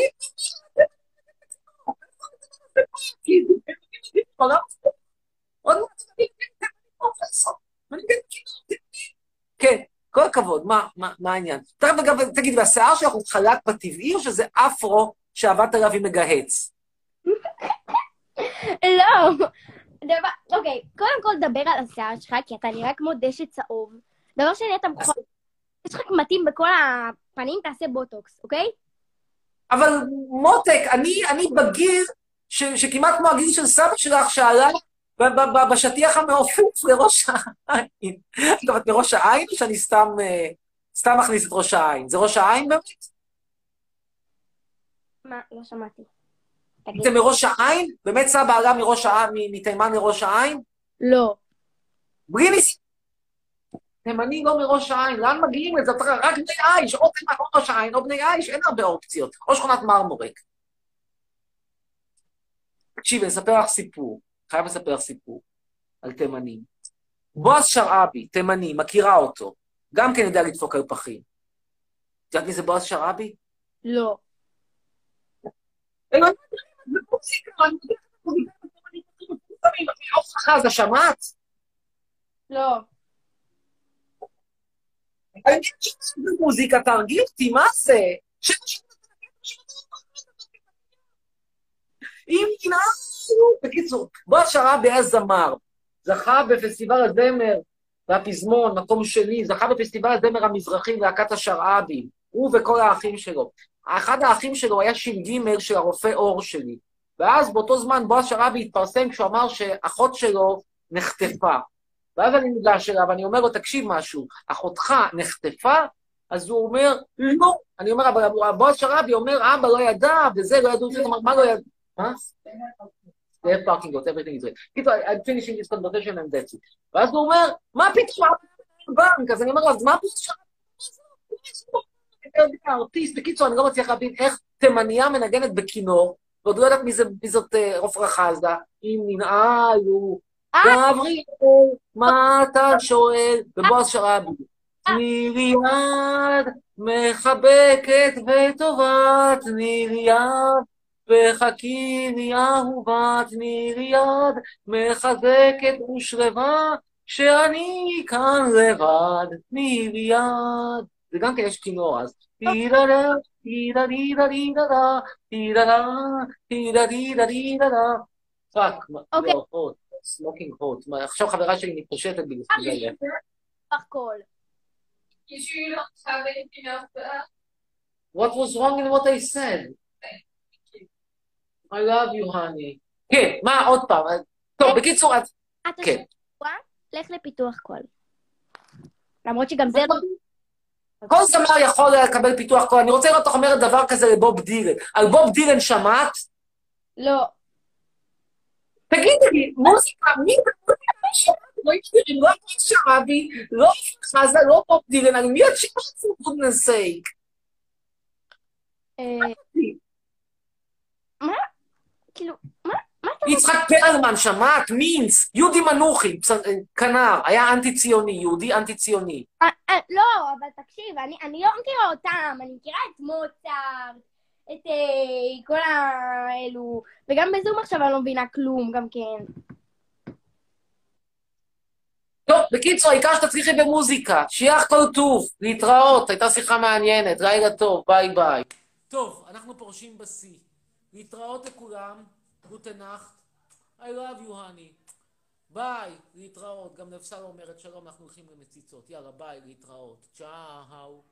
Speaker 9: כן, כל הכבוד, מה העניין? תגיד, והשיער שלך הוא חלק בטבעי, או שזה אפרו שעבדת עליו עם מגהץ?
Speaker 6: לא, אוקיי, קודם כל דבר על השיער שלך, כי אתה נראה כמו דשא צהוב. דבר שני, אתה מוכן, יש לך מתאים בכל הפנים, תעשה בוטוקס, אוקיי?
Speaker 9: אבל מותק, אני בגיר, שכמעט כמו הגיל של סבא שלך, שעלה בשטיח המעופף לראש העין. טוב, את מראש העין, או שאני סתם מכניס את ראש העין? זה ראש העין באמת?
Speaker 6: מה? לא שמעתי.
Speaker 9: זה מראש העין? באמת סבא עלה מראש העין, מתימן לראש העין?
Speaker 6: לא.
Speaker 9: בלי ניסים. תימני לא מראש העין, לאן מגיעים לזה? רק בני עיש, או תימן או ראש העין, או בני עיש, אין הרבה אופציות. או שכונת מרמורק. תקשיב, אני אספר לך סיפור, חייב לספר לך סיפור על תימנים. בועז שרעבי, תימני, מכירה אותו, גם כן יודע לדפוק על פחים. את יודעת מי זה בועז שרעבי?
Speaker 6: לא.
Speaker 9: אין, זה מוזיקה, אני יודע, זה שמעת?
Speaker 6: לא.
Speaker 9: אני חושבת במוזיקה, תרגיל אותי, מה זה? אם נעשו, בקיצור, בועז שרעבי היה זמר, זכה בפסטיבל הזמר והפזמון, מקום שני, זכה בפסטיבל הזמר המזרחי להקת השרעבי, הוא וכל האחים שלו. אחד האחים שלו היה ש"ג של הרופא אור שלי, ואז באותו זמן בועז שרעבי התפרסם כשהוא אמר שאחות שלו נחטפה. ואז אני ניגש אליו, ואני אומר לו, תקשיב משהו, אחותך נחטפה? אז הוא אומר, לא. אני אומר, אבל בועז שרעבי אומר, אבא לא ידע, וזה לא ידעו, הוא אומר, מה לא ידע? מה? They have parking lot, everything is right. כאילו, I'm finishing this conversation and that's it. ואז הוא אומר, מה פתאום? בנק, אז אני אומר לו, אז מה פתאום? ארטיסט, בקיצור, אני לא מצליח להבין איך תימניה מנגנת בכינור, ועוד לא יודעת מי זאת עופרה חזה, אם ננעלו, גבריאל, מה אתה שואל? ובועז שרעבי, תני לי יד, מחבקת וטובה, תני לי יד, וחכי לי אהובה, תני לי יד, מחזקת ושלווה, שאני כאן לבד, תני לי יד. זה גם כן יש כינור, אז טידדה, טידה טידה טידדה, טידדה, טידה טידה טידדה. פאק, לא, הוט, סמוקינג הוט. עכשיו חברה שלי מתפשטת בגלל זה.
Speaker 6: הכל.
Speaker 9: What was wrong in what I said? I love you, honey. כן, מה עוד פעם? טוב, בקיצור, את...
Speaker 6: אתה
Speaker 9: כן.
Speaker 6: שבוע, לך לפיתוח קול. למרות שגם זה לא...
Speaker 9: כל זמר יכול לקבל פיתוח קול. אני רוצה לראות אותך אומרת דבר כזה לבוב דילן. על בוב דילן שמעת?
Speaker 6: לא.
Speaker 9: תגידי לי, מוזיקה, מי שמעת? לא הכירים, לא אף שרבי, לא חזה, לא בוב דילן, על מי את שמעת? for goodness sake.
Speaker 6: מה? כאילו, מה?
Speaker 9: יצחק פרלמן, שמעת? מינץ, יהודי מנוחי, כנר, היה אנטי-ציוני, יהודי אנטי-ציוני.
Speaker 6: לא, אבל תקשיב, אני לא מכירה אותם, אני מכירה את מוצרט, את כל האלו, וגם בזום עכשיו אני לא מבינה כלום, גם כן.
Speaker 9: טוב, בקיצור, העיקר שתצליחי במוזיקה, שיהיה לך כל טוב, להתראות, הייתה שיחה מעניינת, לילה טוב, ביי ביי. טוב, אנחנו פורשים בשיא. להתראות לכולם, גוטה נחט, I love you honey. ביי, להתראות, גם נפסל אומרת שלום, אנחנו הולכים למציצות, יאללה ביי, להתראות, צ'או.